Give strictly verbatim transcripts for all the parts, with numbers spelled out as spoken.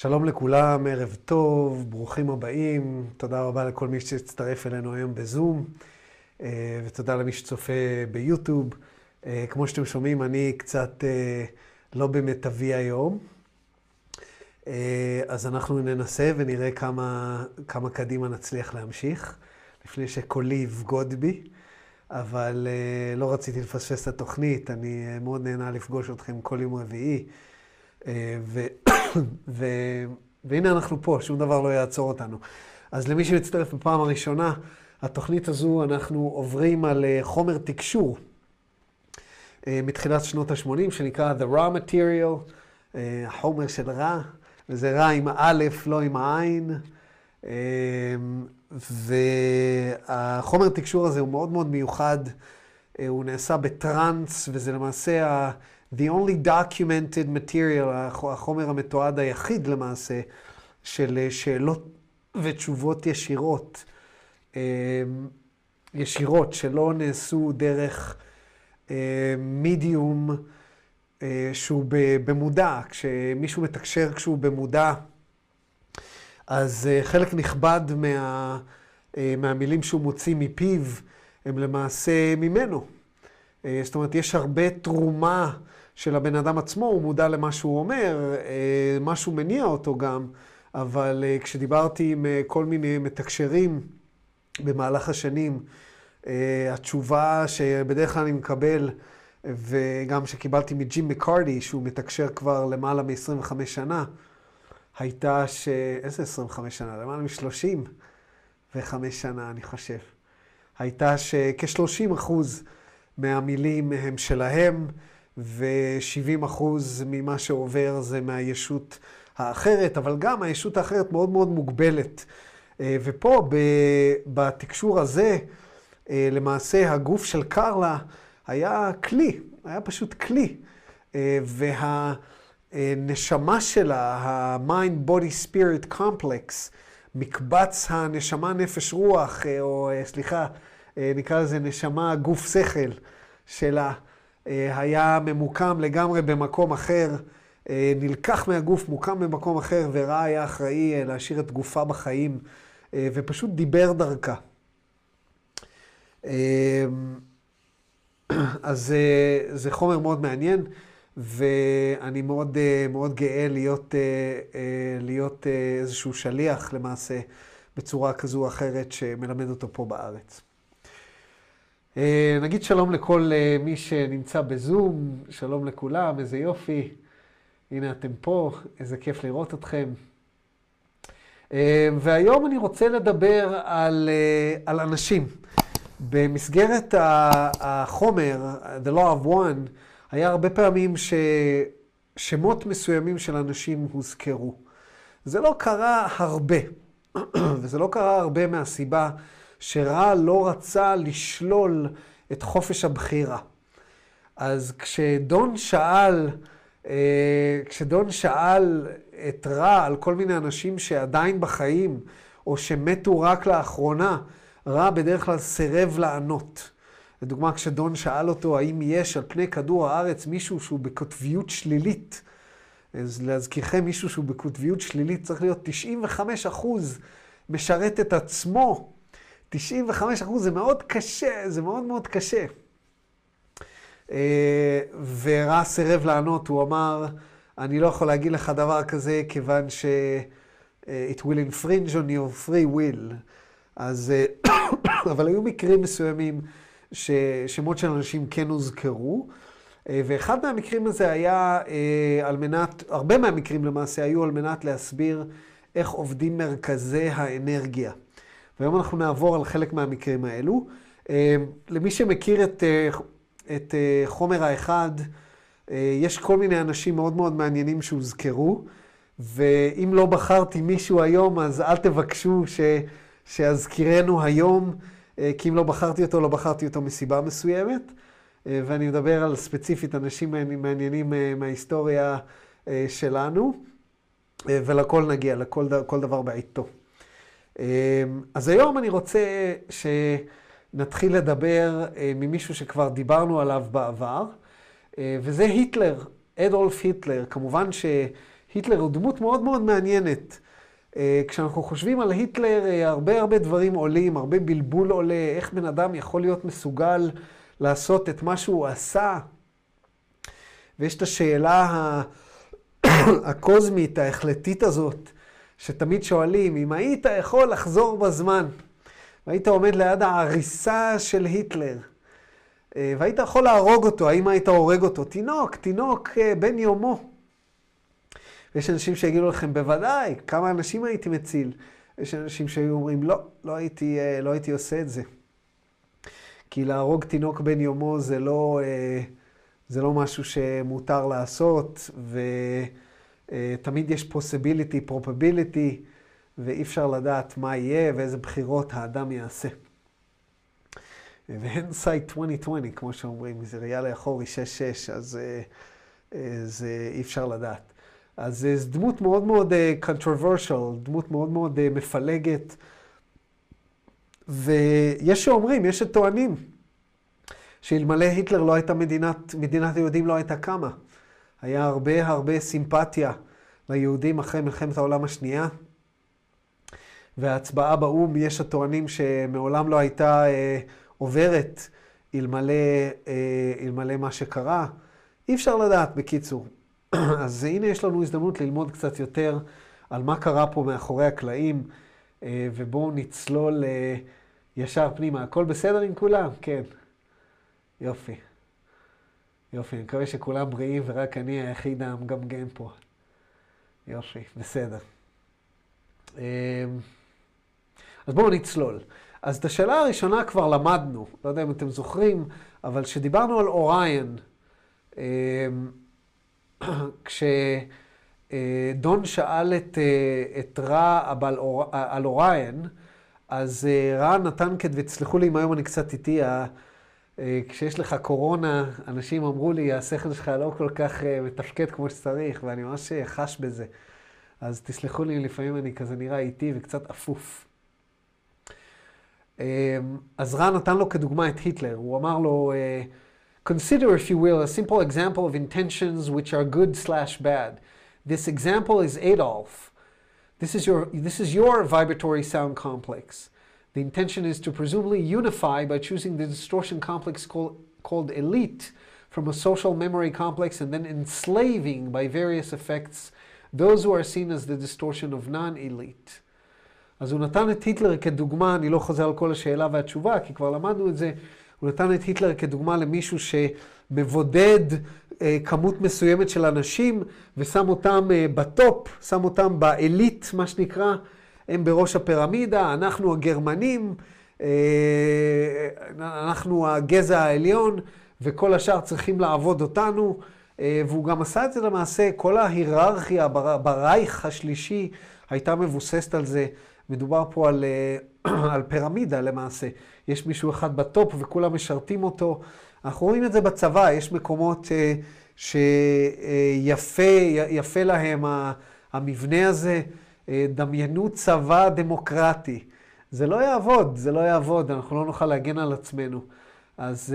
שלום לכולם, ערב טוב, ברוכים הבאים. תודה רבה לכל מי שהצטרף אלינו היום בזום, ותודה למי שצופה ביוטיוב. כמו שאתם שומעים, אני קצת לא במיטבי היום, אז אנחנו ננסה ונראה כמה, כמה קדימה נצליח להמשיך, לפני שקולי יבגוד בי, אבל לא רציתי לפספס את התוכנית. אני מאוד נהנה לפגוש אתכם כל יום רביעי, ו... ו... והנה אנחנו פה, שום דבר לא יעצור אותנו. אז למי שמצטרף בפעם הראשונה, התוכנית הזו אנחנו עוברים על חומר תקשור מתחילת שנות ה-שמונים, שנקרא The Raw Material, החומר של רע, וזה רע עם א', לא עם העין. והחומר תקשור הזה הוא מאוד מאוד מיוחד, הוא נעשה בטרנס, וזה למעשה ה... The only documented material, החומר המתועד היחיד למעשה, של שאלות ותשובות ישירות, ישירות, שלא נעשו דרך מידיום שהוא במודע. כשמישהו מתקשר כשהוא במודע, אז חלק נכבד מה, מהמילים שהוא מוציא מפיו, הם למעשה ממנו. זאת אומרת, יש הרבה תרומה של הבן אדם עצמו, הוא מודע למה שהוא אומר, משהו מניע אותו גם, אבל כשדיברתי עם כל מיני מתקשרים במהלך השנים, התשובה שבדרך כלל אני מקבל, וגם שקיבלתי מג'ים מקארדי, שהוא מתקשר כבר למעלה מ-עשרים וחמש שנה, הייתה ש... איזה עשרים וחמש שנה? למעלה מ-שלושים וחמש שנה, אני חושב. הייתה שכ-שלושים אחוז מהמילים הם שלהם, ו-שבעים אחוז ממה שעובר זה מהישות האחרת, אבל גם הישות האחרת מאוד מאוד מוגבלת. ופה בתקשור הזה, למעשה הגוף של קרלה היה כלי, היה פשוט כלי. והנשמה שלה, ה-mind body spirit complex, מקבץ הנשמה נפש רוח, או סליחה, נקרא לזה נשמה גוף שכל שלה, היה ממוקם לגמרי במקום אחר, נלקח מהגוף, מוקם במקום אחר, ורע היה אחראי להשאיר את גופה בחיים, ופשוט דיבר דרכה. אז זה חומר מאוד מעניין, ואני מאוד, מאוד גאה להיות, להיות איזשהו שליח למעשה, בצורה כזו או אחרת שמלמד אותו פה בארץ. נגיד שלום לכל מי שנמצא בזום, שלום לכולם, איזה יופי. הנה אתם פה, איזה כיף לראות אתכם. והיום אני רוצה לדבר על, על אנשים. במסגרת החומר, The Law of One, היה הרבה פעמים ששמות מסוימים של אנשים הוזכרו. זה לא קרה הרבה, וזה לא קרה הרבה מהסיבה שרע לא רצה לשלול את חופש הבחירה. אז כשדון שאל, כשדון שאל את רע על כל מיני אנשים שעדיין בחיים, או שמתו רק לאחרונה, רע בדרך כלל סירב לענות. לדוגמה, כשדון שאל אותו האם יש על פני כדור הארץ מישהו שהוא בקוטביות שלילית, אז להזכירכם, מישהו שהוא בקוטביות שלילית צריך להיות תשעים וחמישה אחוז משרת את עצמו. תשעים וחמישה אחוז זה מאוד קשה, זה מאוד מאוד קשה. ורע סירב לענות, הוא אמר, אני לא יכול להגיד לך דבר כזה, כיוון ש- it will infringe on your free will. אז, אבל היו מקרים מסוימים ששמות של אנשים כן הוזכרו, ואחד מהמקרים הזה היה על מנת, הרבה מהמקרים למעשה היו על מנת להסביר איך עובדים מרכזי האנרגיה. והיום אנחנו נעבור על חלק מהמקרים האלו. למי שמכיר את, את חומר האחד, יש כל מיני אנשים מאוד מאוד מעניינים שהוזכרו, ואם לא בחרתי מישהו היום, אז אל תבקשו ש, שאזכירנו היום, כי אם לא בחרתי אותו, לא בחרתי אותו מסיבה מסוימת. ואני מדבר על ספציפית אנשים מעניינים מההיסטוריה שלנו, ולכל נגיע, לכל כל דבר בעיתו. אז היום אני רוצה שנתחיל לדבר ממישהו שכבר דיברנו עליו בעבר, וזה היטלר, אדולף היטלר. כמובן היטלר הוא דמות מאוד מאוד מעניינת. כשאנחנו חושבים על היטלר, הרבה הרבה דברים עולים, הרבה בלבול עולה, איך בן אדם יכול להיות מסוגל לעשות את מה שהוא עשה. ויש את השאלה הקוזמית, ההחלטית הזאת, שתמיד שואלים, אם היית יכול לחזור בזמן, והיית עומד ליד העריסה של היטלר, והיית יכול להרוג אותו, האם היית הורג אותו? תינוק, תינוק בן יומו. ויש אנשים שיגידו לכם, בוודאי, כמה אנשים הייתי מציל. יש אנשים שהיו אומרים, לא, לא הייתי, לא הייתי עושה את זה. כי להרוג תינוק בן יומו זה לא, זה לא משהו שמותר לעשות, ותמיד יש possibility, probability, ואי אפשר לדעת מה יהיה ואיזה בחירות האדם יעשה. והנדסייט עשרים עשרים, כמו שאומרים, זה ראייה לאחורי שש שש, אז זה אי אפשר לדעת. אז זו דמות מאוד מאוד controversial, דמות מאוד מאוד מפלגת. ויש שאומרים, יש שטוענים, שאלמלא היטלר לא הייתה מדינת, מדינת היהודים לא הייתה קמה. היה הרבה הרבה סימפתיה ליהודים אחרי מלחמת העולם השנייה. וההצבעה באום, יש הטוענים שמעולם לא הייתה אה, עוברת אלמלא, אה, אלמלא מה שקרה. אי אפשר לדעת בקיצור. אז הנה יש לנו הזדמנות ללמוד קצת יותר על מה קרה פה מאחורי הקלעים, ובואו נצלול ישר פנימה. הכל בסדר עם כולם? כן. יופי. יופי, אני מקווה שכולם בריאים ורק אני היחיד המגמגם פה. יופי, בסדר. אז בואו נצלול. אז את השאלה הראשונה כבר למדנו, לא יודע אם אתם זוכרים, אבל שדיברנו על אוריין, כשדון שאל את, את רע על אוריין, אז רע נתן כד, ותסלחו לי אם היום אני קצת איתי, כשיש לך קורונה, אנשים אמרו לי, השכל שלך לא כל כך מתפקד כמו שצריך, ואני ממש חש בזה. אז תסלחו לי, לפעמים אני כזה נראה איתי וקצת אפוף. אז רע נתן לו כדוגמה את היטלר, הוא אמר לו, consider, if you will, a simple example of intentions which are good slash bad. This example is Adolf. This is your, this is your vibratory sound complex. The intention is to presumably unify by choosing the distortion complex called, called elite from a social memory complex and then enslaving by various effects those who are seen as the distortion of non-elite. אז הוא נתן את היטלר כדוגמה, אני לא חוזר על כל השאלה והתשובה, כי כבר למדנו את זה, הוא נתן את היטלר כדוגמה למישהו שמבודד אה, כמות מסוימת של אנשים, ושם אותם אה, בטופ, שם אותם באליט, מה שנקרא, הם בראש הפירמידה, אנחנו הגרמנים, אה, אנחנו הגזע העליון, וכל השאר צריכים לעבוד אותנו, אה, והוא גם עשה את זה למעשה, כל ההיררכיה בר, ברייך השלישי הייתה מבוססת על זה, מדובר פה על, על פירמידה למעשה. יש מישהו אחד בטופ וכולם משרתים אותו. אנחנו רואים את זה בצבא, יש מקומות שיפה יפה להם המבנה הזה. דמיינו צבא דמוקרטי. זה לא יעבוד, זה לא יעבוד, אנחנו לא נוכל להגן על עצמנו. אז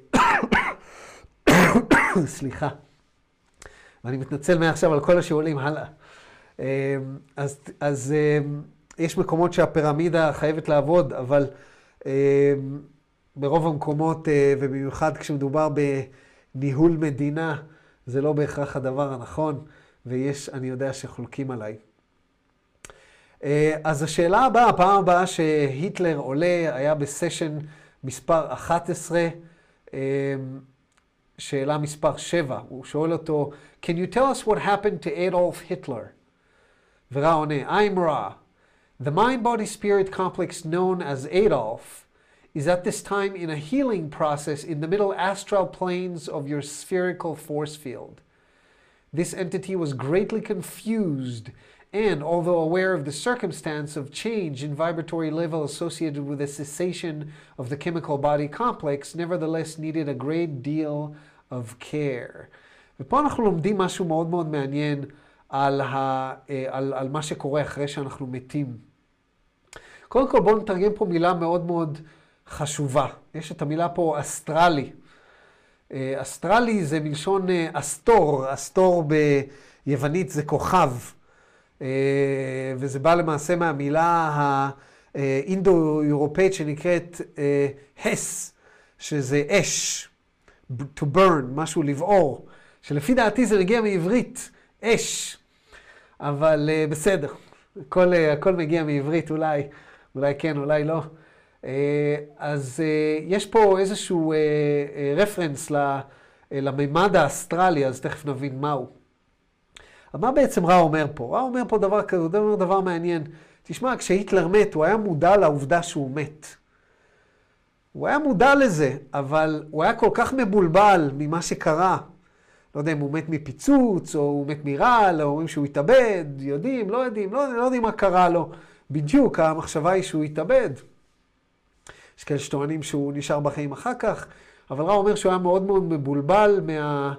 סליחה. ואני מתנצל מעכשיו על כל השאולים, הלאה. אז, אז יש מקומות שהפירמידה חייבת לעבוד, אבל אה, ברוב המקומות, אה, ובמיוחד כשמדובר בניהול מדינה, זה לא בהכרח הדבר הנכון, ויש, אני יודע שחולקים עליי. אה, אז השאלה הבאה, הפעם הבאה שהיטלר עולה, היה בסשן מספר אחת עשרה, אה, שאלה מספר שבע. הוא שואל אותו, Can you tell us what happened to Adolf Hitler? ורע עונה, I'm Ra. The mind-body spirit complex known as Adolf is at this time in a healing process in the middle astral planes of your spherical force field. This entity was greatly confused and, although aware of the circumstance of change in vibratory level associated with the cessation of the chemical body complex, nevertheless needed a great deal of care. ופה אנחנו לומדים משהו מאוד מאוד מעניין על, ה, על, על מה שקורה אחרי שאנחנו מתים. קודם כל בואו נתרגם פה מילה מאוד מאוד חשובה. יש את המילה פה אסטרלי. אסטרלי זה מלשון אסטור, אסטור יוונית זה כוכב, וזה בא למעשה מהמילה האינדו-אירופאית שנקראת הס, שזה אש, to burn, משהו לבעור, שלפי דעתי זה מגיע מעברית, אש, אבל בסדר, הכל, הכל מגיע מעברית אולי, אולי כן, אולי לא. אז יש פה איזשהו רפרנס לממד האסטרלי, אז תכף נבין מהו. מה בעצם רע אומר פה? רע אומר פה דבר כזה, הוא אומר דבר מעניין. תשמע, כשהיטלר מת, הוא היה מודע לעובדה שהוא מת. הוא היה מודע לזה, אבל הוא היה כל כך מבולבל ממה שקרה. לא יודע אם הוא מת מפיצוץ, או הוא מת מרעל, או אומרים שהוא התאבד, יודעים, לא יודעים, לא, לא יודעים מה קרה לו. בדיוק, המחשבה היא שהוא התאבד. יש כאלה שטוענים שהוא נשאר בחיים אחר כך, אבל רע אומר שהוא היה מאוד מאוד מבולבל מה...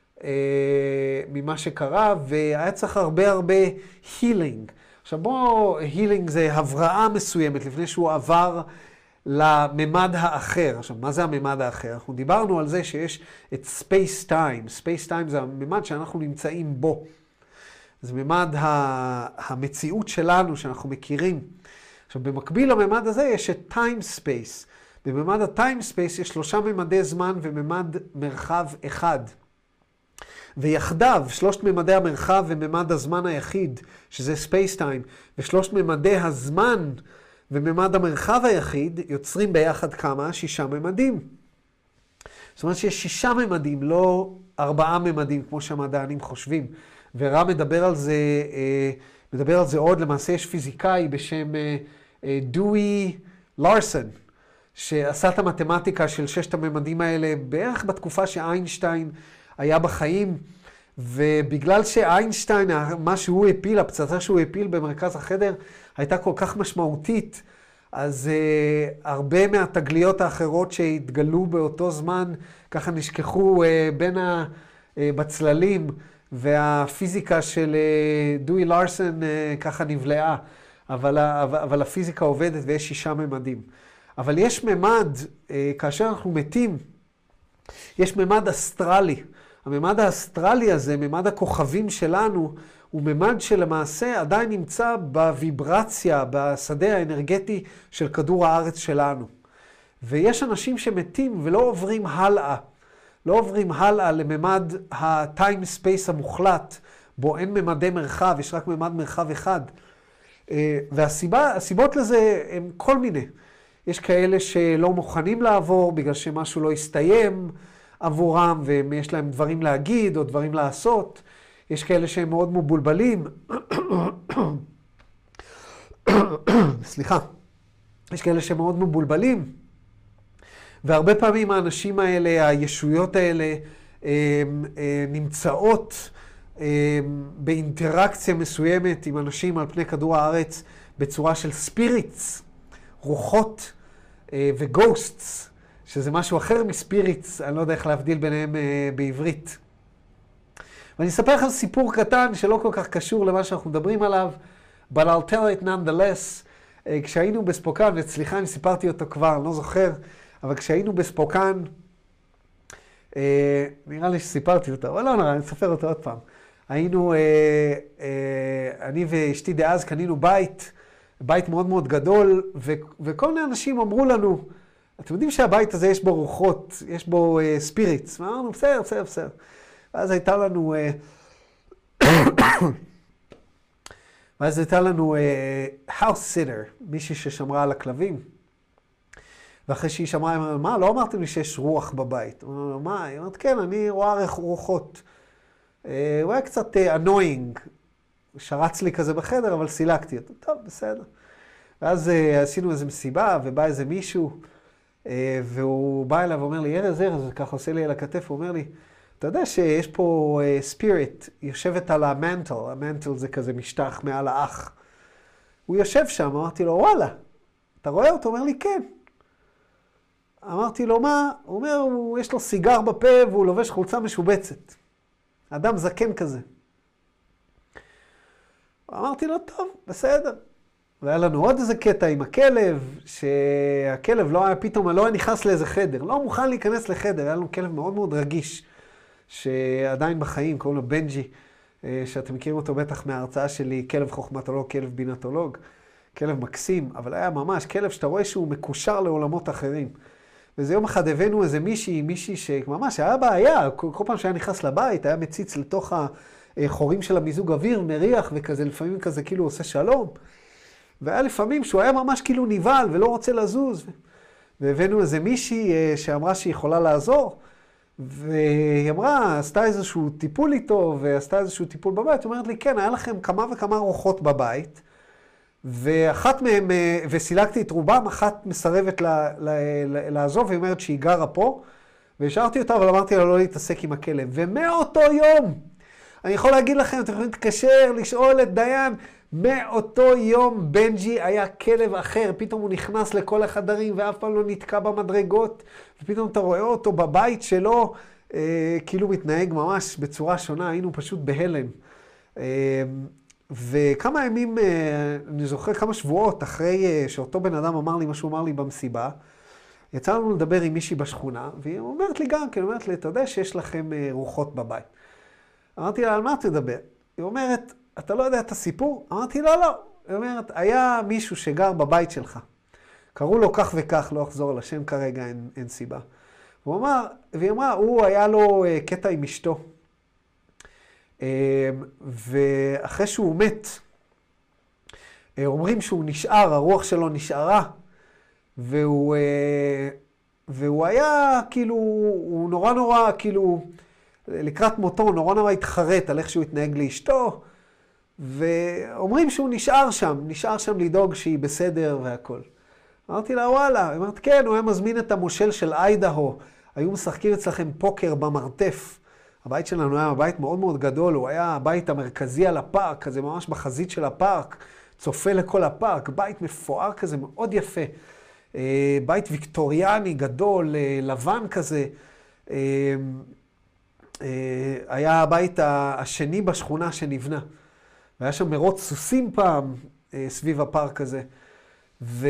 ממה שקרה, והיה צריך הרבה הרבה הילינג. עכשיו בוא, הילינג זה הבראה מסוימת, לפני שהוא עבר לממד האחר. עכשיו, מה זה הממד האחר? אנחנו דיברנו על זה שיש את ספייס טיים. ספייס טיים זה הממד שאנחנו נמצאים בו. זה ממד המציאות שלנו, שאנחנו מכירים. עכשיו, במקביל לממד הזה יש את טיים ספייס. בממד הטיים ספייס יש שלושה ממדי זמן וממד מרחב אחד. ויחדיו, שלושת ממדי המרחב וממד הזמן היחיד, שזה ספייס טיים, ושלושת ממדי הזמן וממד המרחב היחיד, יוצרים ביחד כמה? שישה ממדים. זאת אומרת שיש שישה ממדים, לא ארבעה ממדים, כמו שהמדענים חושבים. ורע מדבר על זה, מדבר על זה עוד, למעשה יש פיזיקאי בשם דואי לארסון, שעשה את המתמטיקה של ששת הממדים האלה בערך בתקופה שאיינשטיין היה בחיים, ובגלל שאיינשטיין, מה שהוא הפיל, הפצצה שהוא הפיל במרכז החדר, הייתה כל כך משמעותית, אז uh, הרבה מהתגליות האחרות שהתגלו באותו זמן, ככה נשכחו uh, בין הבצללים, והפיזיקה של uh, דואי לארסון uh, ככה נבלעה, אבל, אבל, אבל הפיזיקה עובדת ויש שישה ממדים. אבל יש ממד, uh, כאשר אנחנו מתים, יש ממד אסטרלי. הממד האסטרלי הזה, ממד הכוכבים שלנו, הוא ממד שלמעשה עדיין נמצא בוויברציה, בשדה האנרגטי של כדור הארץ שלנו. ויש אנשים שמתים ולא עוברים הלאה. לא עוברים הלאה לממד הטיים ספייס המוחלט, בו אין ממדי מרחב, יש רק ממד מרחב אחד. והסיבות לזה הם כל מיני. יש כאלה שלא מוכנים לעבור בגלל שמשהו לא יסתיים עבורם, ויש להם דברים להגיד או דברים לעשות. יש כאלה שהם מאוד מבולבלים. סליחה. יש כאלה שהם מאוד מבולבלים. והרבה פעמים האנשים האלה, הישויות האלה, נמצאות באינטראקציה מסוימת עם אנשים על פני כדור הארץ בצורה של ספיריטס, רוחות וגוסטס, שזה משהו אחר מספיריטס, אני לא יודע איך להבדיל ביניהם בעברית. ואני אספר לכם סיפור קטן שלא כל כך קשור למה שאנחנו מדברים עליו, but I'll tell it nonetheless. כשהיינו בספוקן, וסליחה אם סיפרתי אותו כבר, אני לא זוכר, אבל כשהיינו בספוקן, נראה לי שסיפרתי אותו, אבל לא נראה, אני אספר אותו עוד פעם. היינו, אני ואשתי דאז קנינו בית, בית מאוד מאוד גדול, וכל מיני אנשים אמרו לנו, אתם יודעים שהבית הזה יש בו רוחות, יש בו ספיריטס. ואמרנו, בסדר, בסדר, בסדר. ואז הייתה לנו, ואז הייתה לנו house sitter, מישהי ששמרה על הכלבים. ואחרי שהיא שמרה, היא אמרה, מה, לא אמרתם לי שיש רוח בבית? אמרנו, מה? היא אומרת, כן, אני רואה רוחות. הוא היה קצת annoying, שרץ לי כזה בחדר, אבל סילקתי אותו. טוב, בסדר. ואז עשינו איזו מסיבה, ובא איזה מישהו, והוא בא אליו ואומר לי, ארז, ארז, וככה עושה לי על הכתף, הוא אומר לי, אתה יודע שיש פה ספיריט, יושבת על המנטל, המנטל זה כזה משטח מעל האח. הוא יושב שם, אמרתי לו, וואלה, אתה רואה אותו? הוא אומר לי, כן. אמרתי לו, מה? הוא אומר, הוא, יש לו סיגר בפה והוא לובש חולצה משובצת. אדם זקן כזה. אמרתי לו, טוב, בסדר. והיה לנו עוד איזה קטע עם הכלב, שהכלב לא היה פתאום, לא היה נכנס לאיזה חדר, לא מוכן להיכנס לחדר, היה לנו כלב מאוד מאוד רגיש, שעדיין בחיים, קוראים לו בנג'י, שאתם מכירים אותו בטח מההרצאה שלי, כלב חוכמתולוג, כלב בינתולוג. כלב מקסים, אבל היה ממש כלב שאתה רואה שהוא מקושר לעולמות אחרים. וזה יום אחד הבאנו איזה מישהי, מישהי שממש היה בעיה, כל, כל פעם שהיה נכנס לבית, היה מציץ לתוך החורים של המיזוג אוויר, מריח וכזה, לפעמים כזה כאילו עושה שלום. והיה לפעמים שהוא היה ממש כאילו ניבל ולא רוצה לזוז. והבאנו איזה מישהי שאמרה שהיא יכולה לעזור, והיא אמרה, עשתה איזשהו טיפול איתו, ועשתה איזשהו טיפול בבית. היא אומרת לי, כן, היה לכם כמה וכמה רוחות בבית, ואחת מהם, וסילקתי את רובם, אחת מסרבת לה, לה, לה, לעזוב, והיא אומרת שהיא גרה פה, והשארתי אותה, אבל אמרתי לה לא להתעסק עם הכלב. ומאותו יום, אני יכול להגיד לכם, אתם יכולים להתקשר, לשאול את דיין, מאותו יום בנג'י היה כלב אחר, פתאום הוא נכנס לכל החדרים, ואף פעם לא נתקע במדרגות, ופתאום אתה רואה אותו בבית שלו, אה, כאילו מתנהג ממש בצורה שונה, היינו פשוט בהלם. אה, וכמה ימים, אני זוכר כמה שבועות אחרי שאותו בן אדם אמר לי מה שהוא אמר לי במסיבה, יצא לנו לדבר עם מישהי בשכונה, והיא אומרת לי גם, כי היא אומרת לי, אתה יודע שיש לכם רוחות בבית. אמרתי לה, על מה תדבר? היא אומרת, אתה לא יודע את הסיפור? אמרתי, לא, לא. היא אומרת, היה מישהו שגר בבית שלך. קראו לו כך וכך, לא אחזור על השם כרגע, אין, אין סיבה. הוא אמר, והיא אמרה, הוא היה לו קטע עם אשתו. ואחרי שהוא מת, אומרים שהוא נשאר, הרוח שלו נשארה, והוא, והוא היה כאילו, הוא נורא נורא כאילו, לקראת מותו, נורא נורא התחרט על איך שהוא התנהג לאשתו, ואומרים שהוא נשאר שם, נשאר שם לדאוג שהיא בסדר והכל. אמרתי לה, וואלה, היא אמרת, כן, הוא היה מזמין את המושל של איידהו, היו משחקים אצלכם פוקר במרתף. הבית שלנו היה בית מאוד מאוד גדול, הוא היה הבית המרכזי על הפארק, כזה ממש בחזית של הפארק, צופה לכל הפארק, בית מפואר כזה, מאוד יפה. בית ויקטוריאני גדול, לבן כזה. היה הבית השני בשכונה שנבנה. והיה שם מרוץ סוסים פעם סביב הפארק הזה. ו...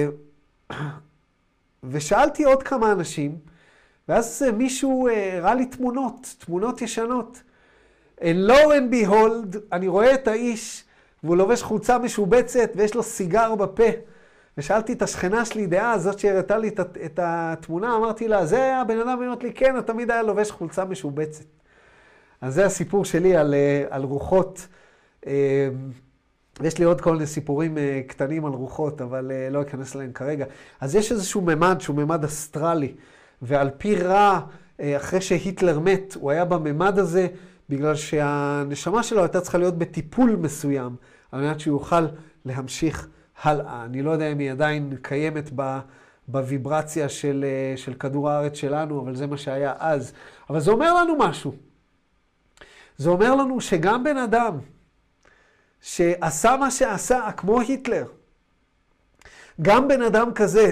ושאלתי עוד כמה אנשים, ואז מישהו הראה לי תמונות, תמונות ישנות. And lo and behold, אני רואה את האיש, והוא לובש חולצה משובצת, ויש לו סיגר בפה. ושאלתי את השכנה שלי דעה, זאת שהראתה לי את, את התמונה, אמרתי לה, זה היה הבן אדם, אמרת לי, כן, תמיד היה לובש חולצה משובצת. אז זה הסיפור שלי על, על רוחות. יש לי עוד כל מיני סיפורים קטנים על רוחות, אבל לא אכנס אליהם כרגע. אז יש איזשהו ממד שהוא ממד אסטרלי. ועל פי רע, אחרי שהיטלר מת, הוא היה בממד הזה, בגלל שהנשמה שלו הייתה צריכה להיות בטיפול מסוים, על מנת שהוא יוכל להמשיך הלאה. אני לא יודע אם היא עדיין קיימת בוויברציה של, של כדור הארץ שלנו, אבל זה מה שהיה אז. אבל זה אומר לנו משהו. זה אומר לנו שגם בן אדם שעשה מה שעשה, כמו היטלר, גם בן אדם כזה,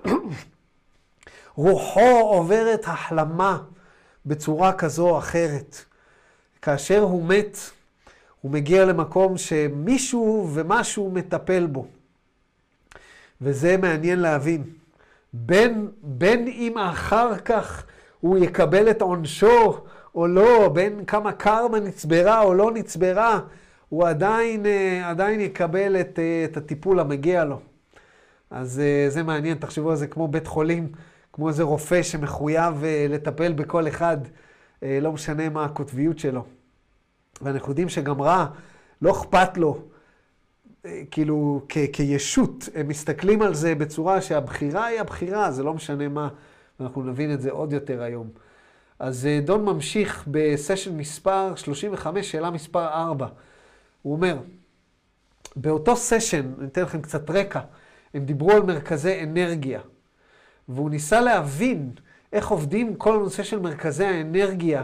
רוחו עוברת החלמה בצורה כזו או אחרת. כאשר הוא מת, הוא מגיע למקום שמישהו ומשהו מטפל בו. וזה מעניין להבין. בין, בין אם אחר כך הוא יקבל את עונשו או לא, בין כמה קרמה נצברה או לא נצברה, הוא עדיין, עדיין יקבל את, את הטיפול המגיע לו. אז זה מעניין, תחשבו על זה כמו בית חולים, כמו איזה רופא שמחויב לטפל בכל אחד, לא משנה מה הקוטביות שלו. ואנחנו יודעים שגם רע, לא אכפת לו, כאילו כ- כישות, הם מסתכלים על זה בצורה שהבחירה היא הבחירה, זה לא משנה מה, ואנחנו נבין את זה עוד יותר היום. אז דון ממשיך בסשן מספר שלושים וחמש, שאלה מספר ארבע. הוא אומר, באותו סשן, אני אתן לכם קצת רקע, הם דיברו על מרכזי אנרגיה, והוא ניסה להבין איך עובדים כל הנושא של מרכזי האנרגיה.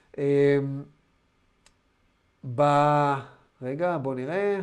ב... רגע, בוא נראה.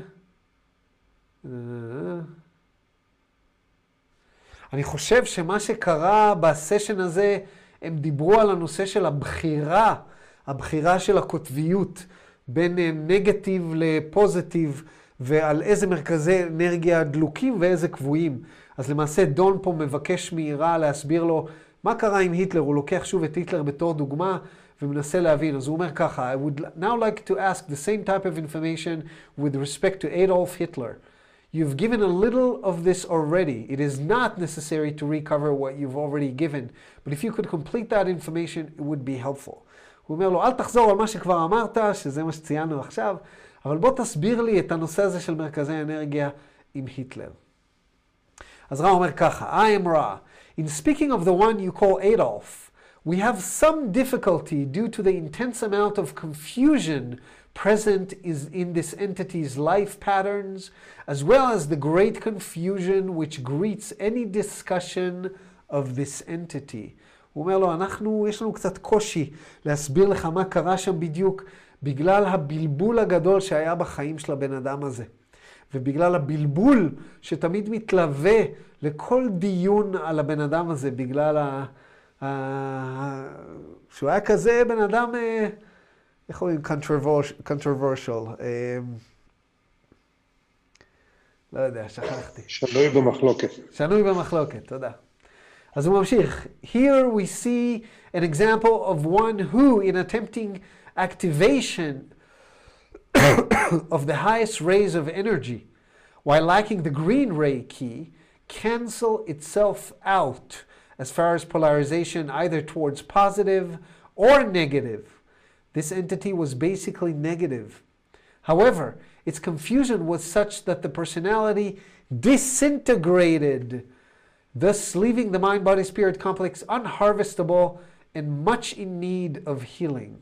אני חושב שמה שקרה בסשן הזה, הם דיברו על הנושא של הבחירה, הבחירה של הקוטביות, בין נגטיב לפוזיטיב, ועל איזה מרכזי אנרגיה דלוקים ואיזה קבועים. אז למעשה דון פה מבקש מהירה להסביר לו מה קרה עם היטלר, הוא לוקח שוב את היטלר בתור דוגמה, ומנסה להבין. אז הוא אומר ככה, I would now like to ask the same type of information with respect to Adolf Hitler. You've given a little of this already. It is not necessary to recover what you've already given. But if you could complete that information, it would be helpful. הוא אומר לו, אל תחזור על מה שכבר אמרת, שזה מה שציינו עכשיו, אבל בוא תסביר לי את הנושא הזה של מרכזי אנרגיה עם היטלר. אז רע אומר ככה, I am Ra. In speaking of the one you call Adolf, we have some difficulty due to the intense amount of confusion present is in this entity's life patterns, as well as the great confusion which greets any discussion of this entity. הוא אומר לו, אנחנו, יש לנו קצת קושי להסביר לך מה קרה שם בדיוק, בגלל הבלבול הגדול שהיה בחיים של הבן אדם הזה. ובגלל הבלבול שתמיד מתלווה לכל דיון על הבן אדם הזה, בגלל ה... ה... שהוא היה כזה בן אדם... איך אומרים? controversial. לא יודע, שכחתי. שנוי במחלוקת. שנוי במחלוקת, תודה. אז הוא ממשיך. Here we see an example of one who, in attempting activation of the highest rays of energy, while lacking the green ray key, cancel itself out as far as polarization either towards positive or negative. This entity was basically negative. However, its confusion was such that the personality disintegrated, thus leaving the mind-body-spirit complex unharvestable and much in need of healing.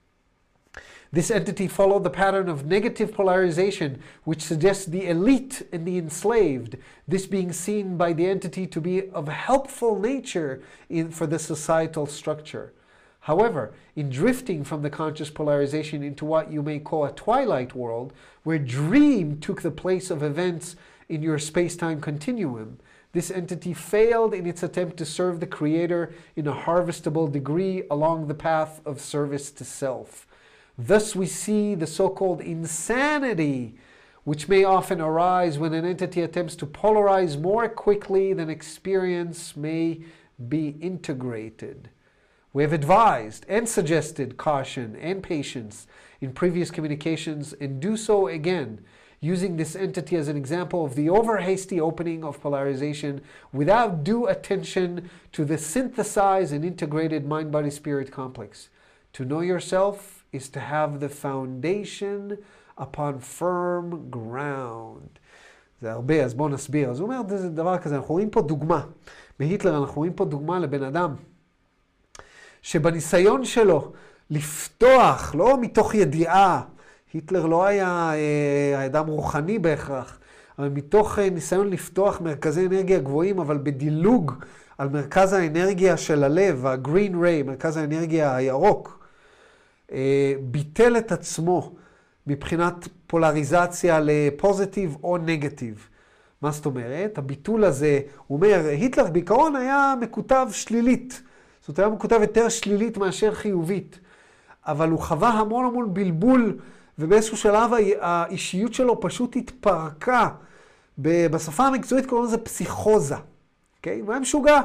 This entity followed the pattern of negative polarization, which suggests the elite and the enslaved, this being seen by the entity to be of helpful nature in, for the societal structure. However, in drifting from the conscious polarization into what you may call a twilight world, where dream took the place of events in your space-time continuum, this entity failed in its attempt to serve the Creator in a harvestable degree along the path of service to self. Thus we see the so-called insanity, which may often arise when an entity attempts to polarize more quickly than experience may be integrated. We have advised and suggested caution and patience in previous communications and do so again, using this entity as an example of the over-hasty opening of polarization without due attention to the synthesized and integrated mind-body-spirit complex. To know yourself is to have the foundation upon firm ground. זה הרבה, אז בואו נסביר. אז הוא אומר, זה דבר כזה, אנחנו רואים פה דוגמה. בהיטלר אנחנו רואים פה דוגמה לבן אדם, שבניסיון שלו לפתוח, לא מתוך ידיעה, היטלר לא היה אה, אדם רוחני בהכרח, אבל מתוך אה, ניסיון לפתוח מרכזי אנרגיה גבוהים, אבל בדילוג על מרכז האנרגיה של הלב, ה-green ray, מרכז האנרגיה הירוק, אה, ביטל את עצמו מבחינת פולריזציה לפוזיטיב או נגטיב. מה זאת אומרת? הביטול הזה, הוא אומר, היטלר בעיקרון היה מקוטב שלילית, זאת אומרת, הוא כותב יותר שלילית מאשר חיובית, אבל הוא חווה המון המון בלבול, ובאיזשהו שלב האישיות שלו פשוט התפרקה. בשפה המקצועית קוראים לזה פסיכוזה. Okay? הוא היה משוגע.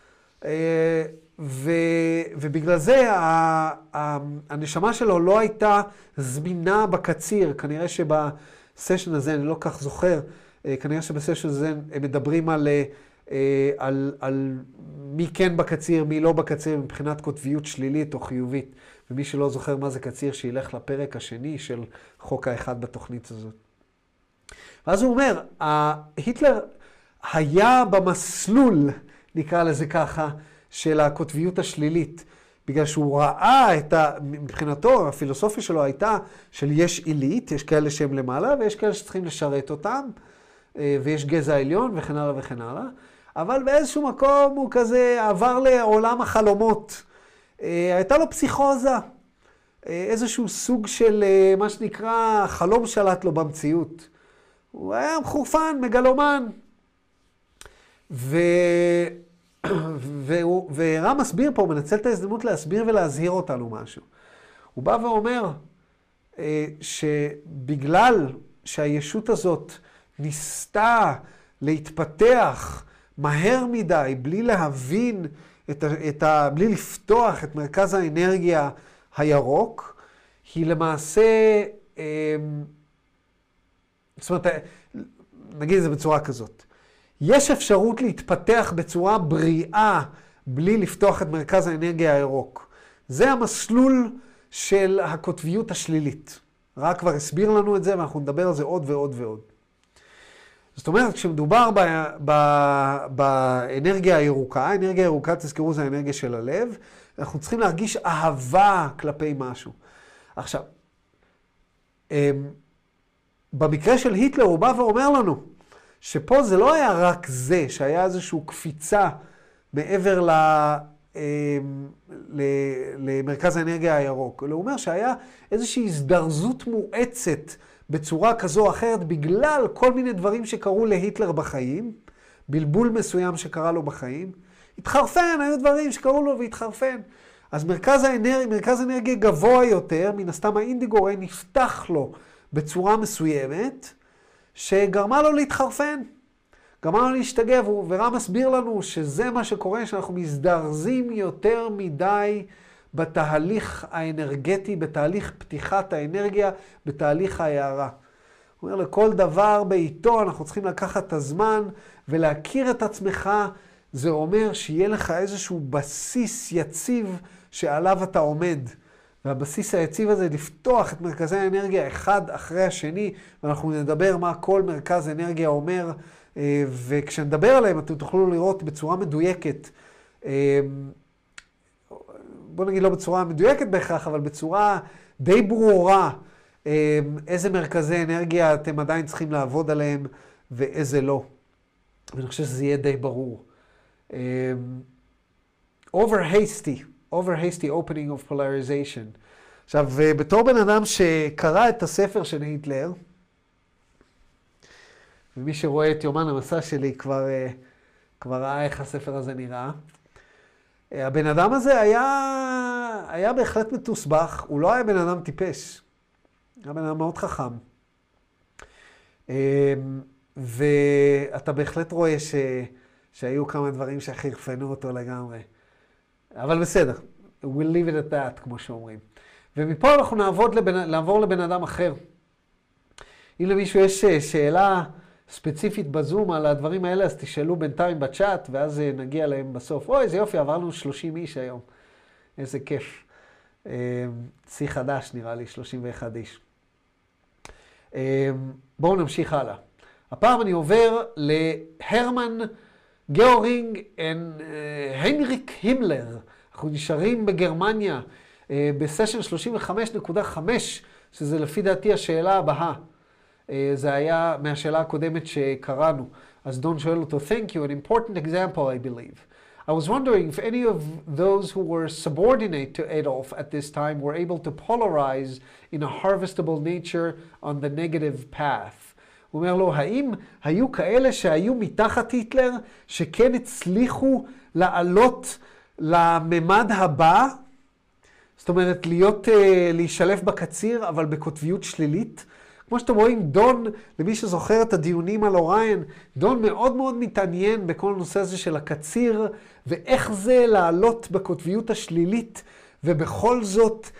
ו... ובגלל זה הנשמה שלו לא הייתה זמינה בקציר. כנראה שבסשן הזה, אני לא כך זוכר, כנראה שבסשן הזה הם מדברים על... על, על מי כן בקציר, מי לא בקציר, מבחינת כותביות שלילית או חיובית. ומי שלא זוכר מה זה קציר, שילך לפרק השני של חוק האחד בתוכנית הזאת. ואז הוא אומר, היטלר היה במסלול, נקרא לזה ככה, של הכותביות השלילית, בגלל שהוא ראה את ה... מבחינתו, הפילוסופיה שלו הייתה של יש עילית, יש כאלה שהם למעלה, ויש כאלה שצריכים לשרת אותם, ויש גזע עליון וכן הלאה וכן הלאה. אבל באיזשהו מקום הוא כזה עבר לעולם החלומות. הייתה לו פסיכוזה, איזשהו סוג של מה שנקרא חלום שלט לו במציאות. הוא היה מחורפן, מגלומן. ו... והוא... ורם מסביר פה, הוא מנצל את ההזדמנות להסביר ולהזהיר אותנו משהו. הוא בא ואומר שבגלל שהישות הזאת ניסתה להתפתח מהר מדי, בלי להבין את ה, את ה, בלי לפתוח את מרכז האנרגיה הירוק, היא למעשה, זאת אומרת, נגיד את זה בצורה כזאת. יש אפשרות להתפתח בצורה בריאה בלי לפתוח את מרכז האנרגיה הירוק. זה המסלול של הקוטביות השלילית. רק כבר הסביר לנו את זה, ואנחנו נדבר על זה עוד ועוד ועוד. זאת אומרת, כשמדובר ב, ב, באנרגיה הירוקה, האנרגיה הירוקה, תזכרו, זה האנרגיה של הלב, אנחנו צריכים להרגיש אהבה כלפי משהו. עכשיו, במקרה של היטלר הוא בא ואומר לנו, שפה זה לא היה רק זה, שהיה איזושהי קפיצה מעבר ל, למרכז האנרגיה הירוק. הוא אומר שהיה איזושהי הזדרזות מואצת בצורה כזו או אחרת, בגלל כל מיני דברים שקרו להיטלר בחיים, בלבול מסוים שקרה לו בחיים. התחרפן, היו דברים שקרו לו והתחרפן. אז מרכז האנרגיה, מרכז האנרגיה גבוה יותר, מן הסתם האינדיגורי נפתח לו בצורה מסוימת, שגרמה לו להתחרפן. גרמה לו להשתגע, ורם מסביר לנו שזה מה שקורה, שאנחנו מזדרזים יותר מדי בתהליך האנרגטי, בתהליך פתיחת האנרגיה, בתהליך ההערה. הוא אומר, לכל דבר בעיתו אנחנו צריכים לקחת את הזמן ולהכיר את עצמך. זה אומר שיהיה לך איזשהו בסיס יציב שעליו אתה עומד. והבסיס היציב הזה לפתוח את מרכזי האנרגיה אחד אחרי השני, ואנחנו נדבר מה כל מרכז אנרגיה אומר, וכשנדבר עליהם אתם תוכלו לראות בצורה מדויקת, בוא נגיד לא בצורה מדויקת בהכרח, אבל בצורה די ברורה, איזה מרכזי אנרגיה אתם עדיין צריכים לעבוד עליהם ואיזה לא. ואני חושב שזה יהיה די ברור. over hasty, over hasty opening of polarization. עכשיו, בתור בן אדם שקרא את הספר של היטלר, ומי שרואה את יומן המסע שלי כבר, כבר ראה איך הספר הזה נראה, הבן אדם הזה היה, היה בהחלט מתוסבך, הוא לא היה בן אדם טיפש, היה בן אדם מאוד חכם. ואתה בהחלט רואה ש, שהיו כמה דברים שחרפנו אותו לגמרי. אבל בסדר, we'll leave it at that, כמו שאומרים. ומפה אנחנו נעבוד לבן, לעבור לבן אדם אחר. אם למישהו יש שאלה ספציפית בזום על הדברים האלה, אז תשאלו בינתיים בצ'אט, ואז נגיע להם בסוף. אוי, איזה יופי, עברנו שלושים איש היום. איזה כיף. צי חדש נראה לי, שלושים ואחד איש. בואו נמשיך הלאה. הפעם אני עובר להרמן גאורינג והנריק הימלר. אנחנו נשארים בגרמניה בסשן שלושים וחמש נקודה חמש, שזה לפי דעתי השאלה הבאה. זה היה מהשאלה הקודמת שקראנו. אז דון שואל אותו, thank you, an important example, I believe. I was wondering if any of those who were subordinate to Adolf at this time were able to polarize in a harvestable nature on the negative path. הוא אומר לו, האם היו כאלה שהיו מתחת היטלר, שכן הצליחו לעלות לממד הבא? זאת אומרת, להיות, להישלף בקציר, אבל בקוטביות שלילית? כמו שאתם רואים, דון, למי שזוכר את הדיונים על אוריין, דון מאוד מאוד מתעניין בכל הנושא הזה של הקציר, ואיך זה לעלות בקוטביות השלילית, ובכל זאת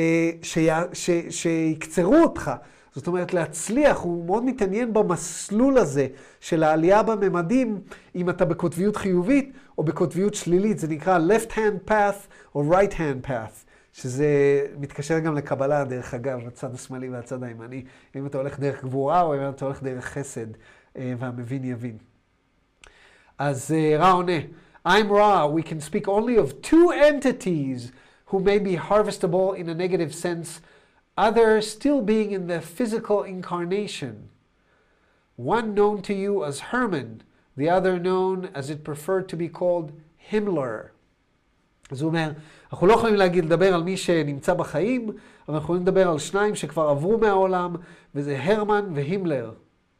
שיקצרו אותך. זאת אומרת, להצליח, הוא מאוד מתעניין במסלול הזה של העלייה בממדים, אם אתה בקוטביות חיובית או בקוטביות שלילית. זה נקרא left hand path או right hand path. שזה מתקשר גם לקבלה, דרך אגב, הצד השמאלי והצד הימני. אם אתה הולך דרך גבורה או אם אתה הולך דרך חסד, והמבין יבין. אז רע עונה, I'm Ra, we can speak only of two entities who may be harvestable in a negative sense, others still being in the physical incarnation. One known to you as Herman, the other known as it preferred to be called Himmler. אז הוא אומר, אנחנו לא יכולים להגיד, לדבר על מי שנמצא בחיים, אבל אנחנו יכולים לדבר על שניים שכבר עברו מהעולם, וזה הרמן והימלר.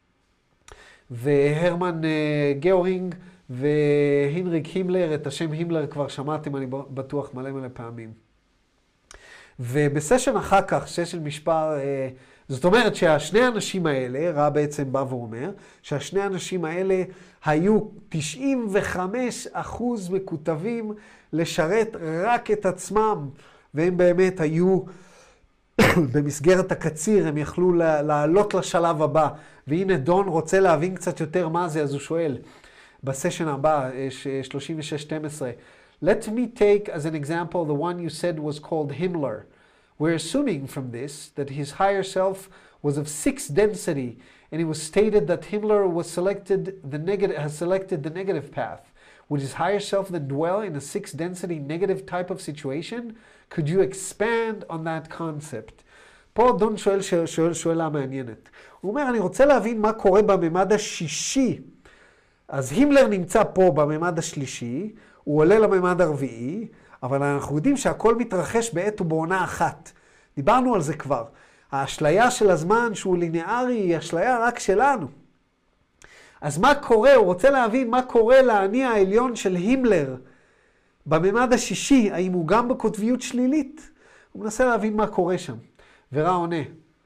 והרמן גאורינג והנריק הימלר, את השם הימלר כבר שמעתם, אני בטוח, מלא מלא פעמים. ובסשן אחר כך, סשן משפר, זאת אומרת שהשני האנשים האלה, רע בעצם בא ואומר, שהשני האנשים האלה היו תשעים וחמישה אחוז מקוטבים לשרת רק את עצמם, והם באמת היו במסגרת הקציר, הם יכלו לעלות לשלב הבא. והנה דון רוצה להבין קצת יותר מה זה, אז הוא שואל, בסשן הבא, שלושים ושש שתים עשרה, Let me take as an example the one you said was called Himmler. We're assuming from this that his higher self was of six density, and it was stated that Himmler was selected the negative, has selected the negative path. Would his higher self then dwell in a six density negative type of situation? Could you expand on that concept? פה דון שואל, שואל שאלה מעניינת. הוא אומר, אני רוצה להבין מה קורה בממד השישי. אז הימלר נמצא פה בממד השלישי, הוא עולה לממד הרביעי, אבל אנחנו יודעים שהכל מתרחש בעת ובעונה אחת. דיברנו על זה כבר. האשליה של הזמן שהוא ליניארי היא אשליה רק שלנו. אז מה קורה? הוא רוצה להבין מה קורה לעני העליון של הימלר בממד השישי, האם הוא גם בקוטביות שלילית? הוא מנסה להבין מה קורה שם. ורע עונה.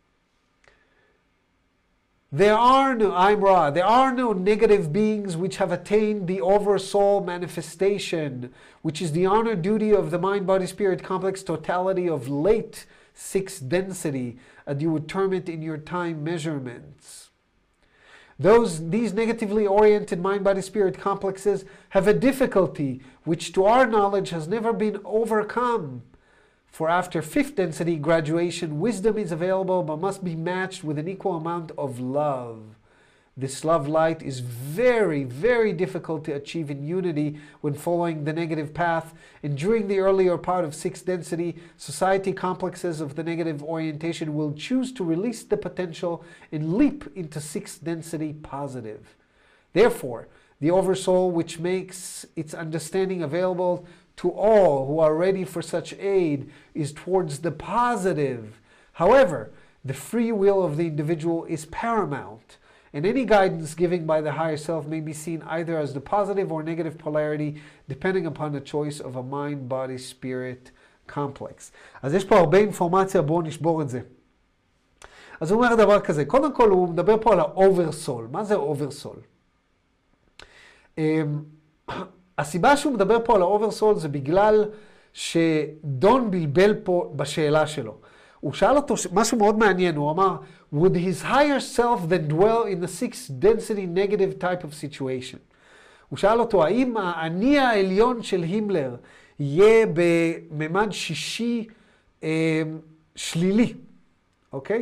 There are no, I'm Ra, there are no negative beings which have attained the oversoul manifestation, which is the honor duty of the mind-body-spirit complex totality of late sixth density, as you would term it in your time measurements. Those, these negatively oriented mind-body-spirit complexes have a difficulty which to our knowledge has never been overcome. For after fifth density graduation, wisdom is available but must be matched with an equal amount of love. This love light is very, very difficult to achieve in unity when following the negative path. And during the earlier part of sixth density, society complexes of the negative orientation will choose to release the potential and leap into sixth density positive. Therefore, the oversoul which makes its understanding available to all who are ready for such aid is towards the positive. However, the free will of the individual is paramount, and any guidance given by the higher self may be seen either as the positive or negative polarity, depending upon the choice of a mind, body, spirit complex. אז יש פה הרבה אינפורמציה, בואו נשבור את זה. אז הוא אומר דבר כזה, קודם כל הוא מדבר פה על האוברסול. מה זה אוברסול? הסיבה שהוא מדבר פה על האוברסול זה בגלל שדון בלבל פה בשאלה שלו. הוא שאל אותו משהו מאוד מעניין, הוא אמר, would his higher self then dwell in the sixth density negative type of situation? הוא שאל אותו, האם האני העליון של הימלר יהיה בממד שישי אה, שלילי, אוקיי?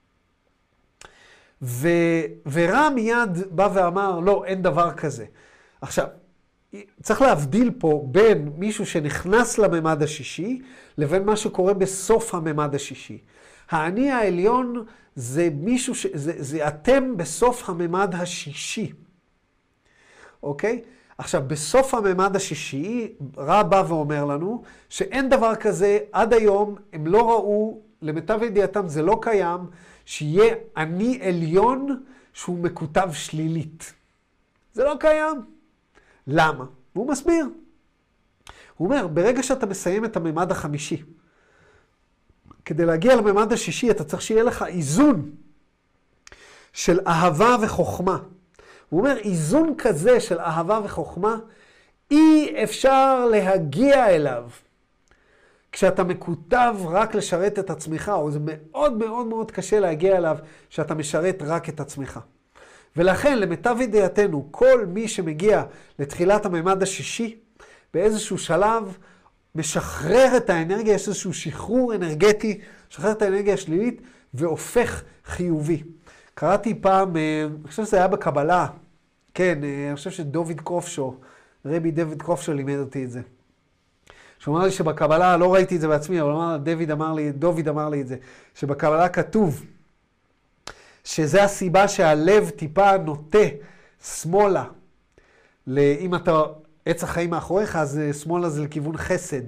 ו, ורע מיד בא ואמר, לא, אין דבר כזה. עכשיו, צריך להבדיל פה בין מישהו שנכנס לממד השישי, לבין מה שקורה בסוף הממד השישי. האני העליון זה מישהו, ש... זה, זה אתם בסוף הממד השישי. אוקיי? עכשיו, בסוף הממד השישי, רע בא ואומר לנו, שאין דבר כזה, עד היום הם לא ראו, למיטב ידיעתם זה לא קיים, שיהיה אני עליון שהוא מקוטב שלילית. זה לא קיים. למה? והוא מסביר. הוא אומר, ברגע שאתה מסיים את הממד החמישי, כדי להגיע לממד השישי, אתה צריך שיהיה לך איזון של אהבה וחוכמה. הוא אומר, איזון כזה של אהבה וחוכמה, אי אפשר להגיע אליו. כשאתה מקוטב רק לשרת את עצמך, או זה מאוד מאוד מאוד קשה להגיע אליו, שאתה משרת רק את עצמך. ולכן, למיטב ידיעתנו, כל מי שמגיע לתחילת הממד השישי, באיזשהו שלב, משחרר את האנרגיה, יש איזשהו שחרור אנרגטי, משחרר את האנרגיה השלילית, והופך חיובי. קראתי פעם, אני חושב שזה היה בקבלה, כן, אני חושב שדוביד קרופשו, רבי דויד קרופשו לימד אותי את זה. שהוא אמר לי שבקבלה, לא ראיתי את זה בעצמי, אבל אמר, דויד אמר לי, דוביד אמר לי את זה, שבקבלה כתוב, שזה הסיבה שהלב טיפה נוטה שמאלה. אם אתה עץ החיים מאחוריך, אז שמאלה זה לכיוון חסד.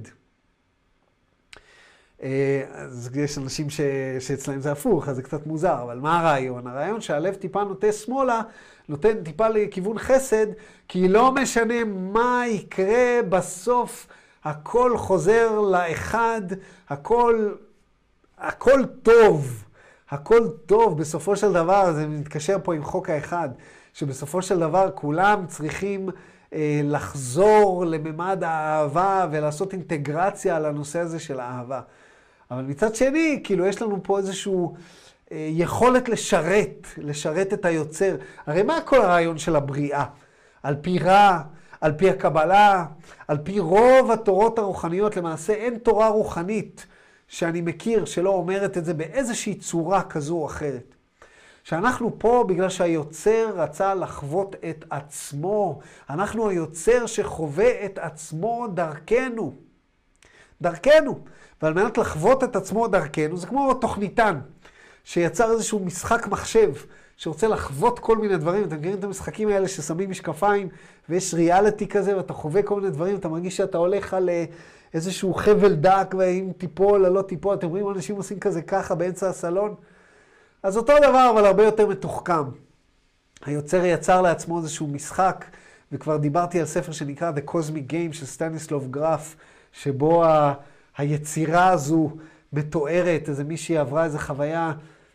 אז יש אנשים ש... שאצלהם זה הפוך, אז זה קצת מוזר, אבל מה הרעיון? הרעיון שהלב טיפה נוטה שמאלה, נותן טיפה לכיוון חסד, כי לא משנה מה יקרה בסוף, הכל חוזר לאחד, הכל, הכל טוב. הכל טוב, בסופו של דבר, זה מתקשר פה עם חוק האחד, שבסופו של דבר כולם צריכים אה, לחזור לממד האהבה ולעשות אינטגרציה על הנושא הזה של האהבה. אבל מצד שני, כאילו יש לנו פה איזשהו אה, יכולת לשרת, לשרת את היוצר. הרי מה כל הרעיון של הבריאה? על פי רע, על פי הקבלה, על פי רוב התורות הרוחניות, למעשה אין תורה רוחנית שאני מכיר שלא אומרת את זה באיזושהי צורה כזו או אחרת. שאנחנו פה בגלל שהיוצר רצה לחוות את עצמו. אנחנו היוצר שחווה את עצמו דרכנו. דרכנו. ועל מנת לחוות את עצמו דרכנו, זה כמו תוכניתן, שיצר איזשהו משחק מחשב, שרוצה לחוות כל מיני דברים. אתם מכירים את המשחקים האלה ששמים משקפיים, ויש ריאליטי כזה, ואתה חווה כל מיני דברים, אתה מרגיש שאתה הולך על איזשהו חבל דק, ואם תיפול או לא תיפול, אתם רואים אנשים עושים כזה ככה באמצע הסלון. אז אותו דבר, אבל הרבה יותר מתוחכם. היוצר יצר לעצמו איזשהו משחק, וכבר דיברתי על ספר שנקרא The Cosmic Game של סטניסלוב גרף, שבו ה... היצירה הזו מתוארת, איזה מישהי עברה איזו חוויה,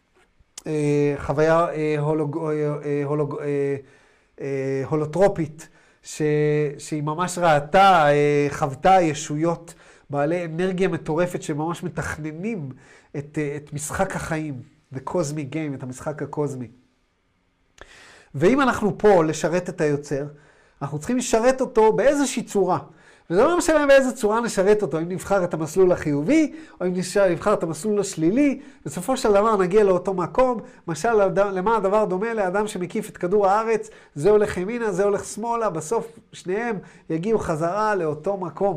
חוויה הולוג, הולוג, הולוטרופית, ש, שהיא ממש ראתה, חוותה ישויות בעלי אנרגיה מטורפת שממש מתכננים את, את משחק החיים, The Cosmic Game, את המשחק הקוסמי. ואם אנחנו פה לשרת את היוצר, אנחנו צריכים לשרת אותו באיזושהי צורה. וזה לא משנה באיזה צורה נשרת אותו, אם נבחר את המסלול החיובי, או אם נבחר את המסלול השלילי, בסופו של דבר נגיע לאותו מקום. למשל, למה הדבר דומה לאדם שמקיף את כדור הארץ, זה הולך ימינה, זה הולך שמאלה, בסוף שניהם יגיעו חזרה לאותו מקום.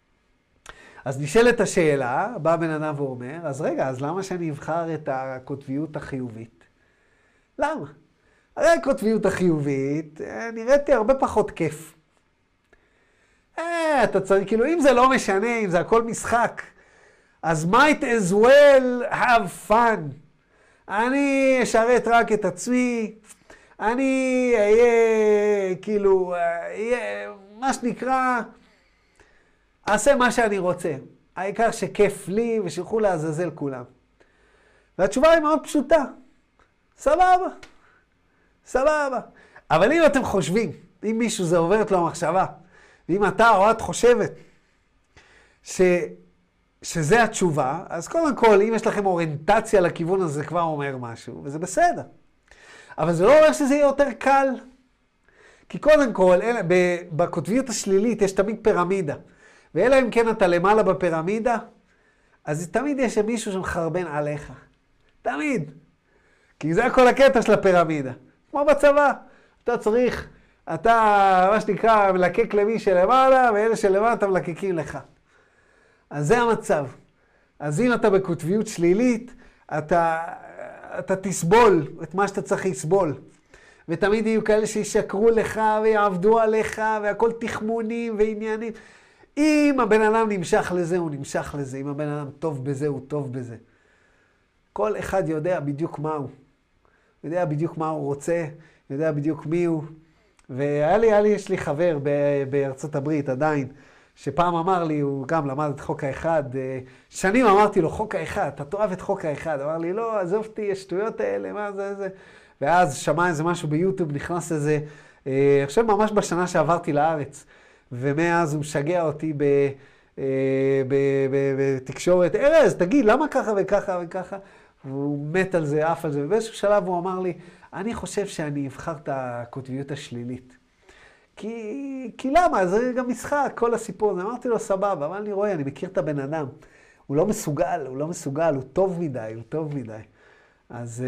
אז נשאלת השאלה, בא בן אדם ואומר, אז רגע, אז למה שאני אבחר את הקוטביות החיובית? למה? הרי הקוטביות החיובית נראית לי הרבה פחות כיף. אה, אתה צריך, כאילו, אם זה לא משנה, אם זה הכל משחק, אז might as well have fun. אני אשרת רק את עצמי, אני אהיה, כאילו, אהיה, מה שנקרא, אעשה מה שאני רוצה. העיקר שכיף לי ושילכו לעזאזל כולם. והתשובה היא מאוד פשוטה. סבבה. סבבה. אבל אם אתם חושבים, אם מישהו זה עוברת לו המחשבה, ואם אתה או את חושבת ש... שזה התשובה, אז קודם כל, אם יש לכם אוריינטציה לכיוון הזה, זה כבר אומר משהו, וזה בסדר. אבל זה לא אומר שזה יהיה יותר קל. כי קודם כל, אלה, בקוטביות השלילית יש תמיד פירמידה. ואלא אם כן אתה למעלה בפירמידה, אז תמיד יש מישהו שמחרבן עליך. תמיד. כי זה הכל הקטע של הפירמידה. כמו בצבא. אתה צריך, אתה, מה שנקרא, מלקק למי שלמעלה, ואלה שלמעלה אתה מלקקים לך. אז זה המצב. אז אם אתה בקוטביות שלילית, אתה, אתה תסבול את מה שאתה צריך לסבול. ותמיד יהיו כאלה שישקרו לך ויעבדו עליך, והכל תחמונים ועניינים. אם הבן אדם נמשך לזה, הוא נמשך לזה. אם הבן אדם טוב בזה, הוא טוב בזה. כל אחד יודע בדיוק מה הוא. יודע בדיוק מה הוא רוצה, יודע בדיוק מי הוא. והיה לי, היה לי, יש לי חבר בארצות הברית עדיין, שפעם אמר לי, הוא גם למד את חוק האחד, שנים אמרתי לו, חוק האחד, אתה תאהב את חוק האחד. אמר לי, לא, עזוב אותי, השטויות האלה, מה זה, זה. ואז שמע איזה משהו ביוטיוב, נכנס איזה, אה, עכשיו ממש בשנה שעברתי לארץ, ומאז הוא משגע אותי ב, אה, ב, ב, בתקשורת, ארז, תגיד, למה ככה וככה וככה? והוא מת על זה, אף על זה, ובאיזשהו שלב הוא אמר לי, אני חושב שאני אבחר את הקוטביות השלילית. כי, כי למה? זה גם משחק, כל הסיפור הזה. אמרתי לו, סבבה, אבל אני רואה, אני מכיר את הבן אדם. הוא לא מסוגל, הוא לא מסוגל, הוא טוב מדי, הוא טוב מדי. אז,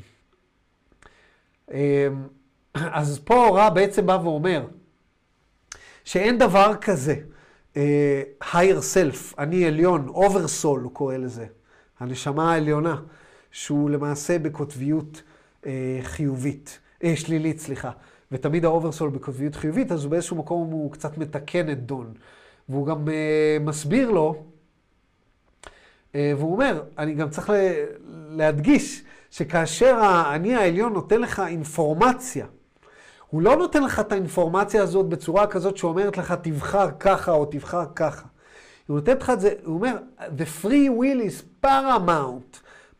אז פה רע בעצם בא ואומר, שאין דבר כזה, higher self, אני עליון, oversoul הוא קורא לזה, הנשמה העליונה, שהוא למעשה בקוטביות חיובית, שלילית, סליחה. ותמיד האוברסול בקוטביות חיובית, אז באיזשהו מקום הוא קצת מתקן את דון. והוא גם uh, מסביר לו, uh, והוא אומר, אני גם צריך להדגיש, שכאשר אני העליון נותן לך אינפורמציה, הוא לא נותן לך את האינפורמציה הזאת בצורה כזאת שאומרת לך, תבחר ככה או תבחר ככה. הוא נותן לך את זה, הוא אומר, the free will is paramount.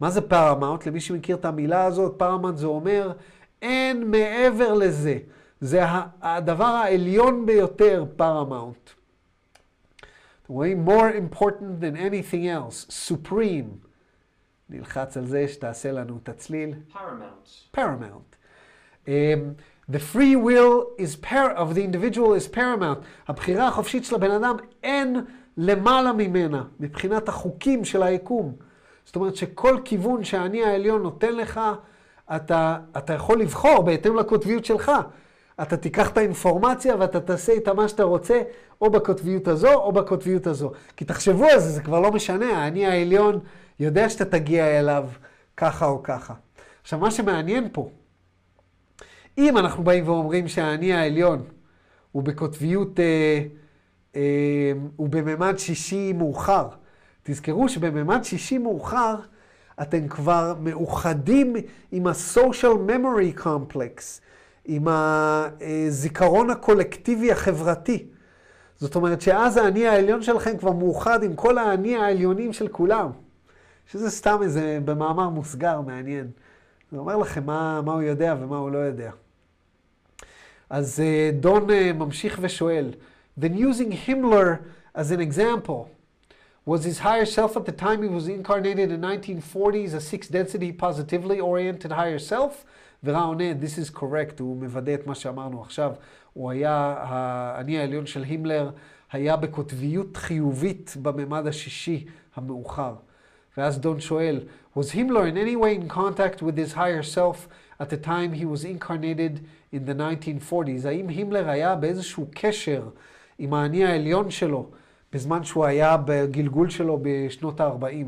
מה זה paramount? למי שמכיר את המילה הזאת, paramount זה אומר, אין מעבר לזה. זה הדבר העליון ביותר, paramount. אתם רואים? more important than anything else, supreme. נלחץ על זה שתעשה לנו את הצליל. Paramount. Paramount. Um, the free will is par- of the individual is paramount. הבחירה החופשית של הבן אדם אין למעלה ממנה, מבחינת החוקים של היקום. זאת אומרת שכל כיוון שהאני העליון נותן לך, אתה, אתה יכול לבחור בהתאם לקוטביות שלך. אתה תיקח את האינפורמציה ואתה תעשה איתה מה שאתה רוצה, או בקוטביות הזו או בקוטביות הזו. כי תחשבו על זה, זה כבר לא משנה. האני העליון יודע שאתה תגיע אליו ככה או ככה. עכשיו, מה שמעניין פה, אם אנחנו באים ואומרים שהאני העליון הוא בקוטביות, אה, אה, הוא בממד שישי מאוחר, תזכרו שבממד שישי מאוחר אתם כבר מאוחדים עם ה-social memory complex, עם הזיכרון הקולקטיבי החברתי. זאת אומרת שאז האני העליון שלכם כבר מאוחד עם כל האני העליונים של כולם. שזה סתם איזה במאמר מוסגר מעניין. זה אומר לכם מה, מה הוא יודע ומה הוא לא יודע. אז דון ממשיך ושואל, then using Himmler as an example, was his higher self at the time he was incarnated in nineteen forties a sixth density positively oriented higher self? ורע עונה, this is correct, הוא מוודא את מה שאמרנו עכשיו. הוא היה, האני העליון של הימלר היה בקוטביות חיובית בממד השישי המאוחר. ואז דון שואל, was Himmler in any way in contact with his higher self at the time he was incarnated in the nineteen forties? האם הימלר היה באיזשהו קשר עם האני העליון שלו בזמן שהוא היה בגלגול שלו בשנות ה-ארבעים?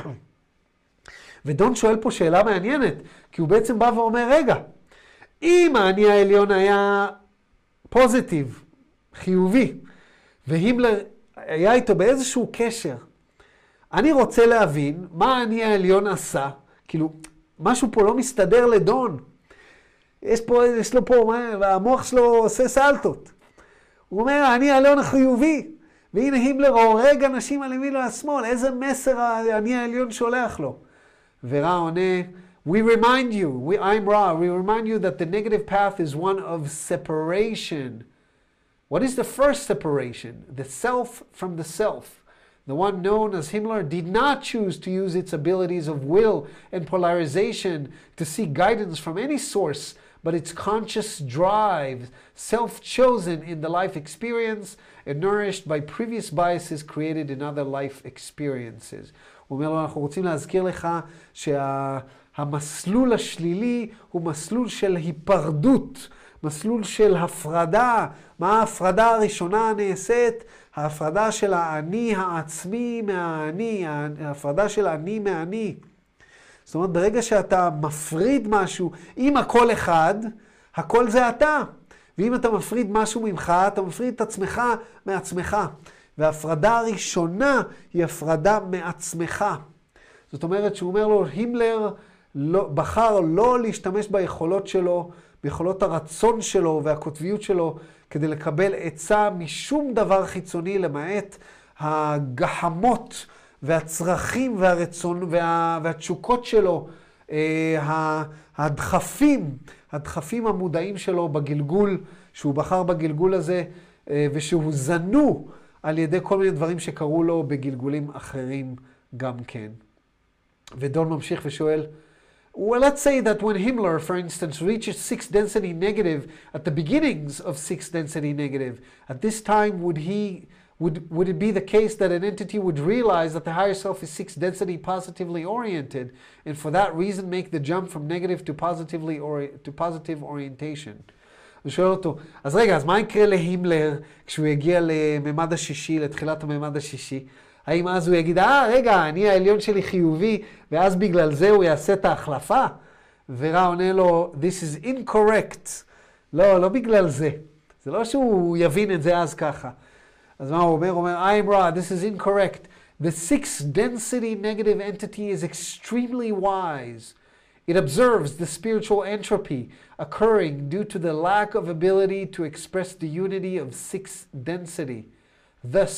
ודון שואל פה שאלה מעניינת, כי הוא בעצם בא ואומר, רגע, אם האני העליון היה פוזיטיב, חיובי, והימלר היה איתו באיזשהו קשר, אני רוצה להבין מה האני העליון עשה, כאילו, משהו פה לא מסתדר לדון. יש פה, יש לו פה, המוח שלו עושה סלטות. הוא אומר, האני העליון החיובי, והנה הימלר הורג אנשים על ימין והשמאל, איזה מסר האני העליון שולח לו. ורע עונה, we remind you, we, I'm Ra, we remind you that the negative path is one of separation. What is the first separation? The self from the self. The one known as Himmler did not choose to use its abilities of will and polarization to seek guidance from any source, but its conscious drive, self-chosen in the life experience and nourished by previous biases created in other life experiences. הוא אומר לו, אנחנו רוצים להזכיר לך שהמסלול השלילי הוא מסלול של היפרדות, מסלול של הפרדה. מה ההפרדה הראשונה נעשית? ההפרדה של האני העצמי מהאני, ההפרדה של האני מהאני. זאת אומרת, ברגע שאתה מפריד משהו, אם הכל אחד, הכל זה אתה. ואם אתה מפריד משהו ממך, אתה מפריד את עצמך מעצמך. וההפרדה הראשונה היא הפרדה מעצמך. זאת אומרת שהוא אומר לו, הימלר לא, בחר לא להשתמש ביכולות שלו, ביכולות הרצון שלו והקוטביות שלו, כדי לקבל עצה משום דבר חיצוני, למעט הגחמות והצרכים והרצון וה, והתשוקות שלו, אה, הדחפים, הדחפים המודעים שלו בגלגול, שהוא בחר בגלגול הזה, אה, ושהוא זנו על ידי כל מיני דברים שקרו לו בגלגולים אחרים גם כן. ודון ממשיך ושואל, well, let's say that when Himmler, for instance, reaches sixth density negative at the beginnings of sixth density negative, at this time would he, would, would it be the case that an entity would realize that the higher self is sixth density positively oriented, and for that reason make the jump from negative to positively or to positive orientation? הוא שואל אותו, אז רגע, אז מה יקרה להימלר כשהוא יגיע לממד השישי, לתחילת הממד השישי? האם אז הוא יגיד, אה, רגע, אני העליון שלי חיובי, ואז בגלל זה הוא יעשה את ההחלפה? ורע עונה לו, this is incorrect. לא, לא בגלל זה. זה לא שהוא יבין את זה אז ככה. אז מה הוא אומר? הוא אומר, I'm Ra, this is incorrect. The sixth density negative entity is extremely wise. It observes the spiritual entropy occurring due to the lack of ability to express the unity of sixth density. Thus,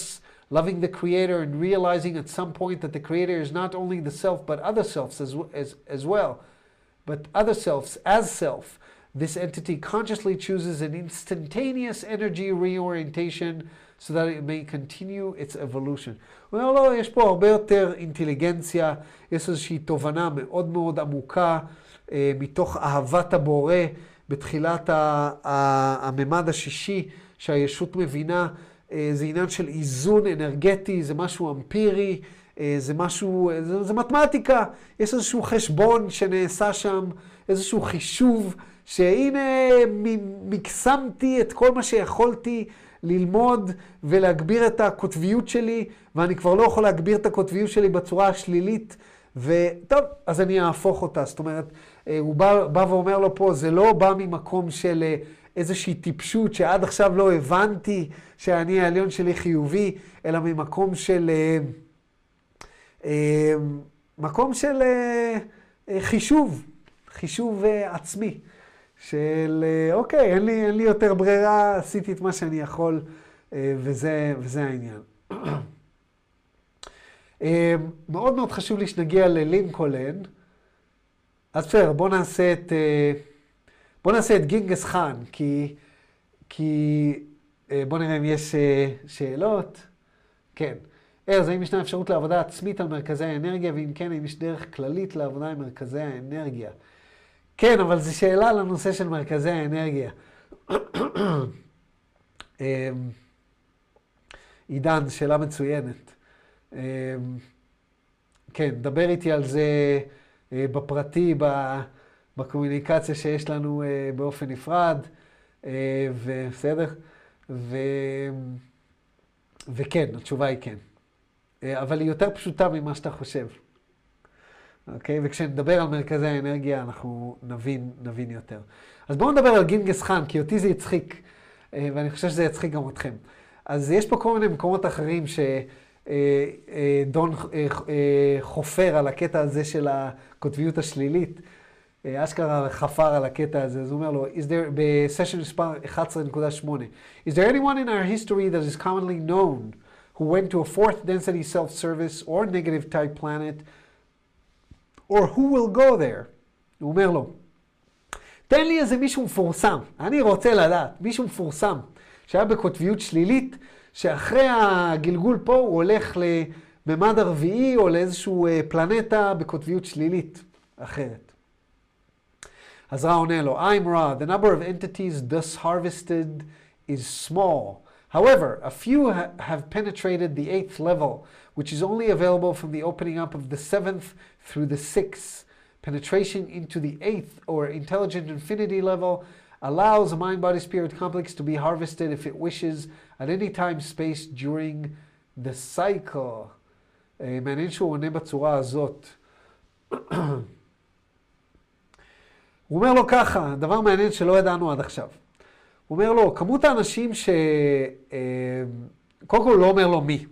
loving the creator and realizing at some point that the creator is not only the self but other selves as, as, as well, but other selves as self. This entity consciously chooses an instantaneous energy reorientation so that it may continue its evolution. הוא אומר, לא, יש פה הרבה יותר אינטליגנציה, יש איזושהי תובנה מאוד מאוד עמוקה, אה, מתוך אהבת הבורא, בתחילת ה- ה- הממד השישי, שהישות מבינה, אה, זה עניין של איזון אנרגטי, זה משהו אמפירי, אה, זה משהו, זה, זה מתמטיקה, יש איזשהו חשבון שנעשה שם, איזשהו חישוב, שהנה מקסמתי את כל מה שיכולתי ללמוד ולהגביר את הקוטביות שלי, ואני כבר לא יכול להגביר את הקוטביות שלי בצורה השלילית, וטוב, אז אני אהפוך אותה. זאת אומרת, הוא בא, בא ואומר לו פה, זה לא בא ממקום של איזושהי טיפשות שעד עכשיו לא הבנתי שאני העליון שלי חיובי, אלא ממקום של, מקום של חישוב, חישוב עצמי. של אוקיי, אין לי, אין לי יותר ברירה, עשיתי את מה שאני יכול, וזה, וזה העניין. מאוד מאוד חשוב לי שנגיע ללינקולן. אז בסדר, בוא נעשה את, בוא נעשה את גינגס חאן, כי, כי בוא נראה אם יש שאלות. כן. ארז, האם ישנה אפשרות לעבודה עצמית על מרכזי האנרגיה, ואם כן, האם יש דרך כללית לעבודה עם מרכזי האנרגיה? כן, אבל זו שאלה לנושא של מרכזי האנרגיה. עידן, שאלה מצוינת. כן, דבר איתי על זה בפרטי, בקומוניקציה שיש לנו באופן נפרד, ובסדר? ו... וכן, התשובה היא כן. אבל היא יותר פשוטה ממה שאתה חושב. אוקיי? וכשנדבר על מרכזי האנרגיה, אנחנו נבין, נבין יותר. אז בואו נדבר על גינגס חאן, כי אותי זה יצחיק, ואני חושב שזה יצחיק גם אתכם. אז יש פה כל מיני מקומות אחרים שדון חופר על הקטע הזה של הקוטביות השלילית. אשכרה חפר על הקטע הזה, אז הוא אומר לו, is there, בסשן מספר אחת עשרה נקודה שמונה, is there anyone in our history that is commonly known who went to a fourth density self-service or negative type planet, or who will go there? הוא אומר לו, תן לי איזה מישהו מפורסם, אני רוצה לדעת, מישהו מפורסם, שהיה בקוטביות שלילית, שאחרי הגלגול פה הוא הולך לממד הרביעי, או לאיזשהו פלנטה בקוטביות שלילית אחרת. אז רע עונה לו, I'm Ra, the number of entities thus harvested is small. However, a few ha have penetrated the eighth level, which is only available from the opening up of the seventh through the sixth. Penetration into the eighth or intelligent infinity level allows a mind-body-spirit complex to be harvested if it wishes at any time space during the cycle. מעניין שהוא עונה בצורה הזאת. הוא אומר לו ככה, דבר מעניין שלא ידענו עד עכשיו. הוא אומר לו, כמות האנשים ש... קודם כל לא אומר לו מי.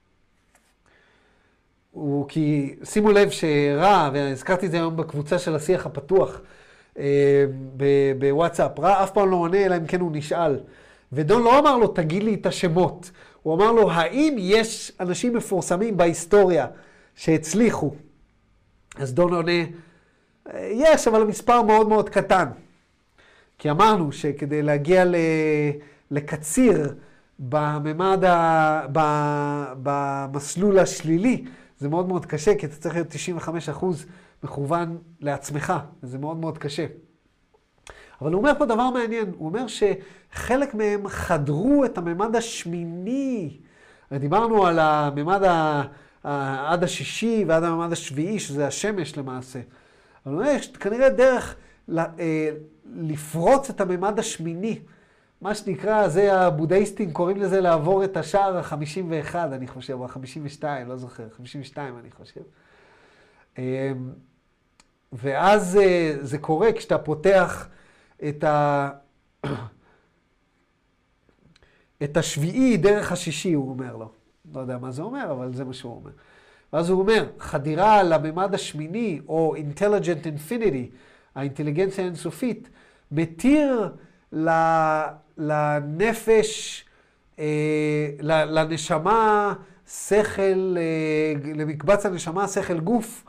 הוא כי, שימו לב שרע, והזכרתי את זה היום בקבוצה של השיח הפתוח בוואטסאפ, רע אף פעם לא עונה, אלא אם כן הוא נשאל. ודון לא אמר לו, תגיד לי את השמות. הוא אמר לו, האם יש אנשים מפורסמים בהיסטוריה שהצליחו? אז דון עונה, יש, אבל המספר מאוד מאוד קטן. כי אמרנו שכדי להגיע לקציר בממד, במסלול השלילי, זה מאוד מאוד קשה, כי אתה צריך להיות תשעים וחמישה אחוז מכוון לעצמך, וזה מאוד מאוד קשה. אבל הוא אומר פה דבר מעניין, הוא אומר שחלק מהם חדרו את הממד השמיני. דיברנו על הממד עד השישי ועד הממד השביעי, שזה השמש למעשה. אבל הוא אומר, יש כנראה דרך לפרוץ את הממד השמיני. מה שנקרא, זה הבודהיסטים קוראים לזה לעבור את השער ה-חמישים ואחת, אני חושב, או ה-חמישים ושתיים, לא זוכר, חמישים ושתיים אני חושב. ואז זה קורה כשאתה פותח את, ה... את השביעי דרך השישי, הוא אומר לו. לא יודע מה זה אומר, אבל זה מה שהוא אומר. ואז הוא אומר, חדירה לממד השמיני, או intelligent infinity, האינטליגנציה האינסופית, מתיר לנפש לנשמה שכל, למקבץ הנשמה שכל גוף,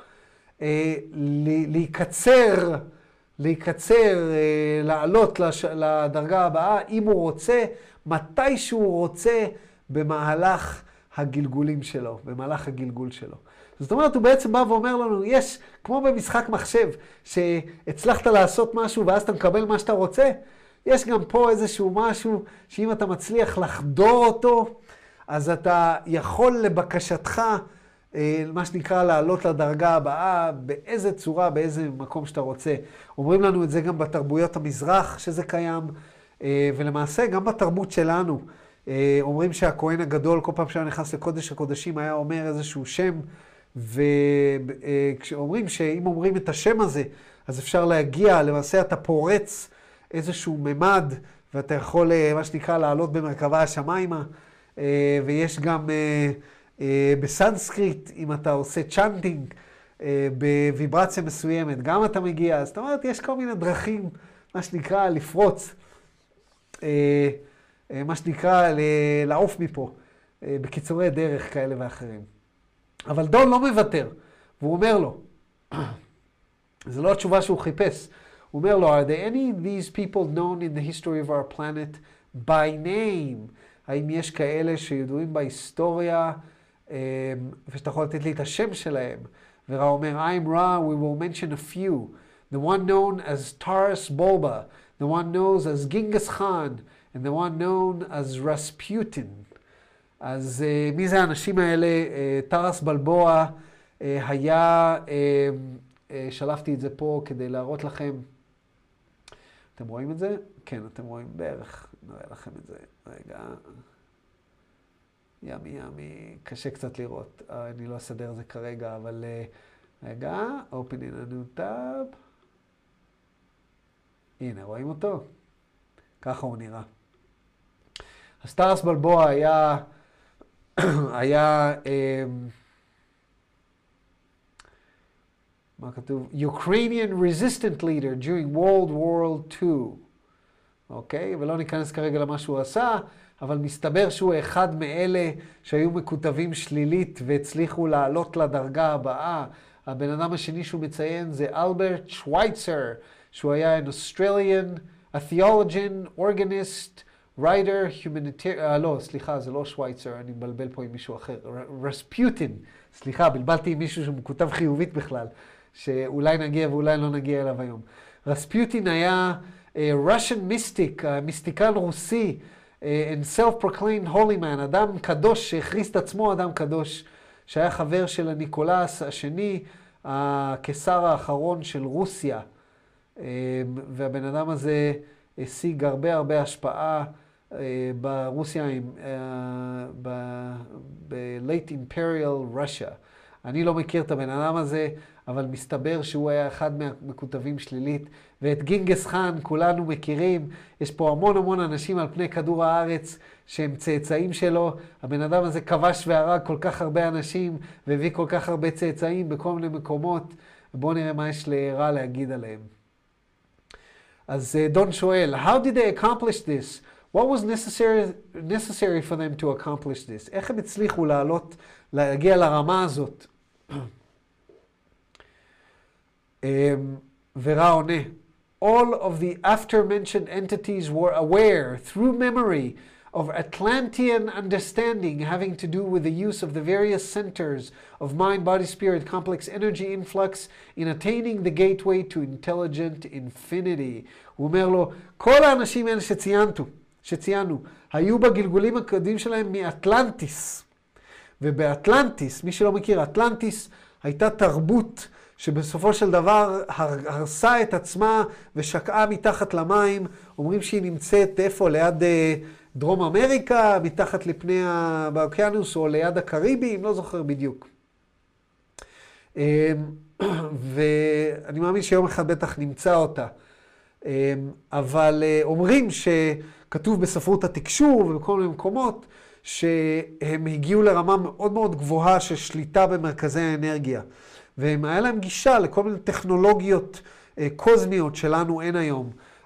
להיקצר, להיקצר, לעלות לדרגה הבאה, אם הוא רוצה, מתי שהוא רוצה, במהלך הגלגולים שלו, במהלך הגלגול שלו. זאת אומרת, הוא בעצם בא ואומר לנו, יש, כמו במשחק מחשב, שהצלחת לעשות משהו ואז אתה מקבל מה שאתה רוצה, יש גם פה איזשהו משהו שאם אתה מצליח לחדור אותו, אז אתה יכול לבקשתך, מה שנקרא, לעלות לדרגה הבאה, באיזה צורה, באיזה מקום שאתה רוצה. אומרים לנו את זה גם בתרבויות המזרח, שזה קיים, ולמעשה גם בתרבות שלנו. אומרים שהכהן הגדול, כל פעם שהיה נכנס לקודש הקודשים, היה אומר איזשהו שם, וכשאומרים שאם אומרים את השם הזה, אז אפשר להגיע, למעשה אתה פורץ איזשהו ממד, ואתה יכול, מה שנקרא, לעלות במרכבה השמיימה, ויש גם בסנסקריט, אם אתה עושה צ'אנטינג, בוויברציה מסוימת, גם אתה מגיע. אז זאת אומרת, יש כל מיני דרכים, מה שנקרא, לפרוץ, מה שנקרא, לעוף מפה, בקיצורי דרך כאלה ואחרים. אבל דון לא מוותר, והוא אומר לו, זו לא התשובה שהוא חיפש, הוא אומר לו, are there any of these people known in the history of our planet by name? האם יש כאלה שידועים בהיסטוריה, ושאתה יכול לתת לי את השם שלהם? ורע אומר, I'm Ra, we will mention a few. The one known as Taras Bulba, the one known as Genghis Khan, and the one known as Rasputin. אז uh, מי זה האנשים האלה? Uh, טרס בלבוע uh, היה, uh, uh, שלפתי את זה פה כדי להראות לכם. אתם רואים את זה? כן, אתם רואים בערך. נראה לכם את זה. רגע. ימי ימי, קשה קצת לראות. Uh, אני לא אסדר זה כרגע, אבל uh, רגע, open in a new tab. הנה, רואים אותו? ככה הוא נראה. אז טרס בלבוע היה... היה, מה כתוב? Ukrainian resistant leader during World War Two. אוקיי? ולא ניכנס כרגע למה שהוא עשה, אבל מסתבר שהוא אחד מאלה שהיו מקוטבים שלילית והצליחו לעלות לדרגה הבאה. הבן אדם השני שהוא מציין זה אלברט שווייצר, שהוא היה an Australian, a theologian, organist, writer, humanitarian, אה, לא, סליחה, זה לא שווייצר, אני מבלבל פה עם מישהו אחר. רספיוטין, סליחה, בלבלתי עם מישהו שמכותב חיובית בכלל, שאולי נגיע ואולי לא נגיע אליו היום. רספיוטין היה uh, Russian mystic, uh, מיסטיקן רוסי, uh, and self-proclaimed holy man, אדם קדוש שהכריז את עצמו אדם קדוש, שהיה חבר של הניקולס השני, הקיסר האחרון של רוסיה. Uh, והבן אדם הזה השיג הרבה הרבה השפעה ברוסיה, ב-Late Imperial Russia. אני לא מכיר את הבן אדם הזה, אבל מסתבר שהוא היה אחד מהמקוטבים שלילית. ואת גינגס חאן כולנו מכירים. יש פה המון המון אנשים על פני כדור הארץ שהם צאצאים שלו. הבן אדם הזה כבש והרג כל כך הרבה אנשים, והביא כל כך הרבה צאצאים בכל מיני מקומות. בואו נראה מה יש לרע להגיד עליהם. אז דון שואל, how did they accomplish this? What was necessary, necessary for them to accomplish this? איך הם הצליחו לעלות, להגיע לרמה הזאת? ורע עונה, all of the after-mentioned entities were aware through memory of Atlantean understanding having to do with the use of the various centers of mind, body, spirit, complex energy influx in attaining the gateway to intelligent infinity. הוא אומר לו, כל האנשים האלה שציינו, שציינו, היו בגלגולים הקודמים שלהם מאטלנטיס. ובאטלנטיס, מי שלא מכיר, אטלנטיס הייתה תרבות שבסופו של דבר הרסה את עצמה ושקעה מתחת למים. אומרים שהיא נמצאת איפה? ליד דרום אמריקה, מתחת לפני האוקיינוס או ליד הקריבים, לא זוכר בדיוק. ואני מאמין שיום אחד בטח נמצא אותה. אבל אומרים שכתוב בספרות התקשור ובכל מיני מקומות שהם הגיעו לרמה מאוד מאוד גבוהה של שליטה במרכזי האנרגיה. והם היה להם גישה לכל מיני טכנולוגיות קוזמיות שלנו אין היום.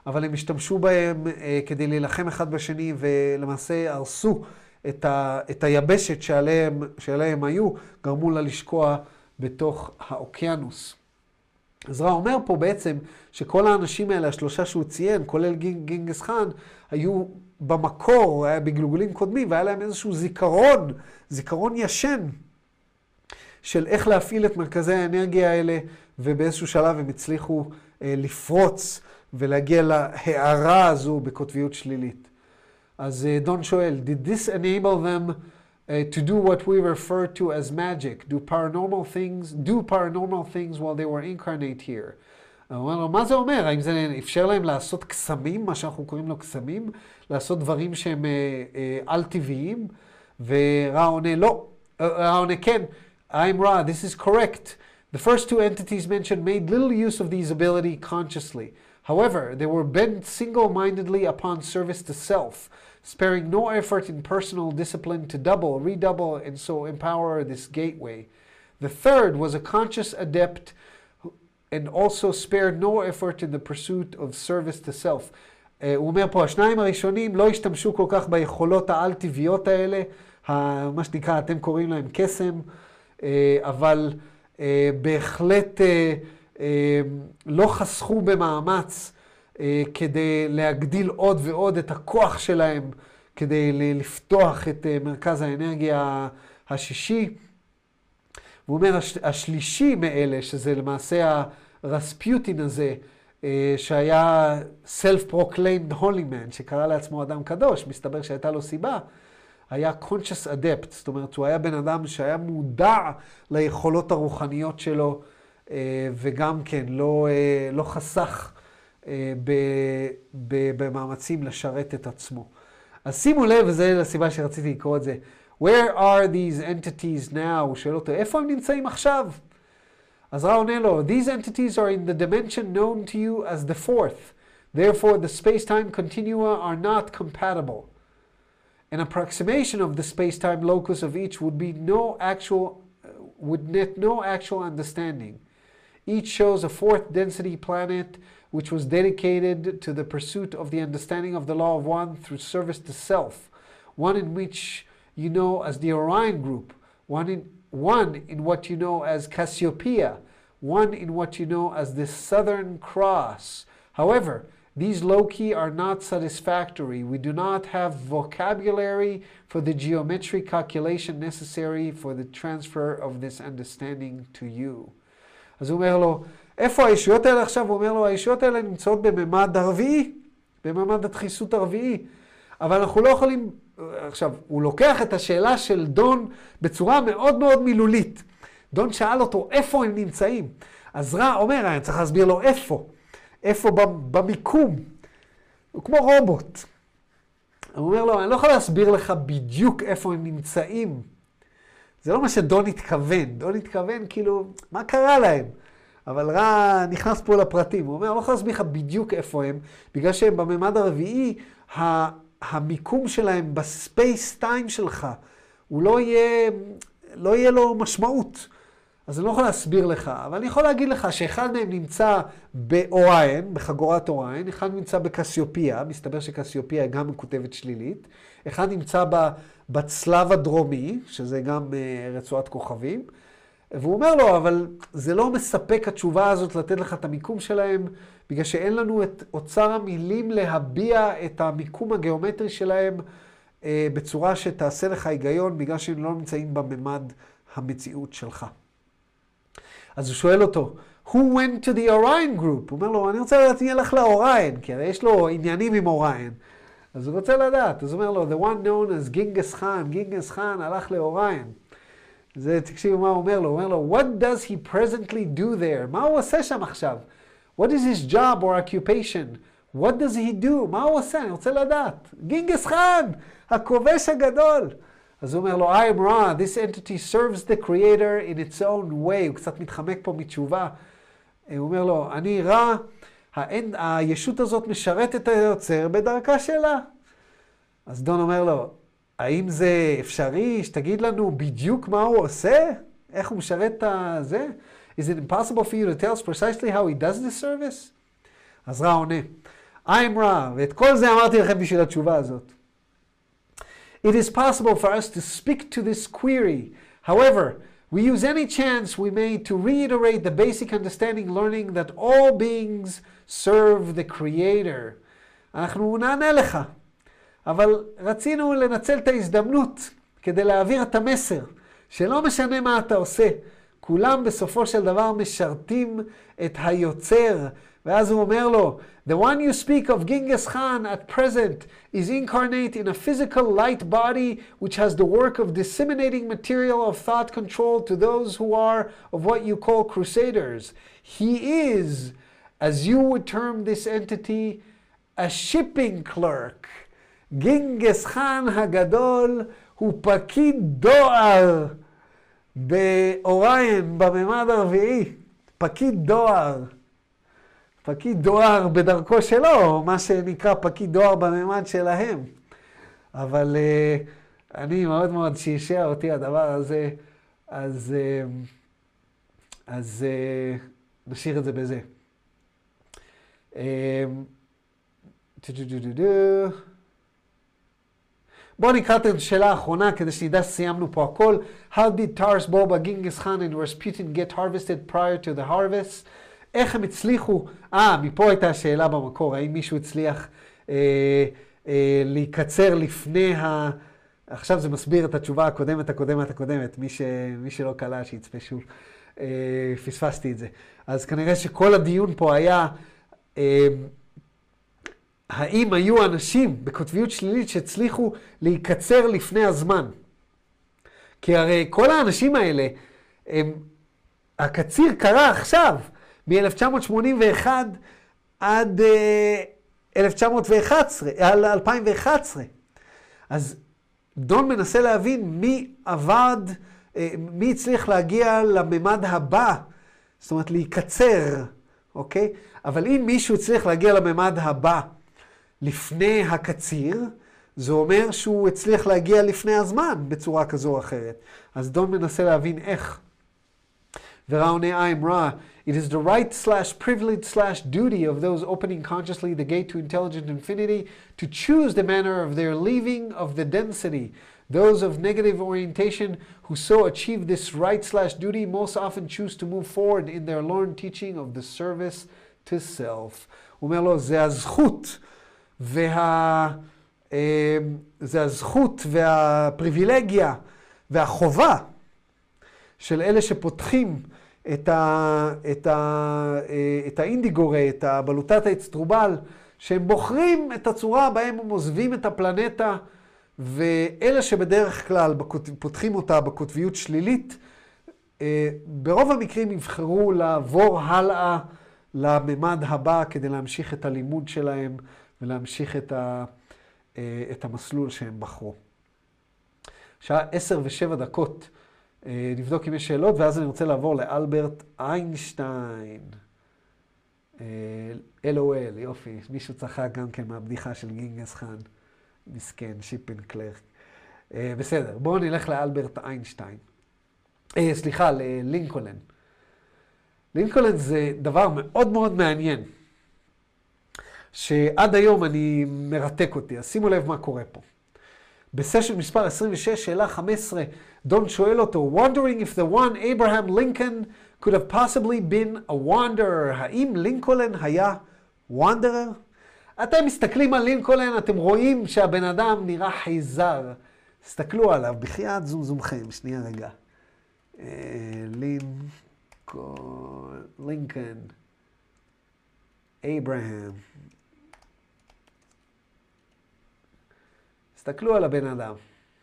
אבל הם השתמשו בהם אה, כדי להילחם אחד בשני, ולמעשה הרסו את, ה, את היבשת שעליהם, שעליהם היו, גרמו לה לשקוע בתוך האוקיינוס. אז רע אומר פה בעצם שכל האנשים האלה, השלושה שהוא ציין, כולל גינג, גינגס חאן, היו במקור, היה בגלגולים קודמים, והיה להם איזשהו זיכרון, זיכרון ישן, של איך להפעיל את מרכזי האנרגיה האלה, ובאיזשהו שלב הם הצליחו אה, לפרוץ ולהגיע להערה הזו בקוטביות שלילית. אז אה, דון שואל, did this enable them uh, to do what we refer to as magic? Do paranormal things, do paranormal things while they were incarnate here? הוא אומר לו, מה זה אומר? האם זה אפשר להם לעשות קסמים, מה שאנחנו קוראים לו קסמים, לעשות דברים שהם אה, אה, על-טבעיים? ורע עונה, לא. רע עונה, כן. I'm Ra, this is correct. The first two entities mentioned made little use of these ability consciously. However, they were bent single-mindedly upon service to self, sparing no effort in personal discipline to double, redouble, and so empower this gateway. The third was a conscious adept and also spared no effort in the pursuit of service to self. Uh, הוא אומר פה, השניים הראשונים לא השתמשו כל כך ביכולות העל-טבעיות האלה, מה שנקרא, אתם קוראים להם קסם, אבל בהחלט לא חסכו במאמץ כדי להגדיל עוד ועוד את הכוח שלהם, כדי לפתוח את מרכז האנרגיה השישי. והוא אומר, השלישי מאלה, שזה למעשה הרספיוטין הזה, שהיה self-proclaimed holy man, שקרא לעצמו אדם קדוש, מסתבר שהייתה לו סיבה, היה conscious adept, זאת אומרת, הוא היה בן אדם שהיה מודע ליכולות הרוחניות שלו, וגם כן, לא, לא חסך במאמצים לשרת את עצמו. אז שימו לב, וזו הסיבה שרציתי לקרוא את זה, Where are these entities now? הוא שואל אותו, איפה הם נמצאים עכשיו? אז רע עונה לו, These entities are in the dimension known to you as the fourth. Therefore, the space-time continua are not compatible. An approximation of the space-time locus of each would be no actual, would net no actual understanding. Each shows a fourth density planet which was dedicated to the pursuit of the understanding of the law of one through service to self. One in which you know as the Orion group, one in, one in what you know as Cassiopeia, one in what you know as the Southern Cross. However, these loci are not satisfactory. We do not have vocabulary for the geometric calculation necessary for the transfer of this understanding to you. אז הוא אומר לו, איפה הישויות האלה עכשיו? הוא אומר לו, הישויות האלה נמצאות בממד הרביעי, בממד הדחיסות הרביעי. אבל אנחנו לא יכולים, עכשיו, הוא לוקח את השאלה של דון בצורה מאוד מאוד מילולית. דון שאל אותו, איפה הם נמצאים? אז רע אומר, אני צריך להסביר לו איפה. איפה במיקום. הוא כמו רובוט. הוא אומר לו, אני לא יכול להסביר לך בדיוק איפה הם נמצאים. זה לא מה שדון התכוון. דון התכוון כאילו, מה קרה להם? אבל רע נכנס פה לפרטים. הוא אומר, אני לא יכול להסביר לך בדיוק איפה הם, בגלל שהם בממד הרביעי, המיקום שלהם בספייס טיים שלך, הוא לא יהיה, לא יהיה לו משמעות. אז אני לא יכול להסביר לך, אבל אני יכול להגיד לך שאחד מהם נמצא באוריין, בחגורת אוריין, אחד נמצא בקסיופיה, מסתבר שקסיופיה גם מקוטבת שלילית, אחד נמצא בצלב הדרומי, שזה גם רצועת כוכבים, והוא אומר לו, אבל זה לא מספק התשובה הזאת לתת לך את המיקום שלהם, בגלל שאין לנו את אוצר המילים להביע את המיקום הגיאומטרי שלהם בצורה שתעשה לך היגיון, בגלל שהם לא נמצאים בממד המציאות שלך. אז הוא שואל אותו, who went to the Orion group? הוא אומר לו, אני רוצה לדעת מי ילך לאוריין, כי הרי יש לו עניינים עם אוריין. אז הוא רוצה לדעת, אז הוא אומר לו, the one known as גינגס חאן, גינגס חאן הלך לאוריין. זה, תקשיבו מה הוא אומר לו, הוא אומר לו, what does he presently do there? מה הוא עושה שם עכשיו? What is his job or occupation? What does he do? מה הוא עושה? אני רוצה לדעת. גינגס חאן, הכובש הגדול. אז הוא אומר לו, I am Ra, this entity serves the creator in its own way. הוא קצת מתחמק פה מתשובה. הוא אומר לו, אני רע, הישות הזאת משרת את היוצר בדרכה שלה. אז דון אומר לו, האם זה אפשרי שתגיד לנו בדיוק מה הוא עושה? איך הוא משרת את זה? Is it impossible for you to tell us precisely how he does this service? אז רע עונה, I'm Ra, ואת כל זה אמרתי לכם בשביל התשובה הזאת. It is possible for us to speak to this query. However, we use any chance we may to reiterate the basic understanding learning that all beings serve the Creator. אנחנו נענה לך, אבל רצינו לנצל את ההזדמנות כדי להעביר את המסר, שלא משנה מה אתה עושה, כולם בסופו של דבר משרתים את היוצר. ואז הוא אומר לו, The one you speak of, Genghis Khan, at present, is incarnate in a physical light body which has the work of disseminating material of thought control to those who are of what you call crusaders. He is, as you would term this entity, a shipping clerk. Genghis Khan הגדול הוא פקיד דואר באוריין, בממד הרביעי. פקיד דואר. פקיד דואר בדרכו שלו, מה שנקרא פקיד דואר בממד שלהם. אבל uh, אני מאוד מאוד שישע אותי הדבר הזה, אז, uh, אז uh, נשאיר את זה בזה. Uh, בואו נקרא את השאלה האחרונה כדי שנדע שסיימנו פה הכל. How did Taras Bulba, Genghis Khan and Rasputin get harvested prior to the harvest? איך הם הצליחו, אה, מפה הייתה השאלה במקור, האם מישהו הצליח אה, אה, להיקצר לפני ה... עכשיו זה מסביר את התשובה הקודמת, הקודמת, הקודמת, מי, ש... מי שלא קלה שיצפה שוב, אה, פספסתי את זה. אז כנראה שכל הדיון פה היה, אה, האם היו אנשים בקוטביות שלילית שהצליחו להיקצר לפני הזמן? כי הרי כל האנשים האלה, הם... הקציר קרה עכשיו, מ-אלף תשע מאות שמונים ואחת עד uh, אלף תשע מאות ואחת עשרה, על אלפיים ואחת עשרה. אז דון מנסה להבין מי עבד, uh, מי הצליח להגיע לממד הבא, זאת אומרת להיקצר, אוקיי? אבל אם מישהו הצליח להגיע לממד הבא לפני הקציר, זה אומר שהוא הצליח להגיע לפני הזמן בצורה כזו או אחרת. אז דון מנסה להבין איך. וראה עונה I'm Ra. It is the right slash privilege slash duty of those opening consciously the gate to intelligent infinity to choose the manner of their leaving of the density. Those of negative orientation who so achieve this right slash duty most often choose to move forward in their learned teaching of the service to self. הוא אומר לו, זה הזכות וה... זה הזכות והפריבילגיה והחובה של אלה שפותחים את, ה, את, ה, את האינדיגורי, את הבלוטת האצטרובל, שהם בוחרים את הצורה בהם הם עוזבים את הפלנטה, ואלה שבדרך כלל פותחים אותה בקוטביות שלילית, ברוב המקרים יבחרו לעבור הלאה לממד הבא כדי להמשיך את הלימוד שלהם ולהמשיך את, ה, את המסלול שהם בחרו. שעה עשר ושבע דקות. נבדוק אם יש שאלות, ואז אני רוצה לעבור לאלברט איינשטיין. אל או אל, יופי. מישהו צחק גם כן מהבדיחה של גינגס חאן. מסכן, שיפן קלרק. בסדר, בואו נלך לאלברט איינשטיין. סליחה, ללינקולן. לינקולן זה דבר מאוד מאוד מעניין, שעד היום אני מרתק אותי. אז שימו לב מה קורה פה. בסשן מספר עשרים ושש, שאלה חמש עשרה, דון שואל אותו, wondering if the one Abraham Lincoln could have possibly been a wanderer. האם לינקולן היה wanderer? אתם מסתכלים על לינקולן, אתם רואים שהבן אדם נראה חייזר. תסתכלו עליו, בחייאת זום זומכם, שנייה רגע. לינקולן, לינקולן, אברהם. תסתכלו על הבן אדם.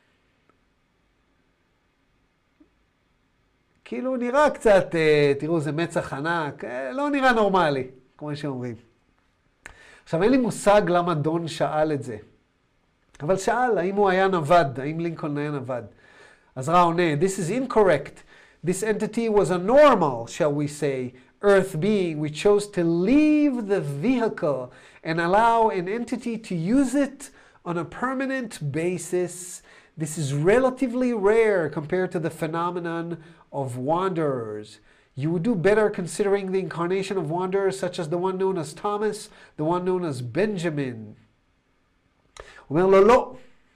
כאילו נראה קצת, תראו, זה מצח ענק, לא נראה נורמלי, כמו שאומרים. עכשיו, אין לי מושג למה דון שאל את זה. אבל שאל, האם הוא היה נווד, האם לינקולן היה נווד. אז רע עונה, this is incorrect. This entity was a normal, shall we say, earth being. We chose to leave the vehicle and allow an entity to use it on a permanent basis. This is relatively rare compared to the phenomenon of wanderers. You would do better considering the incarnation of wanderers such as the one known as Thomas, the one known as Benjamin. הוא אומר לו, לא.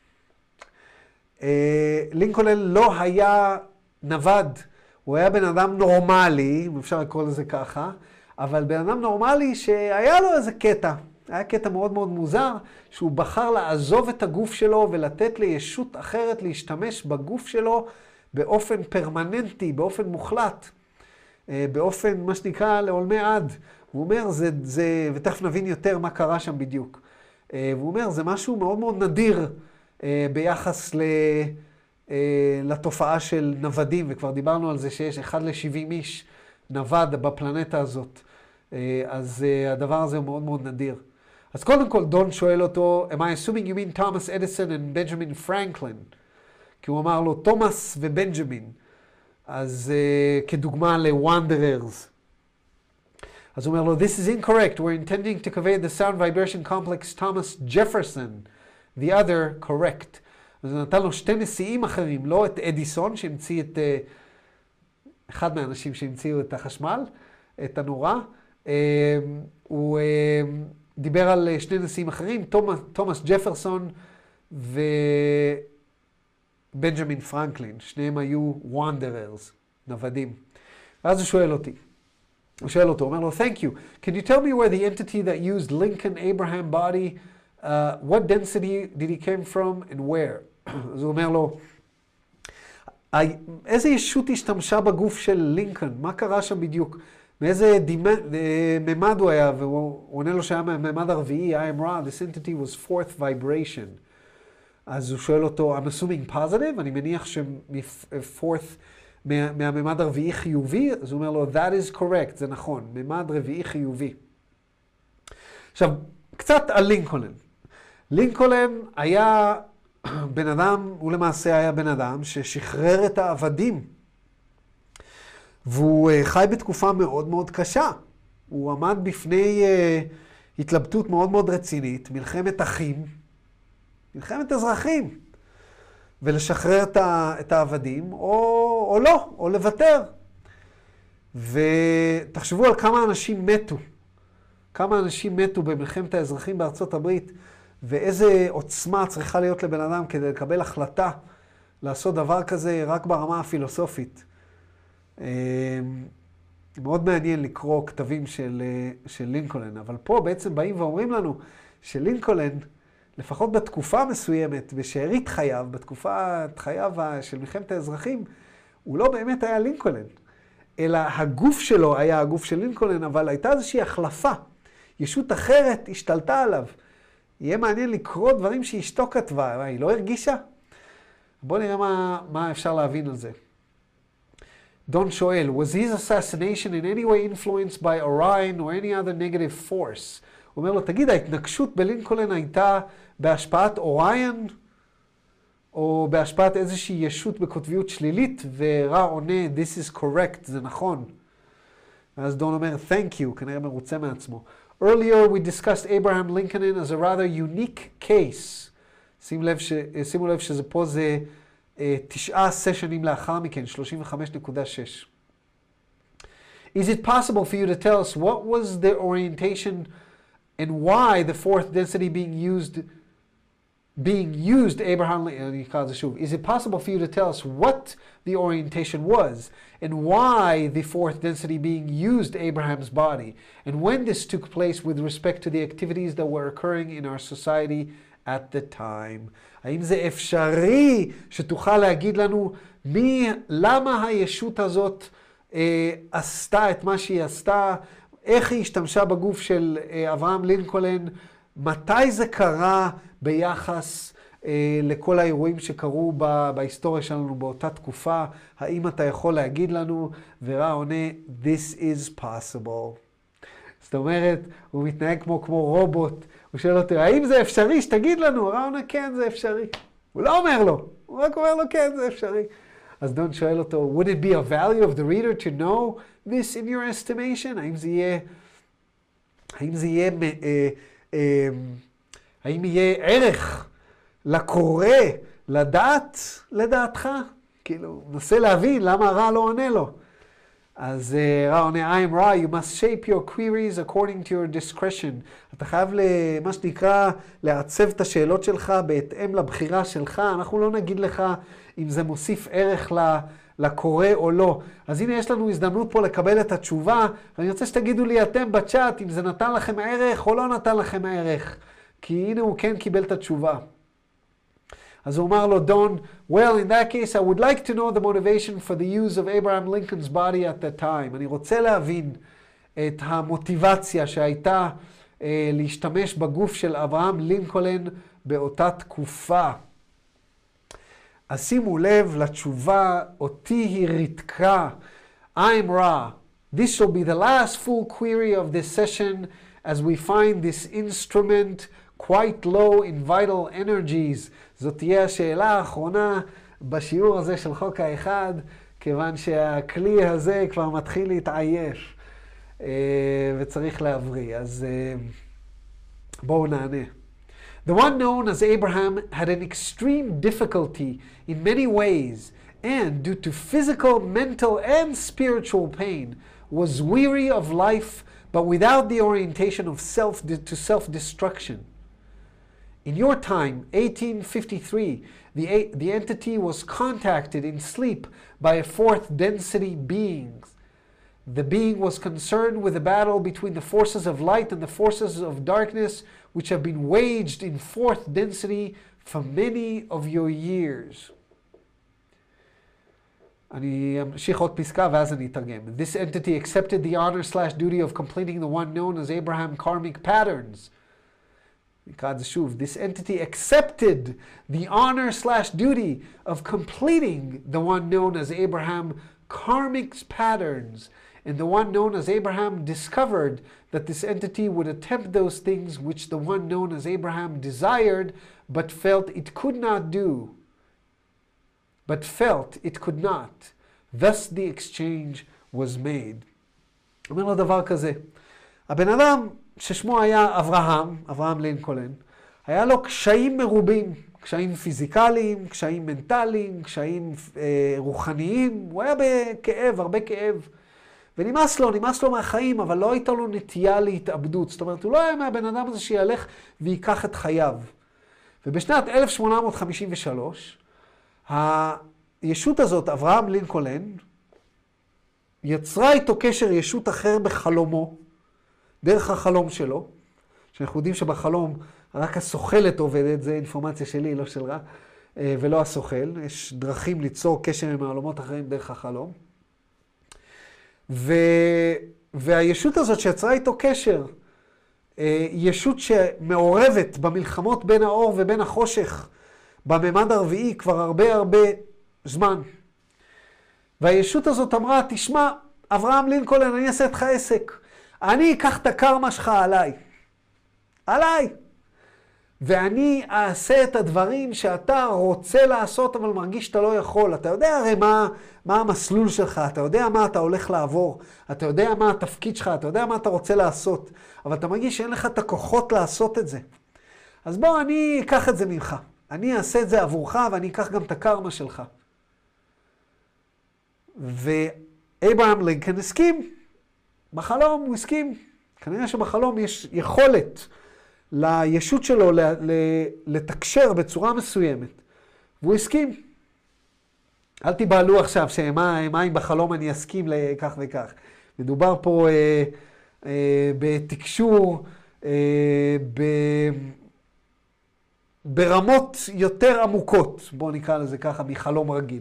לינקולן לא היה נווד. הוא היה בן אדם נורמלי, אם אפשר לקרוא לזה ככה, אבל בן אדם נורמלי שהיה לו איזה קטע. היה קטע מאוד מאוד מוזר, שהוא בחר לעזוב את הגוף שלו ולתת לישות אחרת להשתמש בגוף שלו באופן פרמננטי, באופן מוחלט, באופן מה שנקרא לעולמי עד. הוא אומר, זה, זה, ותכף נבין יותר מה קרה שם בדיוק. והוא אומר, זה משהו מאוד מאוד נדיר ביחס ל, לתופעה של נוודים, וכבר דיברנו על זה שיש אחד לשבעים איש נווד בפלנטה הזאת. אז הדבר הזה הוא מאוד מאוד נדיר. אז קודם כל דון שואל אותו, am I assuming you mean Thomas Edison and Benjamin Franklin? כי הוא אמר לו, תומאס ובנג'מין. אז uh, כדוגמה ל-Wanderers. אז הוא אומר לו, this is incorrect. We're intending to convey the sound vibration complex Thomas Jefferson. The other correct. אז הוא נתן לו שתי נשיאים אחרים, לא את אדיסון שהמציא את, uh, אחד מהאנשים שהמציאו את החשמל, את הנורה. Uh, הוא uh, דיבר על שני נשיאים אחרים, תומאס, תומאס ג'פרסון ובנג'מין פרנקלין. שניהם היו wanderers, נוודים. ואז הוא שואל אותי. הוא שואל אותו, הוא אומר לו, thank you. Can you tell me where the entity that used Lincoln Abraham body, uh, what density did he came from and where? אז הוא אומר לו, איזה ישות השתמשה בגוף של לינקולן? מה קרה שם בדיוק? מאיזה ממד הוא היה? והוא עונה לו שהיה מהממד הרביעי, I am raw, this entity was fourth vibration. אז הוא שואל אותו, I'm assuming positive? אני מניח ש-fourth מהממד הרביעי חיובי? אז הוא אומר לו, that is correct, זה נכון, ממד רביעי חיובי. עכשיו, קצת על לינקולן. לינקולן היה בן אדם, הוא למעשה היה בן אדם ששחרר את העבדים. והוא חי בתקופה מאוד מאוד קשה. הוא עמד בפני uh, התלבטות מאוד מאוד רצינית, מלחמת אחים, מלחמת אזרחים, ולשחרר את, ה, את העבדים, או, או לא, או לוותר. ותחשבו על כמה אנשים מתו, כמה אנשים מתו במלחמת האזרחים בארצות הברית, ואיזה עוצמה צריכה להיות לבן אדם כדי לקבל החלטה לעשות דבר כזה רק ברמה הפילוסופית. מאוד מעניין לקרוא כתבים של, של לינקולן, אבל פה בעצם באים ואומרים לנו שלינקולן, לפחות בתקופה מסוימת, בשארית חייו, בתקופת חייו של מלחמת האזרחים, הוא לא באמת היה לינקולן, אלא הגוף שלו היה הגוף של לינקולן, אבל הייתה איזושהי החלפה. ישות אחרת השתלטה עליו. יהיה מעניין לקרוא דברים שאשתו כתבה, היא לא הרגישה? בואו נראה מה, מה אפשר להבין על זה. דון שואל, was his assassination in any way influenced by Orion or any other negative force? הוא אומר לו, תגיד, ההתנגשות בלינקולן הייתה בהשפעת אוריון, או בהשפעת איזושהי ישות בקוטביות שלילית, ורע עונה, this is correct, זה נכון. אז דון אומר, thank you, כנראה מרוצה מעצמו. Earlier we discussed Abraham Lincoln as a rather unique case. שימו לב, ש... שימו לב שזה פה זה תשעה סשנים לאחר מכן, שלושים וחמש נקודה שש. Is it possible for you to tell us what was the orientation and why the fourth density being used, being used Abraham Lincoln? Is it possible for you to tell us what the orientation was and why the fourth density being used Abraham's body and when this took place with respect to the activities that were occurring in our society at the time? האם זה אפשרי שתוכל להגיד לנו מי, למה הישות הזאת אה, עשתה את מה שהיא עשתה, איך היא השתמשה בגוף של אה, אברהם לינקולן, מתי זה קרה ביחס אה, לכל האירועים שקרו ב, בהיסטוריה שלנו באותה תקופה, האם אתה יכול להגיד לנו? ורע עונה, this is possible. זאת אומרת, הוא מתנהג כמו, כמו רובוט, הוא שואל אותו, האם זה אפשרי? שתגיד לנו. רע עונה, כן, זה אפשרי. הוא לא אומר לו, הוא רק אומר לו, כן, זה אפשרי. אז דון שואל אותו, would it be a value of the reader to know this in your estimation? האם זה יהיה, האם זה יהיה, אה, אה, האם יהיה ערך לקורא, לדעת, לדעתך? כאילו, נסה להבין למה הרע לא עונה לו. אז רע עונה, I am רע, you must shape your queries according to your discretion. אתה חייב, מה שנקרא, לעצב את השאלות שלך בהתאם לבחירה שלך. אנחנו לא נגיד לך אם זה מוסיף ערך לקורא או לא. אז הנה יש לנו הזדמנות פה לקבל את התשובה, ואני רוצה שתגידו לי אתם בצ'אט אם זה נתן לכם ערך או לא נתן לכם ערך. כי הנה הוא כן קיבל את התשובה. אז הוא אמר לו, Don, well, in that case, I would like to know the motivation for the use of Abraham Lincoln's body at that time. אני רוצה להבין את המוטיבציה שהייתה אה, להשתמש בגוף של אברהם לינקולן באותה תקופה. אז שימו לב לתשובה, אותי היא ריתקה. I'm raw. This shall be the last full query of this session as we find this instrument quite low in vital energies. זאת תהיה השאלה האחרונה בשיעור הזה של חוק האחד, כיוון שהכלי הזה כבר מתחיל להתעייף וצריך להבריא. אז בואו נענה. The one known as Abraham had an extreme difficulty in many ways, and due to physical, mental, and spiritual pain, was weary of life, but without the orientation of self to self-destruction. In your time, eighteen fifty-three, the, the entity was contacted in sleep by a fourth density being. The being was concerned with the battle between the forces of light and the forces of darkness, which have been waged in fourth density for many of your years. אני אמשיך עוד פסקה ואז אני אתרגם. This entity accepted the honor slash duty of completing the one known as Abraham karmic patterns. נקרא את זה שוב. This entity accepted the honor slash duty of completing the one known as Abraham karmic patterns. And the one known as Abraham discovered that this entity would attempt those things which the one known as Abraham desired, but felt it could not do. But felt it could not. Thus the exchange was made. אומר לו דבר כזה. הבן אדם ששמו היה אברהם, אברהם לינקולן, היה לו קשיים מרובים. קשיים פיזיקליים, קשיים מנטליים, קשיים אה, רוחניים. הוא היה בכאב, הרבה כאב. ונמאס לו, נמאס לו מהחיים, אבל לא הייתה לו נטייה להתאבדות. זאת אומרת, הוא לא היה מהבן אדם הזה שילך ויקח את חייו. ובשנת אלף שמונה מאות חמישים ושלוש, הישות הזאת, אברהם לינקולן, יצרה איתו קשר ישות אחר בחלומו, דרך החלום שלו, שאנחנו יודעים שבחלום רק הסוכלת עובדת, זה אינפורמציה שלי, לא של רע, ולא הסוכל. יש דרכים ליצור קשר עם העולמות אחרים דרך החלום. ו... והישות הזאת שיצרה איתו קשר, ישות שמעורבת במלחמות בין האור ובין החושך, בממד הרביעי כבר הרבה הרבה זמן. והישות הזאת אמרה, תשמע, אברהם לינקולן, אני אעשה איתך עסק. אני אקח את הקרמה שלך עליי. עליי. ואני אעשה את הדברים שאתה רוצה לעשות, אבל מרגיש שאתה לא יכול. אתה יודע הרי מה, מה המסלול שלך, אתה יודע מה אתה הולך לעבור, אתה יודע מה התפקיד שלך, אתה יודע מה אתה רוצה לעשות, אבל אתה מרגיש שאין לך את הכוחות לעשות את זה. אז בוא, אני אקח את זה ממך. אני אעשה את זה עבורך, ואני אקח גם את הקרמה שלך. ואברהם לינקולן הסכים. בחלום הוא הסכים. כנראה שבחלום יש יכולת לישות שלו לתקשר בצורה מסוימת. והוא הסכים. אל תיבהלו עכשיו שמה אם בחלום אני אסכים לכך וכך. מדובר פה אה, אה, בתקשור, אה, ב, ברמות יותר עמוקות, בואו נקרא לזה ככה, מחלום רגיל.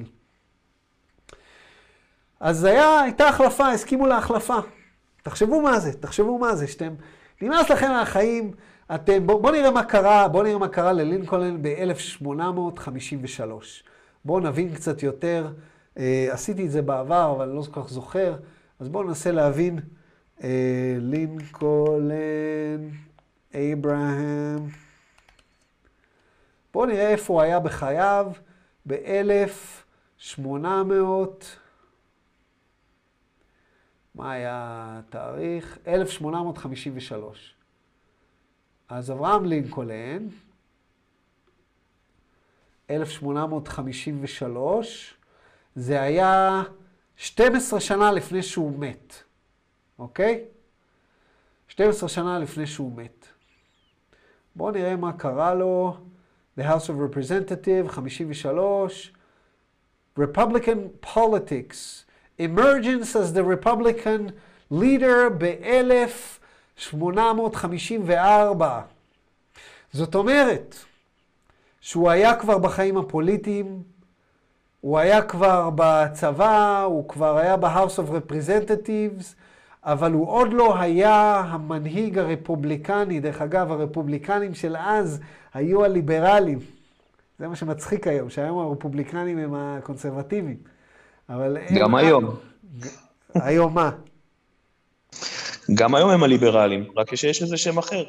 אז היה, הייתה החלפה, הסכימו להחלפה. תחשבו מה זה, תחשבו מה זה, שאתם, נמאס לכם מהחיים, אתם, בואו בוא נראה מה קרה, בואו נראה מה קרה ללינקולן ב-אלף שמונה מאות חמישים ושלוש. בואו נבין קצת יותר, אה, עשיתי את זה בעבר, אבל אני לא כל כך זוכר, אז בואו ננסה להבין, אה, לינקולן, אברהם, בואו נראה איפה הוא היה בחייו, ב-אלף שמונה מאות, מה היה התאריך? אלף שמונה מאות חמישים ושלוש. אז אברהם לינקולן, אלף שמונה מאות חמישים ושלוש, זה היה שתים עשרה שנה לפני שהוא מת. אוקיי? שתים עשרה שנה לפני שהוא מת. בואו נראה מה קרה לו. The House of Representatives, חמישים ושלוש. Republican politics. Emergence as the Republican leader ב-אלף שמונה מאות חמישים וארבע. זאת אומרת, שהוא היה כבר בחיים הפוליטיים, הוא היה כבר בצבא, הוא כבר היה ב-House of Representatives, אבל הוא עוד לא היה המנהיג הרפובליקני. דרך אגב, הרפובליקנים של אז היו הליברלים. זה מה שמצחיק היום, שהיום הרפובליקנים הם הקונסרבטיביים. אבל גם הם... היום. היום מה? גם היום הם הליברלים, רק שיש איזה שם אחר.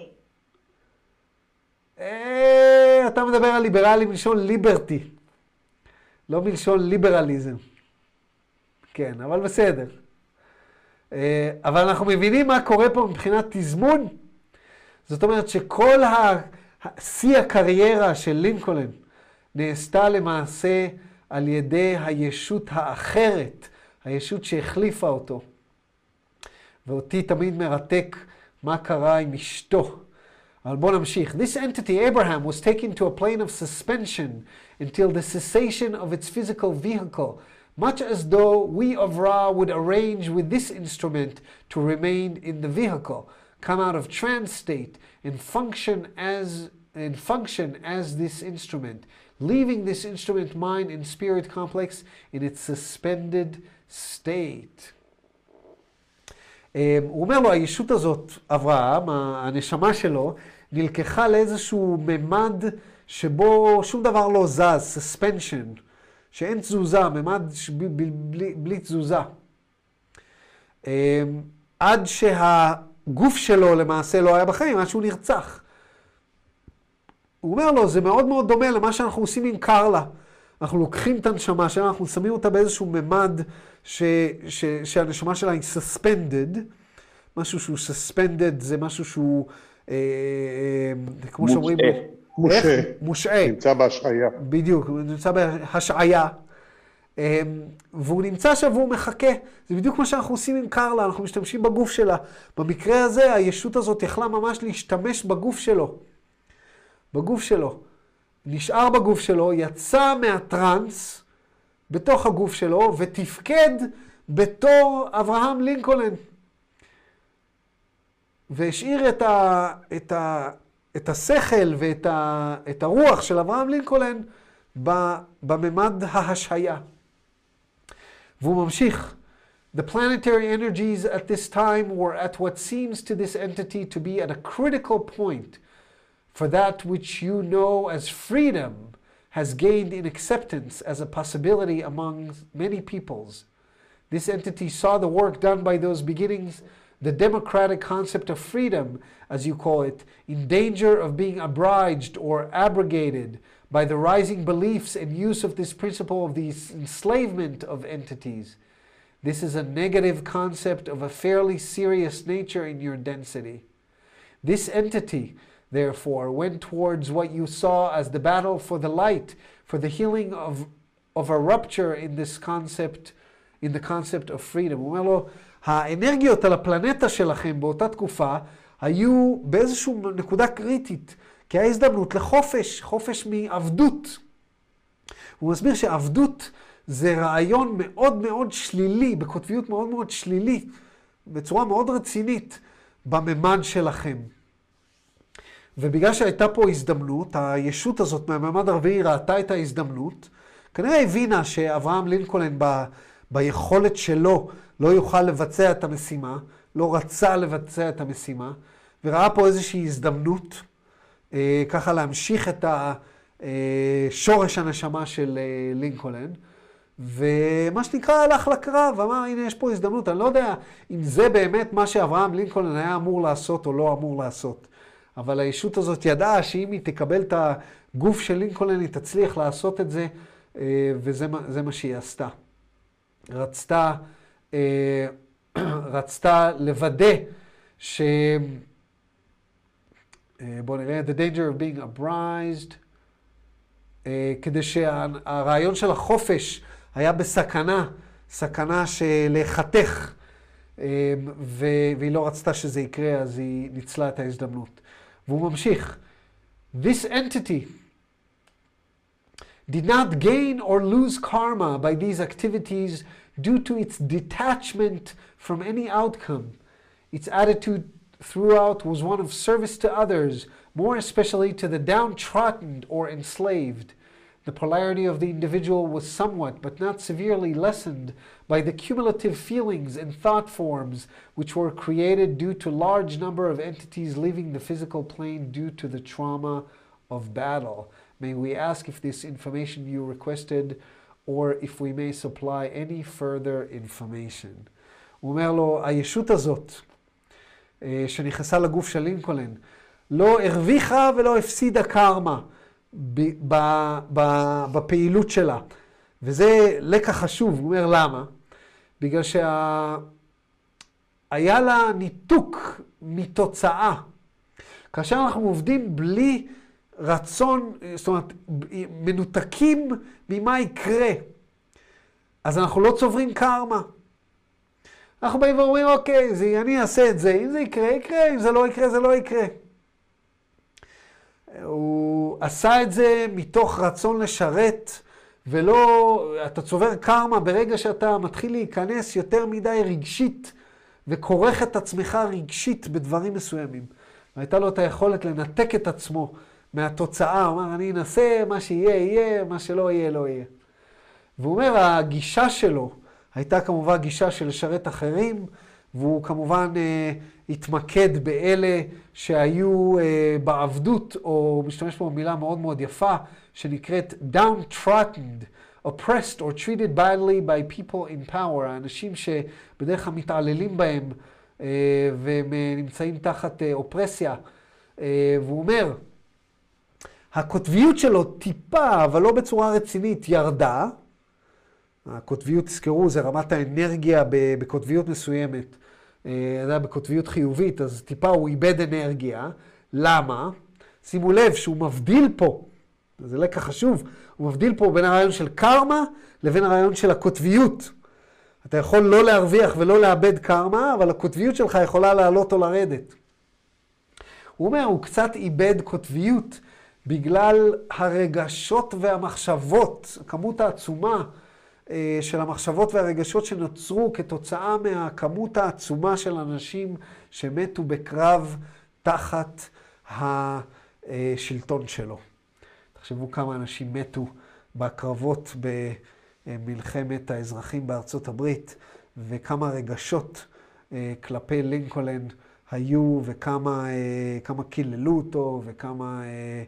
אתה מדבר על ליברלים מלשון ליברטי, לא מלשון ליברליזם. כן, אבל בסדר. אבל אנחנו מבינים מה קורה פה מבחינת תזמון. זאת אומרת שכל שיא הקריירה של לינקולן נעשתה למעשה על ידי הישות האחרת, הישות שהחליפה אותו. ואותי תמיד מרתק מה קרה עם אשתו. אבל בואו נמשיך. This entity, Abraham, was taken to a plane of suspension until the cessation of its physical vehicle, much as though we of Ra would arrange with this instrument to remain in the vehicle, come out of trance state, and function as, and function as this instrument, leaving this instrument mind and spirit complex in its suspended state. הוא אומר לו, הישות הזאת, אברהם, הנשמה שלו, נלקחה לאיזשהו ממד שבו שום דבר לא זז, suspension, שאין תזוזה, ממד בלי, בלי, בלי תזוזה. עד שהגוף שלו למעשה לא היה בחיים, עד שהוא נרצח. הוא אומר לו, זה מאוד מאוד דומה למה שאנחנו עושים עם קרלה. אנחנו לוקחים את הנשמה שלה, אנחנו שמים אותה באיזשהו ממד ש, ש, שהנשמה שלה היא suspended. משהו שהוא suspended זה משהו שהוא, אה, אה, כמו שאומרים, מושעה. מושעה. נמצא בהשעיה. בדיוק, הוא נמצא בהשעיה. אה, והוא נמצא שם והוא מחכה. זה בדיוק מה שאנחנו עושים עם קרלה, אנחנו משתמשים בגוף שלה. במקרה הזה, הישות הזאת יכלה ממש להשתמש בגוף שלו. בגוף שלו. נשאר בגוף שלו, יצא מהטרנס בתוך הגוף שלו, ותפקד בתור אברהם לינקולן. והשאיר את, ה, את, ה, את השכל ואת ה, את הרוח של אברהם לינקולן בממד ההשעיה. והוא ממשיך. The planetary energies at this time were at what seems to this entity to be at a critical point for that which you know as freedom has gained in acceptance as a possibility among many peoples. This entity saw the work done by those beginnings, the democratic concept of freedom, as you call it, in danger of being abridged or abrogated by the rising beliefs and use of this principle of the enslavement of entities. This is a negative concept of a fairly serious nature in your density. This entity, therefore, went towards what you saw as the battle for the light, for the healing of, of a rupture in this concept, in the concept of freedom. הוא אומר לו, האנרגיות על הפלנטה שלכם באותה תקופה היו באיזושהי נקודה קריטית, כי היה הזדמנות לחופש, חופש מעבדות. הוא מסביר שעבדות זה רעיון מאוד מאוד שלילי, בקוטביות מאוד מאוד שלילית, בצורה מאוד רצינית בממד שלכם. ובגלל שהייתה פה הזדמנות, הישות הזאת מהממד הרביעי ראתה את ההזדמנות, כנראה הבינה שאברהם לינקולן ב, ביכולת שלו לא יוכל לבצע את המשימה, לא רצה לבצע את המשימה, וראה פה איזושהי הזדמנות, אה, ככה להמשיך את השורש הנשמה של אה, לינקולן, ומה שנקרא הלך לקרב, אמר הנה יש פה הזדמנות, אני לא יודע אם זה באמת מה שאברהם לינקולן היה אמור לעשות או לא אמור לעשות. אבל הישות הזאת ידעה שאם היא תקבל את הגוף של לינקולן, היא תצליח לעשות את זה, וזה זה מה שהיא עשתה. רצתה, רצתה לוודא ש... בואו נראה, the danger of being abridged, כדי שהרעיון של החופש היה בסכנה, סכנה של חתך, והיא לא רצתה שזה יקרה, אז היא ניצלה את ההזדמנות. והוא ממשיך. This entity did not gain or lose karma by these activities due to its detachment from any outcome. Its attitude throughout was one of service to others, more especially to the downtrodden or enslaved. The polarity of the individual was somewhat, but not severely, lessened by the cumulative feelings and thought forms which were created due to large number of entities leaving the physical plane due to the trauma of battle. May we ask if this information you requested, or if we may supply any further information. הוא אומר לו, הישות הזאת, שנכנסה לגוף של לינקולן, לא הרוויחה ולא הפסידה קרמה בפעילות שלה. וזה לקח חשוב, הוא אומר למה? בגלל שהיה לה ניתוק מתוצאה. כאשר אנחנו עובדים בלי רצון, זאת אומרת, מנותקים ממה יקרה, אז אנחנו לא צוברים קרמה. אנחנו באים ואומרים, אוקיי, זה, אני אעשה את זה, אם זה יקרה, יקרה, אם זה לא יקרה, זה לא יקרה. הוא עשה את זה מתוך רצון לשרת, ולא, אתה צובר קרמה ברגע שאתה מתחיל להיכנס יותר מדי רגשית, וכורך את עצמך רגשית בדברים מסוימים. והייתה לו את היכולת לנתק את עצמו מהתוצאה, הוא אומר, אני אנסה, מה שיהיה, יהיה, מה שלא יהיה, לא יהיה. והוא אומר, הגישה שלו הייתה כמובן גישה של לשרת אחרים, והוא כמובן אה, התמקד באלה שהיו אה, בעבדות, או משתמש פה במילה מאוד מאוד יפה, שנקראת downtrodden, oppressed or treated badly by people in power, האנשים שבדרך כלל מתעללים בהם, אה, והם נמצאים תחת אה, אופרסיה. אה, והוא אומר, הקוטביות שלו טיפה, אבל לא בצורה רצינית, ירדה. הקוטביות, תזכרו, זה רמת האנרגיה בקוטביות מסוימת. זה היה בקוטביות חיובית, אז טיפה הוא איבד אנרגיה. למה? שימו לב שהוא מבדיל פה, זה לקח חשוב, הוא מבדיל פה בין הרעיון של קרמה לבין הרעיון של הקוטביות. אתה יכול לא להרוויח ולא לאבד קרמה, אבל הקוטביות שלך יכולה לעלות או לרדת. הוא אומר, הוא קצת איבד קוטביות בגלל הרגשות והמחשבות, הכמות העצומה של המחשבות והרגשות שנוצרו כתוצאה מהכמות העצומה של אנשים שמתו בקרב תחת השלטון שלו. תחשבו כמה אנשים מתו בקרבות במלחמת האזרחים בארצות הברית, וכמה רגשות כלפי לינקולן היו, וכמה כמה קיללו אותו, וכמה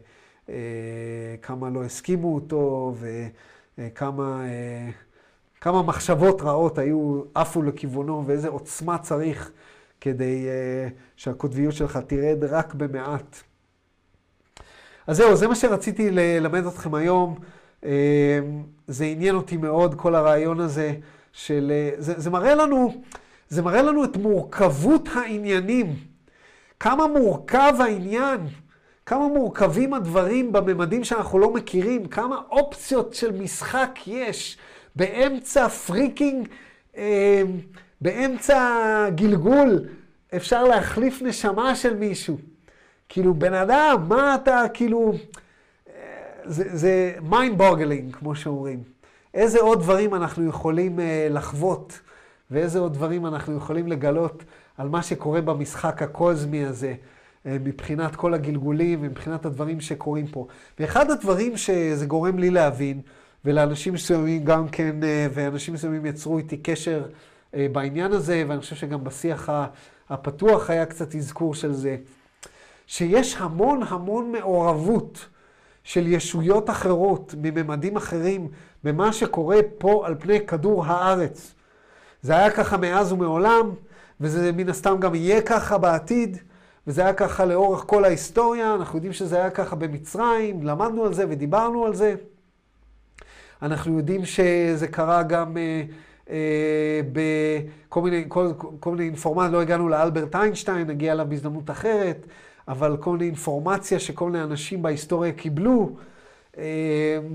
כמה לא הסכימו אותו, וכמה כמה מחשבות רעות היו עפו לכיוונו, ואיזה עוצמה צריך כדי uh, שהקוטביות שלך תרד רק במעט. אז זהו, זה מה שרציתי ללמד אתכם היום. Uh, זה עניין אותי מאוד, כל הרעיון הזה של... Uh, זה, זה מראה לנו, זה מראה לנו את מורכבות העניינים. כמה מורכב העניין, כמה מורכבים הדברים בממדים שאנחנו לא מכירים, כמה אופציות של משחק יש. באמצע פריקינג, אה, באמצע גלגול, אפשר להחליף נשמה של מישהו. כאילו, בן אדם, מה אתה, כאילו, אה, זה, זה mind boggling, כמו שאומרים. איזה עוד דברים אנחנו יכולים אה, לחוות, ואיזה עוד דברים אנחנו יכולים לגלות על מה שקורה במשחק הקוזמי הזה, אה, מבחינת כל הגלגולים ומבחינת הדברים שקורים פה. ואחד הדברים שזה גורם לי להבין, ולאנשים מסוימים גם כן, ואנשים מסוימים יצרו איתי קשר בעניין הזה, ואני חושב שגם בשיח הפתוח היה קצת אזכור של זה, שיש המון המון מעורבות של ישויות אחרות, מממדים אחרים, במה שקורה פה על פני כדור הארץ. זה היה ככה מאז ומעולם, וזה מן הסתם גם יהיה ככה בעתיד, וזה היה ככה לאורך כל ההיסטוריה, אנחנו יודעים שזה היה ככה במצרים, למדנו על זה ודיברנו על זה. אנחנו יודעים שזה קרה גם אה, אה, בכל מיני, כל, כל מיני אינפורמציה, לא הגענו לאלברט איינשטיין, נגיע אליו בהזדמנות אחרת, אבל כל מיני אינפורמציה שכל מיני אנשים בהיסטוריה קיבלו, אה,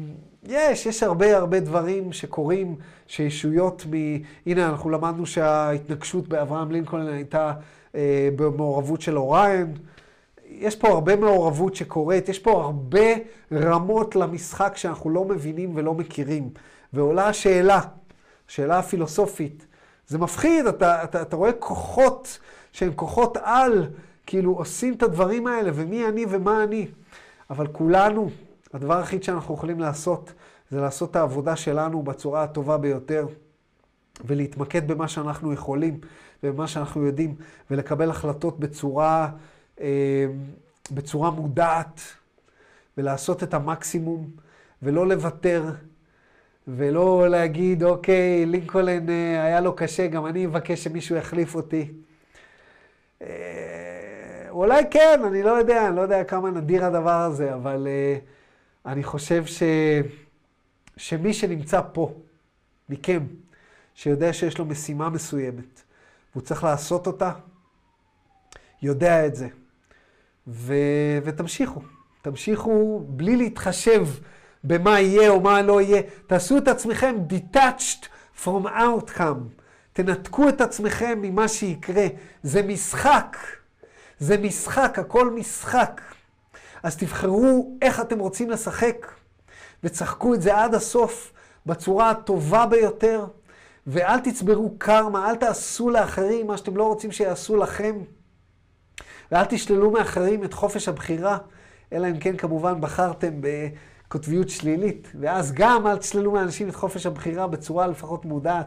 יש, יש הרבה הרבה דברים שקורים, שישויות מ... הנה, אנחנו למדנו שההתנגשות באברהם לינקולן הייתה אה, במעורבות של אוריין. יש פה הרבה מעורבות שקורית, יש פה הרבה רמות למשחק שאנחנו לא מבינים ולא מכירים. ועולה השאלה, שאלה הפילוסופית. זה מפחיד, אתה, אתה, אתה רואה כוחות שהם כוחות על, כאילו עושים את הדברים האלה, ומי אני ומה אני. אבל כולנו, הדבר היחיד שאנחנו יכולים לעשות, זה לעשות את העבודה שלנו בצורה הטובה ביותר, ולהתמקד במה שאנחנו יכולים, ובמה שאנחנו יודעים, ולקבל החלטות בצורה, אה, בצורה מודעת, ולעשות את המקסימום, ולא לוותר, ולא להגיד, אוקיי, לינקולן אה, היה לו קשה, גם אני אבקש שמישהו יחליף אותי. אה, אולי כן, אני לא יודע, אני לא יודע כמה נדיר הדבר הזה, אבל אה, אני חושב ש... שמי שנמצא פה, מכם, שיודע שיש לו משימה מסוימת, והוא צריך לעשות אותה, יודע את זה. ו... ותמשיכו, תמשיכו בלי להתחשב במה יהיה או מה לא יהיה. תעשו את עצמכם detached from outcome. תנתקו את עצמכם ממה שיקרה. זה משחק. זה משחק, הכל משחק. אז תבחרו איך אתם רוצים לשחק, וצחקו את זה עד הסוף בצורה הטובה ביותר, ואל תצברו קרמה, אל תעשו לאחרים מה שאתם לא רוצים שיעשו לכם, ואל תשללו מאחרים את חופש הבחירה, אלא אם כן כמובן בחרתם בקוטביות שלילית, ואז גם אל תשללו מאנשים את חופש הבחירה בצורה לפחות מודעת.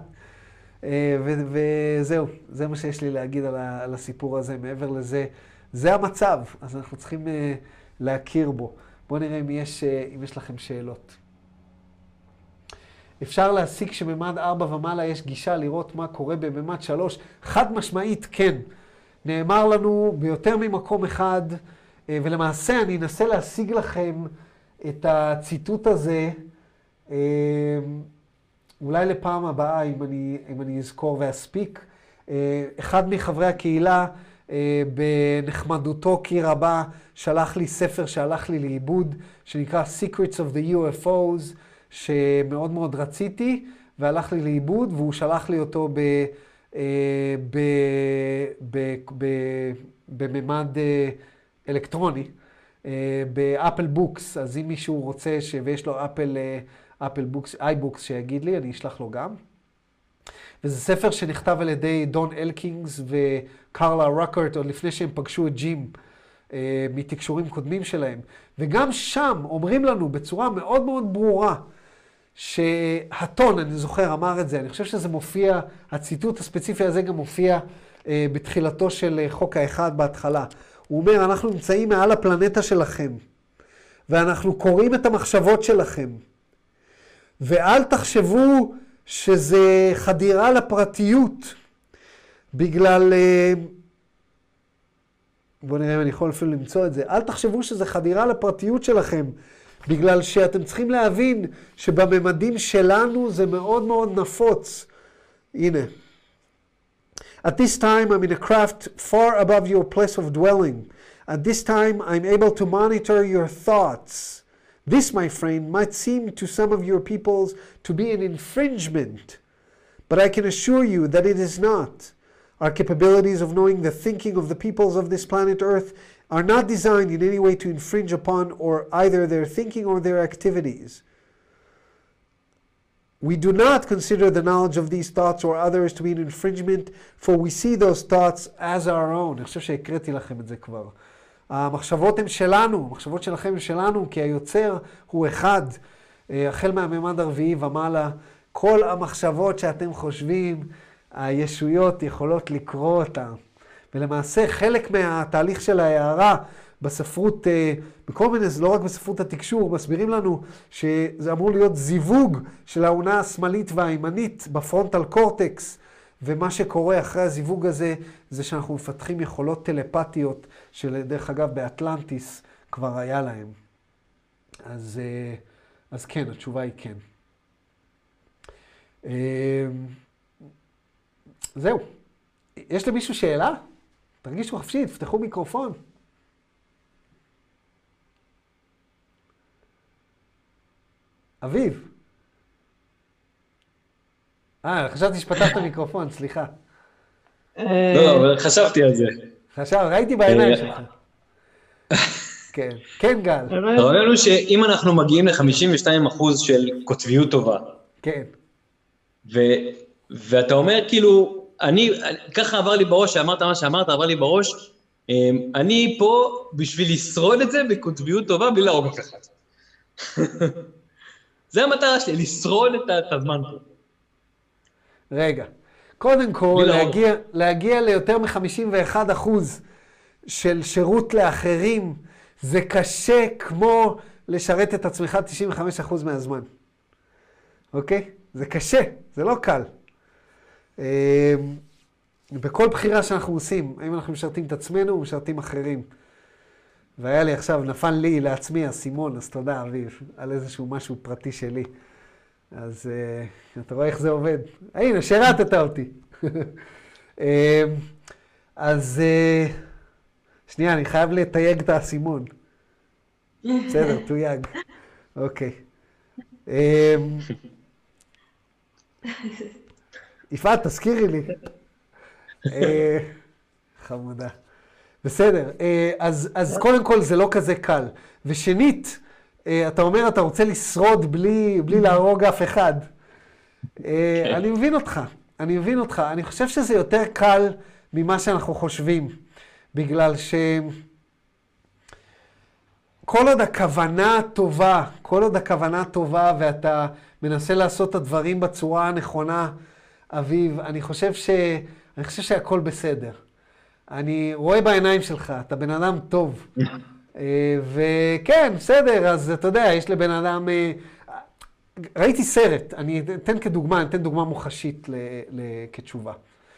וזהו, זה מה שיש לי להגיד על הסיפור הזה. מעבר לזה, זה המצב, אז אנחנו צריכים להכיר בו. בואו נראה אם יש, אם יש לכם שאלות. אפשר להסיק שממד ארבע ומעלה יש גישה לראות מה קורה בממד שלוש? חד משמעית כן. נאמר לנו ביותר ממקום אחד, ולמעשה אני אנסה להשיג לכם את הציטוט הזה, אולי לפעם הבאה, אם אני, אם אני אזכור ואספיק. אחד מחברי הקהילה, בנחמדותו כי רבה, שלח לי ספר שהלך לי לאיבוד, שנקרא Secrets of the יו אף או'ס, שמאוד מאוד רציתי, והלך לי לאיבוד, והוא שלח לי אותו ב, ב, ב, ב, בממד אלקטרוני, באפל בוקס. אז אם מישהו רוצה ש... ויש לו אפל, אפל בוקס, איי-בוקס שיגיד לי, אני אשלח לו גם. וזה ספר שנכתב על ידי דון אלקינגס וקרלה רוקרט, עוד לפני שהם פגשו את ג'ים, אה, מתקשורים קודמים שלהם. וגם שם אומרים לנו בצורה מאוד מאוד ברורה, שהטון, אני זוכר, אמר את זה, אני חושב שזה מופיע, הציטוט הספציפי הזה גם מופיע אה, בתחילתו של חוק האחד בהתחלה. הוא אומר, אנחנו נמצאים מעל הפלנטה שלכם, ואנחנו קוראים את המחשבות שלכם. ואל תחשבו שזה חדירה לפרטיות, בגלל, בואו נראה אם אני יכול אפילו למצוא את זה, אל תחשבו שזה חדירה לפרטיות שלכם, בגלל שאתם צריכים להבין שבממדים שלנו זה מאוד מאוד נפוץ. הנה. At this time I'm in a craft far above your place of dwelling. At this time I'm able to monitor your thoughts. This, my friend, might seem to some of your peoples to be an infringement, but I can assure you that it is not. Our capabilities of knowing the thinking of the peoples of this planet Earth are not designed in any way to infringe upon or either their thinking or their activities. We do not consider the knowledge of these thoughts or others to be an infringement, for we see those thoughts as our own. אני חושב שהקראתי לכם את זה כבר. המחשבות הן שלנו, המחשבות שלכם הן שלנו, כי היוצר הוא אחד, החל מהממד הרביעי ומעלה. כל המחשבות שאתם חושבים, הישויות יכולות לקרוא אותן. ולמעשה חלק מהתהליך של ההערה בספרות, בכל מיני, לא רק בספרות התקשור, מסבירים לנו שזה אמור להיות זיווג של העונה השמאלית והימנית בפרונטל קורטקס, ומה שקורה אחרי הזיווג הזה, זה שאנחנו מפתחים יכולות טלפתיות, שלדרך אגב באטלנטיס כבר היה להם. אז, אז כן, התשובה היא כן. זהו. יש למישהו שאלה? תרגישו חופשי, תפתחו מיקרופון. אביב. אה, חשבתי שפתחת מיקרופון, סליחה. לא, אבל חשבתי על זה. חשב, ראיתי בעיניים שלך. כן, כן גל. הרעיון הוא שאם אנחנו מגיעים ל-חמישים ושתיים אחוז של כותביות טובה, כן. ואתה אומר כאילו, אני, ככה עבר לי בראש, שאמרת מה שאמרת, עבר לי בראש, אני פה בשביל לשרוד את זה בכותביות טובה, בלי להרוג אף אחד. זה המטרה שלי, לשרוד את הזמן פה. רגע, קודם כל, להגיע, להגיע ליותר מ-חמישים ואחד אחוז של שירות לאחרים, זה קשה כמו לשרת את עצמך תשעים וחמישה אחוז מהזמן. אוקיי? זה קשה, זה לא קל. בכל בחירה שאנחנו עושים, האם אנחנו משרתים את עצמנו או משרתים אחרים. והיה לי עכשיו, נפל לי לעצמי הסימון, אז תודה אביב, על איזשהו משהו פרטי שלי. אז uh, אתה רואה איך זה עובד. הנה, שרתת אותי. uh, אז uh, שנייה, אני חייב לתייג את הסימון. בסדר, תויג. אוקיי. Uh, יפעת, תזכירי לי. uh, חמודה. בסדר, uh, אז, אז קודם כל זה לא כזה קל. ושנית, אתה אומר, אתה רוצה לשרוד בלי, בלי להרוג אף אחד. אני מבין אותך, אני מבין אותך. אני חושב שזה יותר קל ממה שאנחנו חושבים, בגלל ש... כל עוד הכוונה טובה, כל עוד הכוונה טובה, ואתה מנסה לעשות את הדברים בצורה הנכונה, אביב, אני חושב ש... אני חושב שהכל בסדר. אני רואה בעיניים שלך, אתה בן אדם טוב. וכן, בסדר, אז אתה יודע, יש לבן אדם... ראיתי סרט, אני אתן כדוגמה, אני אתן דוגמה מוחשית כתשובה.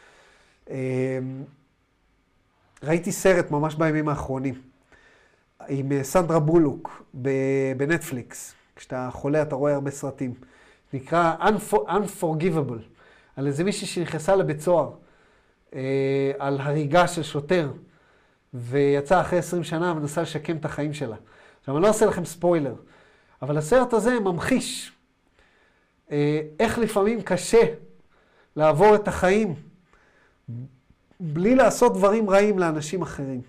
ראיתי סרט ממש בימים האחרונים, עם סנדרה בולוק בנטפליקס. כשאתה חולה אתה רואה הרבה סרטים. נקרא Unforgivable, על איזה מישהי שנכנסה לבית סוהר, על הריגה של שוטר. ויצא אחרי עשרים שנה ונסה לשקם את החיים שלה. עכשיו, אני לא אעשה לכם ספוילר, אבל הסרט הזה ממחיש אה, איך לפעמים קשה לעבור את החיים בלי לעשות דברים רעים לאנשים אחרים.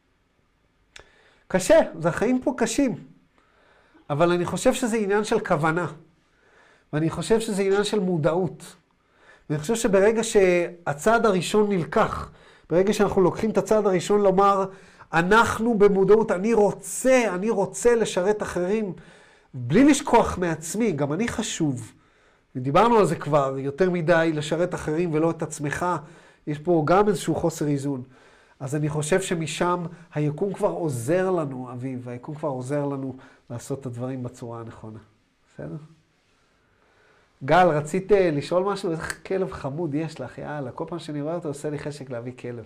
קשה, זה החיים פה קשים, אבל אני חושב שזה עניין של כוונה, ואני חושב שזה עניין של מודעות. ואני חושב שברגע שהצעד הראשון נלקח, ברגע שאנחנו לוקחים את הצעד הראשון לומר, אנחנו במודעות, אני רוצה, אני רוצה לשרת אחרים, בלי לשכוח מעצמי, גם אני חשוב. ודיברנו על זה כבר, יותר מדי לשרת אחרים ולא את עצמך, יש פה גם איזשהו חוסר איזון. אז אני חושב שמשם היקום כבר עוזר לנו, אביב, היקום כבר עוזר לנו לעשות את הדברים בצורה הנכונה. בסדר? גל, רצית לשאול משהו? איזה כלב חמוד יש לך, יאללה. כל פעם שאני רואה אותו, עושה לי חשק להביא כלב.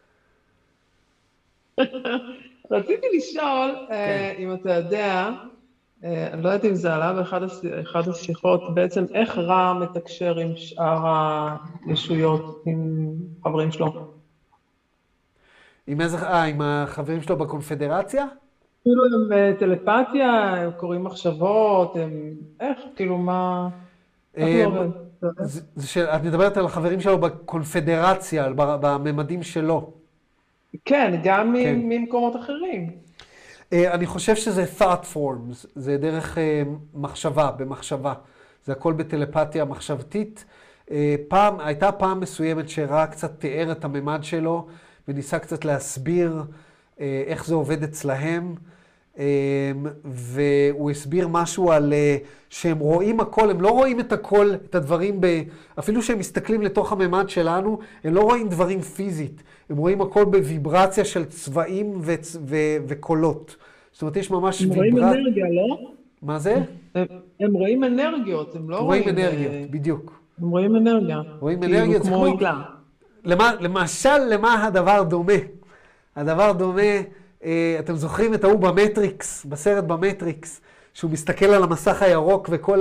רציתי לשאול, אם אתה יודע, אני לא יודעת אם זה עלה באחד השיחות, בעצם איך רע מתקשר עם שאר הישויות, עם חברים שלו? עם איזה, אה, עם החברים שלו בקונפדרציה? כאילו הם טלפתיה, הם קוראים מחשבות, הם, איך, כאילו מה... את מדברת על החברים שלו בקונפדרציה, בממדים שלו. כן, גם ממקומות אחרים. אני חושב שזה thought forms, זה דרך מחשבה, במחשבה. זה הכל בטלפתיה מחשבתית. פעם, הייתה פעם מסוימת שראה קצת תיאר את הממד שלו, וניסה קצת להסביר איך זה עובד אצלהם. והוא הסביר משהו על שהם רואים הכל, הם לא רואים את הכל, את הדברים, ב... אפילו שהם מסתכלים לתוך הממד שלנו, הם לא רואים דברים פיזית, הם רואים הכל בוויברציה של צבעים ו... ו... וקולות. זאת אומרת, יש ממש הם ויברציה. הם רואים אנרגיה, לא? מה זה? הם, הם רואים אנרגיות, הם לא הם רואים... רואים אנרגיות, בדיוק. הם רואים אנרגיה. רואים כאילו אנרגיות, כמו עיגלה. למה, למשל, למה הדבר דומה? הדבר דומה... אתם זוכרים את ההוא במטריקס, בסרט במטריקס, שהוא מסתכל על המסך הירוק וכל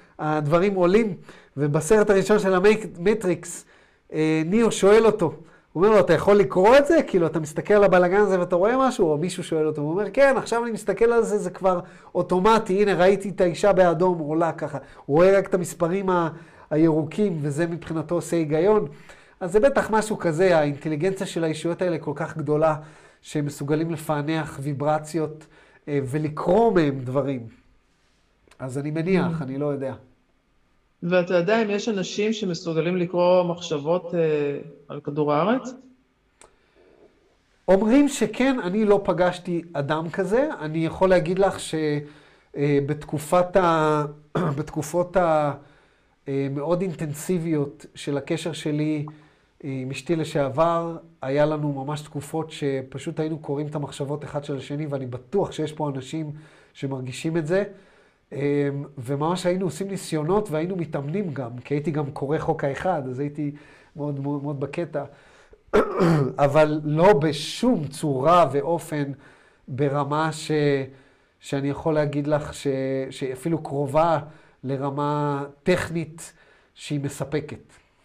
הדברים עולים, ובסרט הראשון של המטריקס, ניאו שואל אותו, הוא אומר לו, אתה יכול לקרוא את זה? כאילו, אתה מסתכל על הבלגן הזה ואתה רואה משהו? או מישהו שואל אותו, הוא אומר, כן, עכשיו אני מסתכל על זה, זה כבר אוטומטי, הנה, ראיתי את האישה באדום, עולה ככה. הוא רואה רק את המספרים ה- הירוקים, וזה מבחינתו עושה היגיון. אז זה בטח משהו כזה, האינטליגנציה של האישיות האלה כל כך גדולה, שהם מסוגלים לפענח ויברציות אה, ולקרוא מהם דברים. אז אני מניח, אני לא יודע. ואתה יודע אם יש אנשים שמסוגלים לקרוא מחשבות אה, על כדור הארץ? אומרים שכן, אני לא פגשתי אדם כזה. אני יכול להגיד לך שבתקופת ה... בתקופות המאוד אינטנסיביות של הקשר שלי עם אשתי לשעבר, היה לנו ממש תקופות שפשוט היינו קוראים את המחשבות אחד של השני, ואני בטוח שיש פה אנשים שמרגישים את זה. וממש היינו עושים ניסיונות והיינו מתאמנים גם, כי הייתי גם קורא חוק האחד, אז הייתי מאוד מאוד, מאוד בקטע. אבל לא בשום צורה ואופן ברמה ש, שאני יכול להגיד לך ש, שאפילו קרובה לרמה טכנית שהיא מספקת.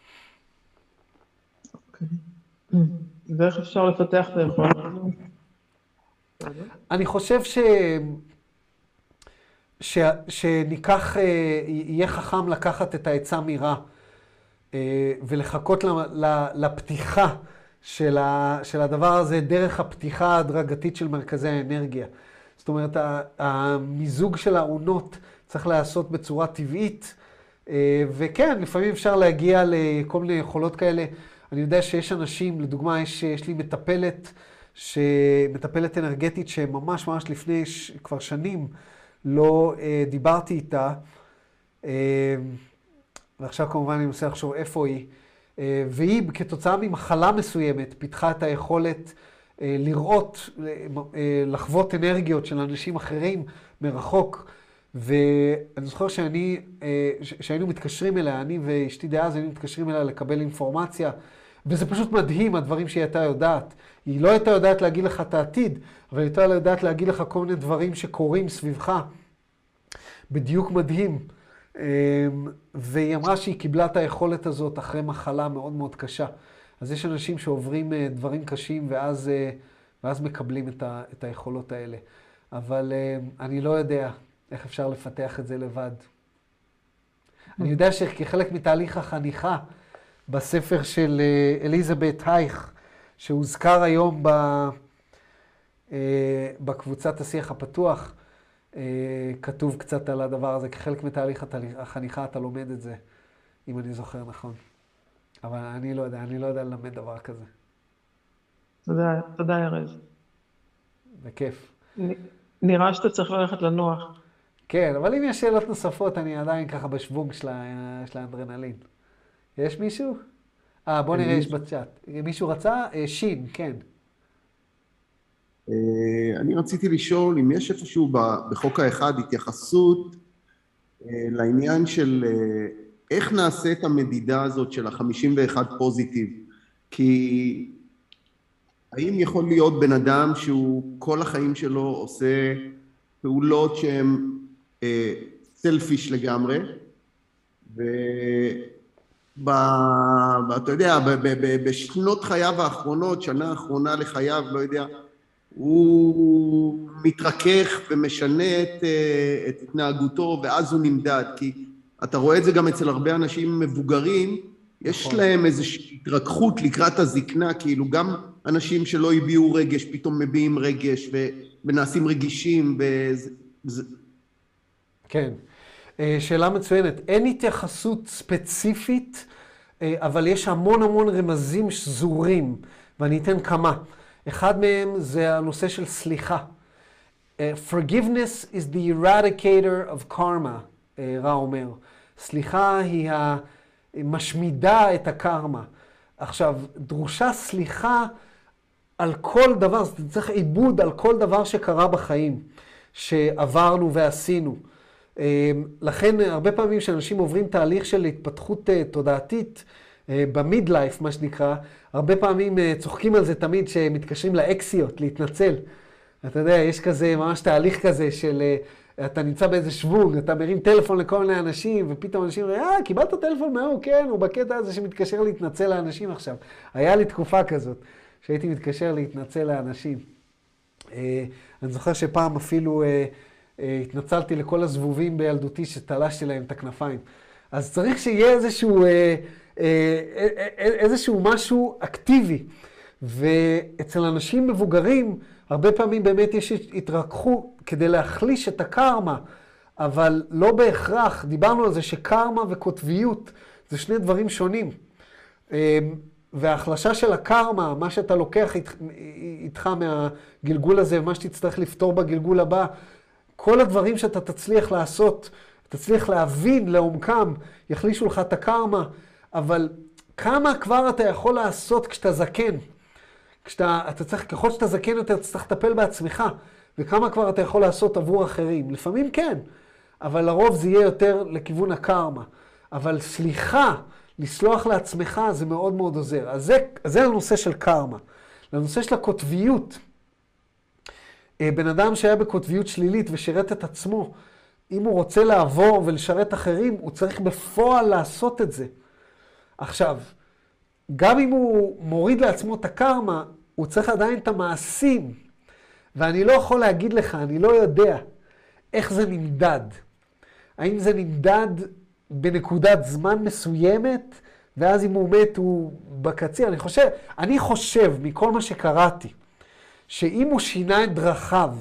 ואיך אפשר לפתח את היכולת? אני חושב ש... ש... שניקח, יהיה חכם לקחת את העצה מרע, ולחכות לפתיחה של, ה... של הדבר הזה דרך הפתיחה ההדרגתית של מרכזי האנרגיה. זאת אומרת, המיזוג של העונות צריך לעשות בצורה טבעית, וכן, לפעמים אפשר להגיע לכל מיני יכולות כאלה. אני יודע שיש אנשים, לדוגמה, יש, יש לי מטפלת, שמטפלת אנרגטית שממש ממש לפני ש... כבר שנים לא אה, דיברתי איתה, אה, ועכשיו כמובן אני מנסה לחשוב איפה היא, אה, והיא כתוצאה ממחלה מסוימת פיתחה את היכולת אה, לראות, אה, לחוות אנרגיות של אנשים אחרים מרחוק, ואני זוכר שאני, אה, ש... שהיינו מתקשרים אליה, אני ואשתי דאז היינו מתקשרים אליה לקבל אינפורמציה, וזה פשוט מדהים, הדברים שהיא הייתה יודעת. היא לא הייתה יודעת להגיד לך את העתיד, אבל היא הייתה יודעת להגיד לך כל מיני דברים שקורים סביבך. בדיוק מדהים. והיא אמרה שהיא קיבלה את היכולת הזאת אחרי מחלה מאוד מאוד קשה. אז יש אנשים שעוברים דברים קשים ואז, ואז מקבלים את, ה, את היכולות האלה. אבל אני לא יודע איך אפשר לפתח את זה לבד. אני יודע שכחלק מתהליך החניכה, בספר של אליזבת הייך, שהוזכר היום ב, בקבוצת השיח הפתוח, כתוב קצת על הדבר הזה, כחלק מתהליך החניכה אתה לומד את זה, אם אני זוכר נכון. אבל אני לא יודע, אני לא יודע ללמד דבר כזה. תודה, תודה ארז. בכיף. נראה שאתה צריך ללכת לנוח. כן, אבל אם יש שאלות נוספות, אני עדיין ככה בשוונג של האנדרנלין. יש מישהו? אה, בוא נראה, יש בצ'אט. מישהו רצה? שין, כן. אני רציתי לשאול אם יש איפשהו בחוק האחד התייחסות לעניין של איך נעשה את המדידה הזאת של ה-חמישים ואחד פוזיטיב. כי האם יכול להיות בן אדם שהוא כל החיים שלו עושה פעולות שהן סלפיש לגמרי, ו... אתה יודע, בשנות חייו האחרונות, שנה האחרונה לחייו, לא יודע, הוא מתרכך ומשנה את, את התנהגותו, ואז הוא נמדד, כי אתה רואה את זה גם אצל הרבה אנשים מבוגרים, יש נכון. להם איזושהי התרככות לקראת הזקנה, כאילו גם אנשים שלא הביאו רגש, פתאום מביאים רגש, ונעשים רגישים, וזה... כן. שאלה מצוינת. אין התייחסות ספציפית, אבל יש המון המון רמזים שזורים, ואני אתן כמה. אחד מהם זה הנושא של סליחה. Forgiveness is the eradicator of karma, רע אומר. סליחה היא המשמידה את הקרמה. עכשיו, דרושה סליחה על כל דבר, זה צריך עיבוד על כל דבר שקרה בחיים, שעברנו ועשינו. לכן הרבה פעמים שאנשים עוברים תהליך של התפתחות תודעתית במיד-לייף, מה שנקרא, הרבה פעמים צוחקים על זה תמיד שמתקשרים לאקסיות, להתנצל. אתה יודע, יש כזה ממש תהליך כזה של אתה נמצא באיזה שוונג, אתה מרים טלפון לכל מיני אנשים, ופתאום אנשים אומרים, אה, קיבלת טלפון מהוא, כן, הוא בקטע הזה שמתקשר להתנצל לאנשים עכשיו. היה לי תקופה כזאת, שהייתי מתקשר להתנצל לאנשים. אני זוכר שפעם אפילו התנצלתי לכל הזבובים בילדותי שתלשתי להם את הכנפיים. אז צריך שיהיה איזשהו, איזשהו משהו אקטיבי. ואצל אנשים מבוגרים, הרבה פעמים באמת יש התרככות כדי להחליש את הקרמה, אבל לא בהכרח. דיברנו על זה שקרמה וקוטביות זה שני דברים שונים. וההחלשה של הקרמה, מה שאתה לוקח איתך מהגלגול הזה, ומה שתצטרך לפתור בגלגול הבא, כל הדברים שאתה תצליח לעשות, תצליח להבין לעומקם, יחלישו לך את הקרמה, אבל כמה כבר אתה יכול לעשות כשאתה זקן? כשאתה, אתה צריך, ככל שאתה זקן יותר, אתה צריך לטפל בעצמך, וכמה כבר אתה יכול לעשות עבור אחרים. לפעמים כן, אבל לרוב זה יהיה יותר לכיוון הקרמה. אבל סליחה, לסלוח לעצמך, זה מאוד מאוד עוזר. אז זה, זה הנושא של קרמה. לנושא של הקוטביות, בן אדם שהיה בקוטביות שלילית ושירת את עצמו, אם הוא רוצה לעבור ולשרת אחרים, הוא צריך בפועל לעשות את זה. עכשיו, גם אם הוא מוריד לעצמו את הקרמה, הוא צריך עדיין את המעשים. ואני לא יכול להגיד לך, אני לא יודע איך זה נמדד. האם זה נמדד בנקודת זמן מסוימת, ואז אם הוא מת הוא בקציר. אני חושב, אני חושב מכל מה שקראתי, שאם הוא שינה את דרכיו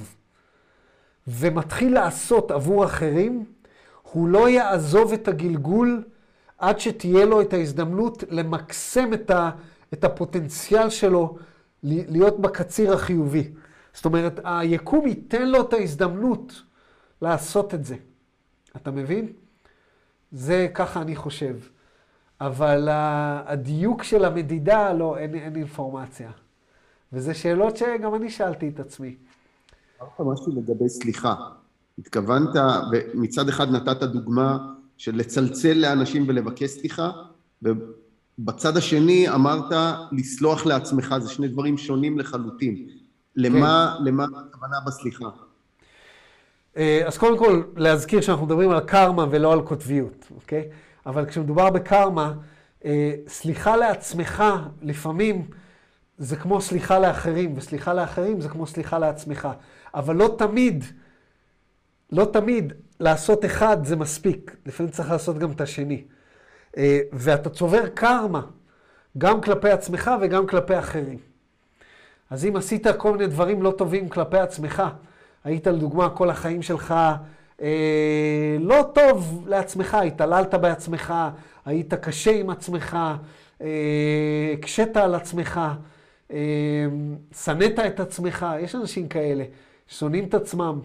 ומתחיל לעשות עבור אחרים, הוא לא יעזוב את הגלגול עד שתהיה לו את ההזדמנות למקסם את, ה, את הפוטנציאל שלו להיות בקציר החיובי. זאת אומרת, היקום ייתן לו את ההזדמנות לעשות את זה. אתה מבין? זה ככה אני חושב. אבל הדיוק של המדידה, לא, אין, אין אינפורמציה. וזה שאלות שגם אני שאלתי את עצמי. אמרת משהו לגבי סליחה. התכוונת, ומצד אחד נתת דוגמה של לצלצל לאנשים ולבקש סליחה, ובצד השני אמרת לסלוח לעצמך, זה שני דברים שונים לחלוטין. למה, כן. למה הכוונה בסליחה? אז קודם כל, להזכיר שאנחנו מדברים על קרמה ולא על קוטביות, אוקיי? אבל כשמדובר בקרמה, סליחה לעצמך לפעמים זה כמו סליחה לאחרים, וסליחה לאחרים זה כמו סליחה לעצמך. אבל לא תמיד, לא תמיד לעשות אחד זה מספיק. לפעמים צריך לעשות גם את השני. ואתה צובר קרמה, גם כלפי עצמך וגם כלפי אחרים. אז אם עשית כל מיני דברים לא טובים כלפי עצמך, היית לדוגמה כל החיים שלך אה, לא טוב לעצמך, התעללת בעצמך, היית קשה עם עצמך, אה, קשת על עצמך, אה, שנאת את עצמך, יש אנשים כאלה ששונאים את עצמם.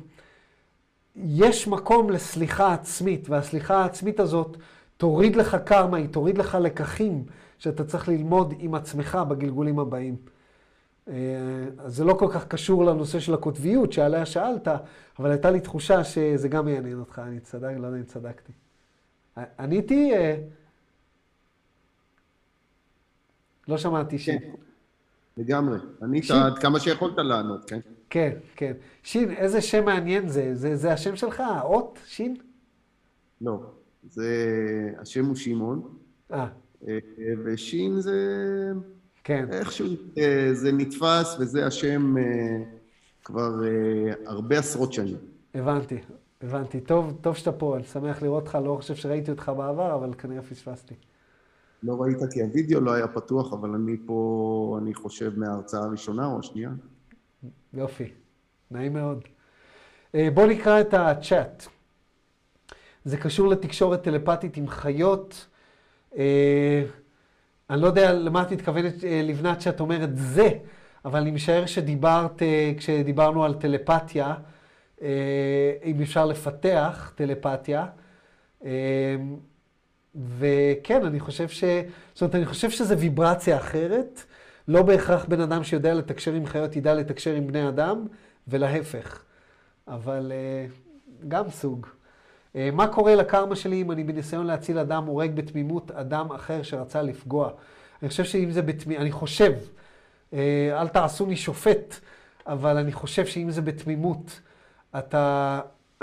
יש מקום לסליחה עצמית, והסליחה העצמית הזאת תוריד לך קרמה, היא תוריד לך לקחים שאתה צריך ללמוד עם עצמך בגלגולים הבאים. אז זה לא כל כך קשור לנושא של הקוטביות שעליה שאלת, אבל הייתה לי תחושה שזה גם יעניין אותך, אני צדק, לא יודע אם צדקתי. עניתי, לא שמעתי שין. כן, לגמרי. ענית עד כמה שיכולת לענות, כן? כן, כן. שין, איזה שם מעניין זה? זה, זה השם שלך, האות, שין? לא, זה, השם הוא שמעון. אה. ושין זה... כן. איכשהו זה נתפס, וזה השם כבר הרבה עשרות שנים. הבנתי, הבנתי. טוב, טוב שאתה פה, אני שמח לראות אותך, לא חושב שראיתי אותך בעבר, אבל כנראה פספסתי. לא ראית כי הווידאו לא היה פתוח, אבל אני פה, אני חושב, מההרצאה הראשונה או השנייה. יופי, נעים מאוד. בוא נקרא את הצ'אט. זה קשור לתקשורת טלפתית עם חיות. אני לא יודע למה את מתכוונת לבנת שאת אומרת זה, אבל אני משער שדיברת, כשדיברנו על טלפתיה, אם אפשר לפתח טלפתיה, וכן, אני חושב ש... זאת אומרת, אני חושב שזה ויברציה אחרת, לא בהכרח בן אדם שיודע לתקשר עם חיות, ידע לתקשר עם בני אדם, ולהפך. אבל גם סוג. מה קורה לקרמה שלי אם אני בניסיון להציל אדם, הורג בתמימות אדם אחר שרצה לפגוע? אני חושב שאם זה בתמימות, אני חושב, אל תעשו לי שופט, אבל אני חושב שאם זה בתמימות, אתה